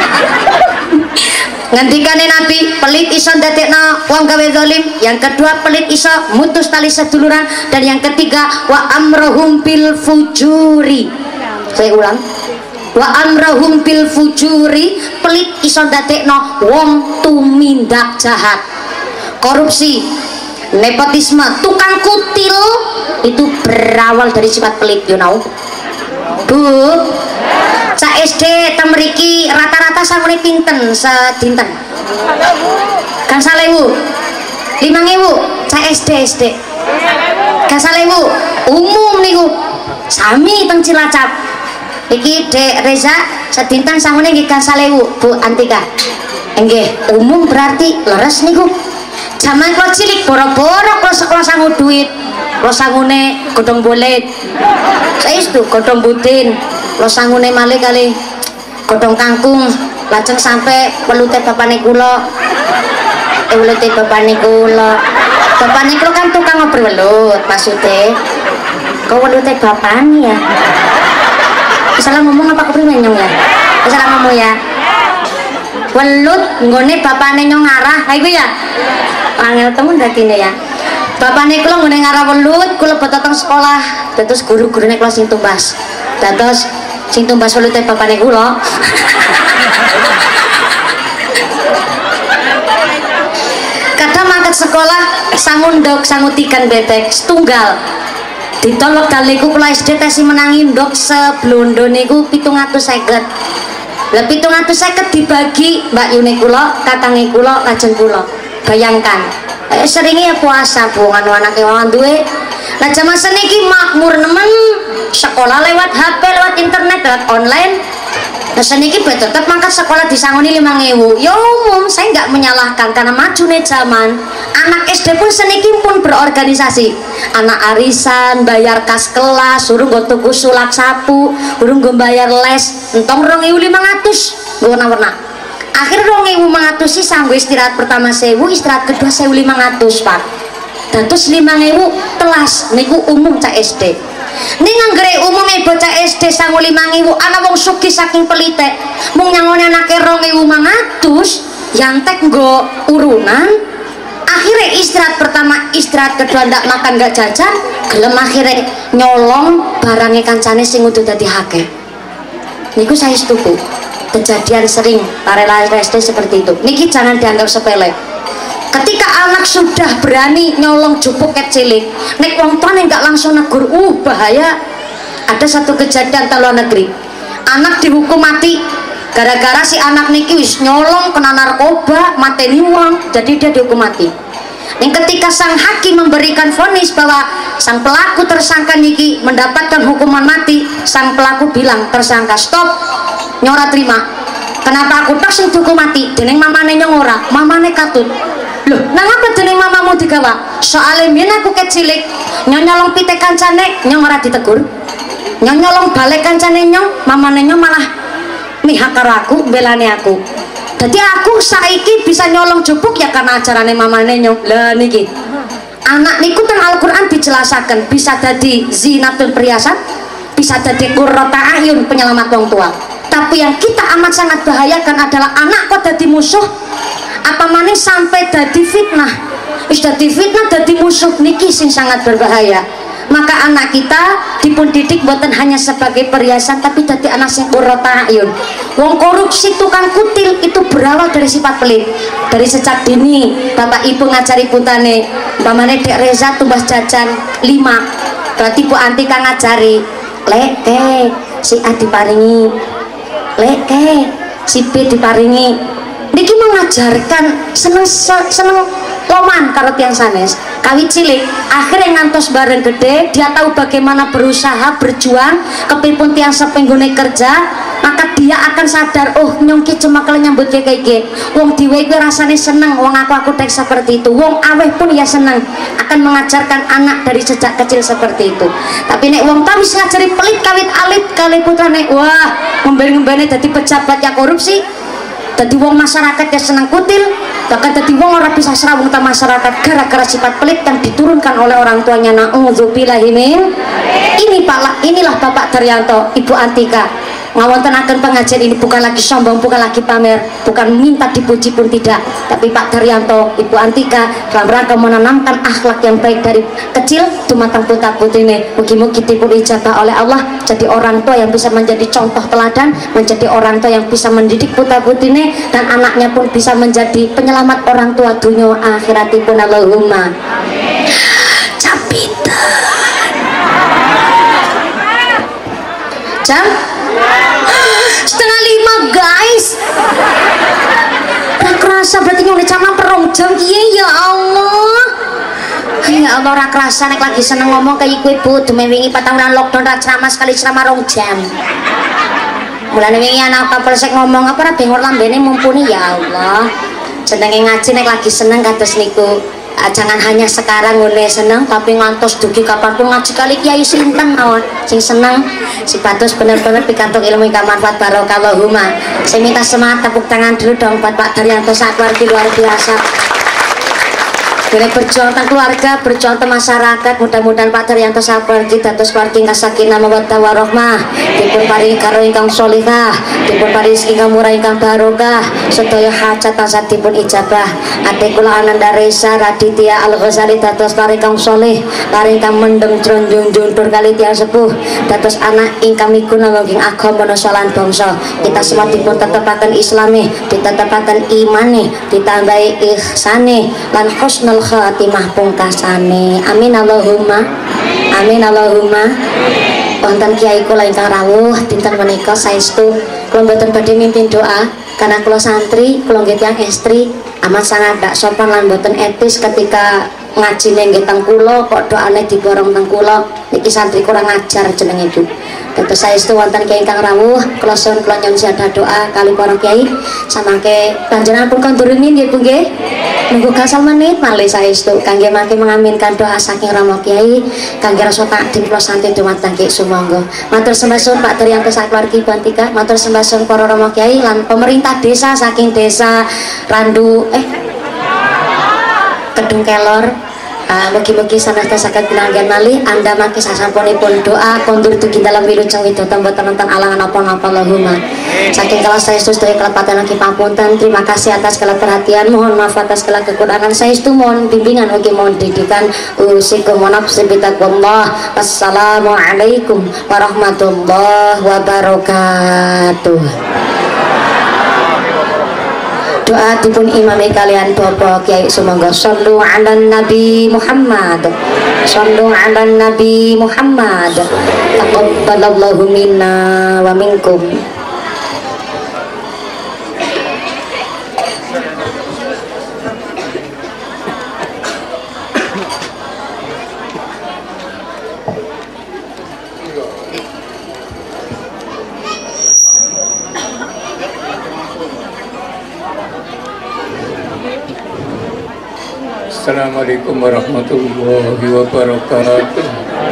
Ngendikane Nabi, pelit iso ndadekno wong gawe zalim. Yang kedua, pelit iso mutus tali seduluran. Dan yang ketiga, wa amrohum bil fujuri. Saya ulang, wa amrohum bil fujuri, pelit iso ndadekno wong tumindak jahat. Korupsi, nepotisme, tukang kutil itu berawal dari sifat pelit, you know. Bu, cak SD temeriki rata-rata samune pinten sedinten gangsal ewu 5.000 cah SD gangsal ewu umum niku sami teng Cilacap iki Dek Reza sedinten sangune nggih gangsal ewu Bu Antika nggih umum berarti leres niku jaman kula cilik boro-boro kula sekolah sangu duit kula sangune godhong bolet saestu godhong budin kula sangune malih kali godhong kangkung lajeng sampai pelute bapane kula welute bapane kula kan tukang ngobrol welut maksude kok welute bapane ya salah ngomong apa kepriwe nyong ya salah ngomong ya welut nggone bapane nyong ngarah ha iku ya angel temen dadine ya bapane kula nggone ngarah welut kula boten teng sekolah dados guru-gurune kula sing tumbas dados sing tumbas welute bapane kula kadang mangkat sekolah sangundok sangutikan bebek setunggal ditolak kaliku kula SD tesi menangi ndok seblondo niku 750 lah 750 dibagi Mbak Yuni kula katange kula lajeng kula bayangkan seringnya puasa bu anu anake wawan duwe lah jaman seniki makmur nemen sekolah lewat HP lewat internet lewat online. Nah seniki tetap mangkat sekolah disangoni 5.000 ya umum saya nggak menyalahkan karena maju nih zaman anak SD pun seniki pun berorganisasi anak arisan bayar kas kelas suruh gue tuku sulak sapu suruh gue bayar les entong 2.500 gue warna-warna akhir 2.500 sih sanggup istirahat pertama 1.000 istirahat kedua 1.500 pak dan terus 5.000 telas niku umum cak SD ini nganggere umumnya bocah SD sangu 5.000 anak wong sugih saking pelite mung nyangone anake 2.500 yang tek nggo urunan akhirnya istirahat pertama istirahat kedua ndak makan nggak jajan gelem akhirnya nyolong barangnya kancane sing udah dadi hake niku saya setuju kejadian sering para SD seperti itu niki jangan dianggap sepele ketika anak sudah berani nyolong jupuk kecilik nek wong tuane nggak langsung negur bahaya ada satu kejadian di luar negeri anak dihukum mati gara-gara si anak niki wis nyolong kena narkoba mateni wong jadi dia dihukum mati yang ketika sang hakim memberikan vonis bahwa sang pelaku tersangka niki mendapatkan hukuman mati sang pelaku bilang tersangka stop nyora terima kenapa aku tak sing dihukum mati dening mamane nyong ora mamane katut loh, nang apa dening mamamu digawa? Soale mien aku kecilik, nyolong pite kancane nyong ora ditegur. Nyolong balik kancane nyong, mamane nyong malah mihak karo aku, belane aku. Jadi aku saiki bisa nyolong jupuk ya karena ajarane mamane nyong. Lah niki. Anak niku teng Al-Qur'an dijelasaken bisa dadi zinatun perhiasan, bisa dadi qurrata ayun penyelamat wong tua. Tapi yang kita amat sangat bahayakan adalah anak kok dadi musuh apa maning sampai dadi fitnah wis dadi fitnah dadi musuh niki sing sangat berbahaya maka anak kita dipun didik buatan hanya sebagai perhiasan tapi dadi anak sing qurrata ayun wong korupsi tukang kutil itu berawal dari sifat pelit dari sejak dini bapak ibu ngajari puntane umpamane Dek Reza tumbas jajan 5 berarti Bu Antika ngajari lek si A diparingi lek si B diparingi niki mengajarkan seneng loman karo tiang sanes kawit cilik akhirnya ngantos bareng gede dia tahu bagaimana berusaha berjuang kepipun tiang sepenggune kerja maka dia akan sadar oh nyongki cuma kalau nyambut kayak gini wong diwe gue rasanya seneng wong aku tek seperti itu wong aweh pun ya seneng akan mengajarkan anak dari sejak kecil seperti itu tapi nek wong tahu bisa ngajari pelit kawit alit kali putrane wah ngembeni jadi pejabat yang korupsi jadi wong masyarakat yang senang kutil bahkan jadi wong orang bisa serawung ta masyarakat gara-gara sifat pelit yang diturunkan oleh orang tuanya na'udzubillahi min inilah Bapak Daryanto Ibu Antika ngawonten akan pengajian ini bukan lagi sombong bukan lagi pamer bukan minta dipuji pun tidak tapi Pak Daryanto Ibu Antika dalam rangka menanamkan akhlak yang baik dari kecil dumateng putra putine mugi-mugi dipun ijabah oleh Allah jadi orang tua yang bisa menjadi contoh teladan menjadi orang tua yang bisa mendidik putra putine dan anaknya pun bisa menjadi penyelamat orang tua dunia akhiratipun Allahumma capitan jam 4:30 guys kerasa berarti nyone cama perong jam kiye ya Allah. Ya Allah ora kerasa nek lagi seneng ngomong kayak kowe Bu, dume wingi 4 tahunan lockdown ra ceramah sekali ceramah 2 jam. Mulane wingi anak kapolsek ngomong apa ora bengor lambene mumpuni ya Allah. Jenenge ngaji nek lagi seneng kados niku. Jangan hanya sekarang ngene seneng tapi ngantos dugi kapanpun ngaji kali kiai sinten mawon sing seneng sipatus bener-bener pikantuk ilmu ingkang manfaat barokah Allahumma. Saya minta semangat tepuk tangan dulu dong buat Pak Daryanto sakwargi luar biasa. Boleh berjuang tentang keluarga, berjuang tentang masyarakat. Mudah-mudahan Pak Daryanto sakwargi dados keluarga ingkang sakinah mawaddah warahmah, dipun paringi karo ingkang sholihah, dipun paringi rezeki ingkang murah ingkang barokah, sedaya hajat tansah dipun ijabah. Ate kula Ananda Reza Raditya Al Ghazali dados karo ingkang sholih, karo ingkang mendem jronjong juntur kali tiyang sepuh, dados anak ingkang miguna wonking agama nasa lan bangsa. Kita semua dipun tetepaken islami, ditetepaken imane, ditambahi ihsane lan husnul khatimah pungkasane. Amin Allahumma. Amin Allahumma. Wonten kiai kula ingkang rawuh dinten menika saestu kula mboten badhe mimpin doa karena kula santri, kula nggih tiyang estri amat sangat dak sopan lan mboten etis ketika ngaji nggih teng kula kok doane diborong teng kula. Niki santri kurang ajar jenenge Bu. Dados saestu wonten kiai ingkang rawuh kula suwun kula nyuwun siadah doa kali para kiai samangke panjenengan pun kondurimi nggih Bu nggih. Nunggu gasal menit malih saestu kangge mangke mengaminkan doa saking Rama Kiai kangge rasa takdim kula santri dumateng Ki sumangga. Matur sembah suwun Pak Daryanto sakwargi Bantika, matur sembah suwun para Rama Kiai lan pemerintah desa saking desa Randu Kedung Kelor. Mugi-mugi sanasta saged pinanggihan malih anda mangke sasampunipun doa kondur dugi dalam wilujeng widodon boten wonten alangan apa-apa Allahumma. Saking kelas saestu sedaya kelepatan lagi pamunten. Terima kasih atas segala perhatian, mohon maaf atas segala kekurangan saestu, mohon bimbingan ugi mohon didikan usikum wa nafsi bitaqwallah. Wassalamualaikum warahmatullahi wabarakatuh. Doa dipun imami kalian Bapak Kiai sumangga. Shallu ala Nabi Muhammad, shallu ala Nabi Muhammad. Taqabbalallahu minna wa minkum. Assalamualaikum warahmatullahi wabarakatuh.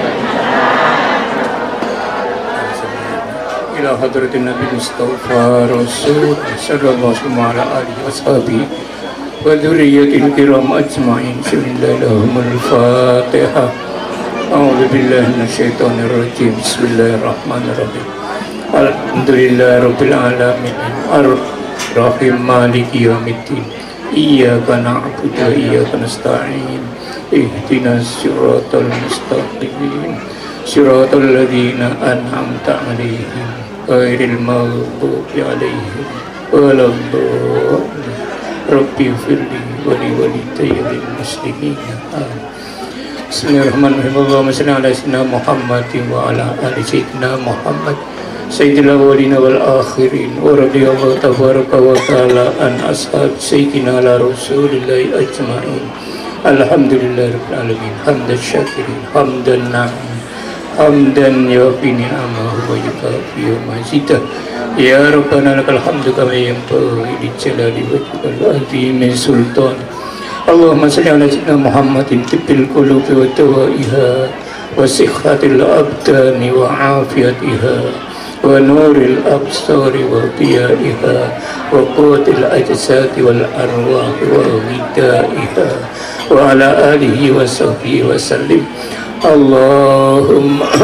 Ila hadratin Nabi Mustafa Rasul sallallahu alaihi wasallam wa dzurriyyatil kiram ajma'in. Bismillahirrahmanirrahim. A'udzu billahi minasyaitonir rajim. Bismillahirrahmanirrahim. Alhamdulillahirabbil alamin. Ar-Rahim maliki yaumiddin. Iyyaka na'budu wa iyyaka nasta'in. Ihdinas siratal mustaqim. Siratal ladzina an'amta 'alaihim ghairil maghdubi 'alaihim waladdallin. Rabbi firli wa li walidayya wal muslimin. Bismillahirrahmanirrahim. Allahumma shalli ala sayyidina Muhammadin wa ala ali sayyidina Muhammad Sayyidil awwalina wal akhirin wa radiyallahu tabaraka wa ta'ala an ashab sayyidina ala rasulillahi ajma'in. Alhamdulillahi rabbil alamin. Hamdan syakirin hamdan na'im hamdan yafi ni'amahu wa yukafi mazidah. Ya Rabbana lakal hamdu kama yanbaghi li jalali wajhikal azimi sultan. Allahumma salli ala sayyidina Muhammadin tibbil qulubi wa dawaiha wa sihhatil abdani wa afiyatiha wa nuril absari wa diyaiha wa quwwatil ajsadi wal arwahi wa ghidaiha wa ala alihi wa sahbihi wa sallim. Allahumma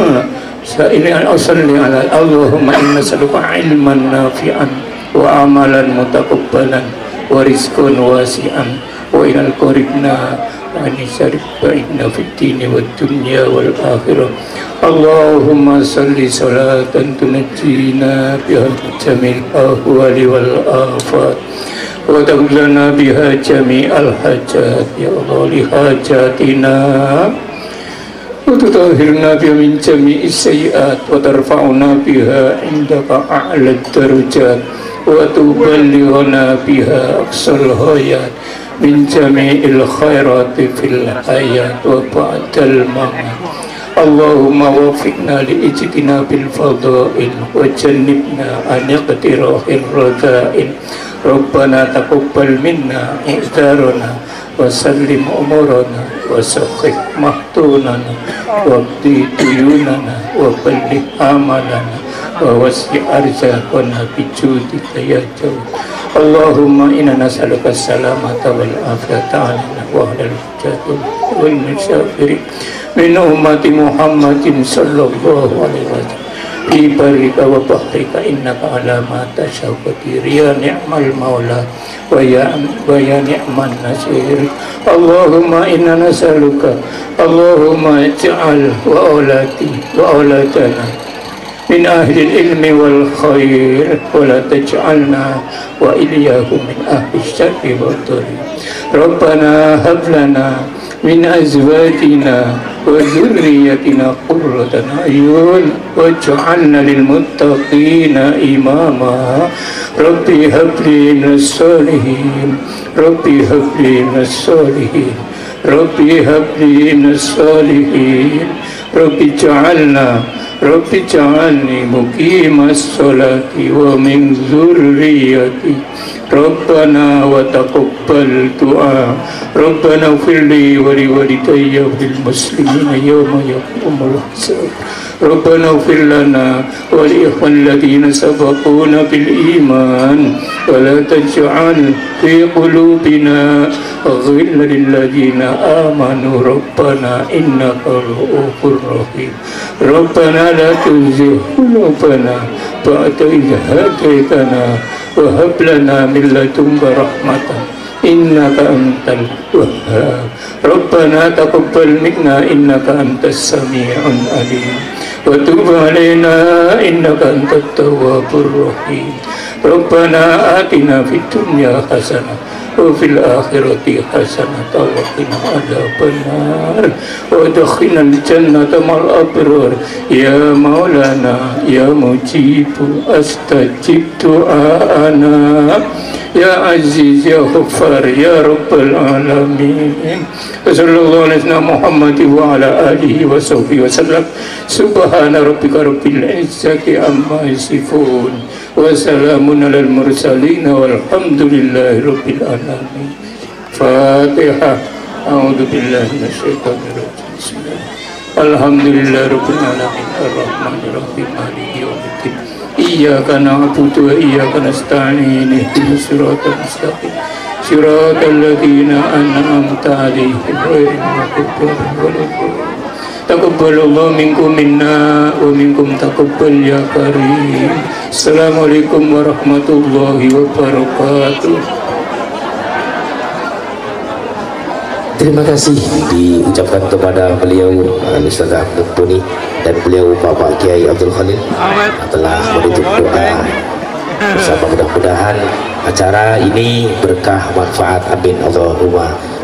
Allahumma inna nas'aluka ilman nafi'an wa amalan mutaqabbalan wa rizqan wasi'an wa ilal qaribna wa nisarif ba'idna fid dini wad dunya wal akhirah. Allahumma salli salatan tunajjina biha jamil ahwali wal afat wa taqlana biha jami'al hajat. Ya Allah li hajatina wa tutahhirna biha min jami'is sayyi'at wa tarfa'una biha indaka a'la darajat وتبلغنا بها أقصى الغايات من جميع الخيرات في الحياة وبعد الممات. اللهم وفقنا لاجتناب الفضائل وجنبنا عن اقتراح الرذائل. ربنا تقبل منا إعذارنا وسلم أمورنا وسخف محتوننا واقضي ديوننا وبلغ آمالنا ووسع أرزاقنا بجودك يا جود. اللهم إنا نسألك السلامة والعافية علينا وعلى الحجاج والمسافرين من أمة محمد صلى الله عليه وسلم في برك وبحرك إنك على ما تشاء قدير. يا نعم المولى ويا نعم النصير. اللهم إنا نسألك اللهم اجعل وأولادنا من أهل العلم والخير ولا تجعلنا وإياهم من أهل الشر والضر. ربنا هب لنا من أزواجنا وذريتنا قرة أعين واجعلنا للمتقين إماما. ربي هب لي من الصالحين ربي هب لي من الصالحين ربي هب لي من الصالحين. ربي اجعلني مقيم الصلاة ومن ذريتي. ربنا وتقبل دعاء. ربنا اغفر لي ولوالدي وللمسلمين يوم يقوم الحساب. ربنا اغفر لنا ولإخوان الذين سبقونا بالإيمان ولا تجعل في قلوبنا غلا للذين آمنوا ربنا إنك رؤوف رحيم. ربنا لا تزغ قلوبنا بعد إذ هديتنا وهب لنا من لدنك رحمة إنك أنت الوهاب. ربنا تقبل منا إنك أنت السميع العليم وتب علينا إنك أنت التواب الرحيم. ربنا آتنا في الدنيا حسنة وفي الآخرة حسنة وقنا عذاب النار وادخلنا الجنة مع الأبرار. يا مولانا يا مجيب استجب دعاءنا يا عزيز يا غفار يا رب العالمين. صلى الله على سيدنا محمد وعلى آله وصحبه وسلم. سبحان ربك رب العزة عما يصفون وسلام على المرسلين والحمد لله رب العالمين. فاتحة. أعوذ بالله من الشيطان الرجيم. بسم الله. الحمد لله رب العالمين الرحمن الرحيم مالك يوم الدين. إياك نعبد وإياك نستعين اهدنا الصراط المستقيم صراط الذين أنعمت عليهم غير المغضوب عليهم ولا الضالين. تقبل الله منكم منا ومنكم تقبل يا كريم. السلام عليكم ورحمة الله وبركاته. Terima kasih diucapkan kepada beliau Ustaz Ahmad Buni dan beliau Bapak Kiai Abdul Khalil telah menutup doa bersama. Mudah-mudahan acara ini berkah manfaat, amin Allahumma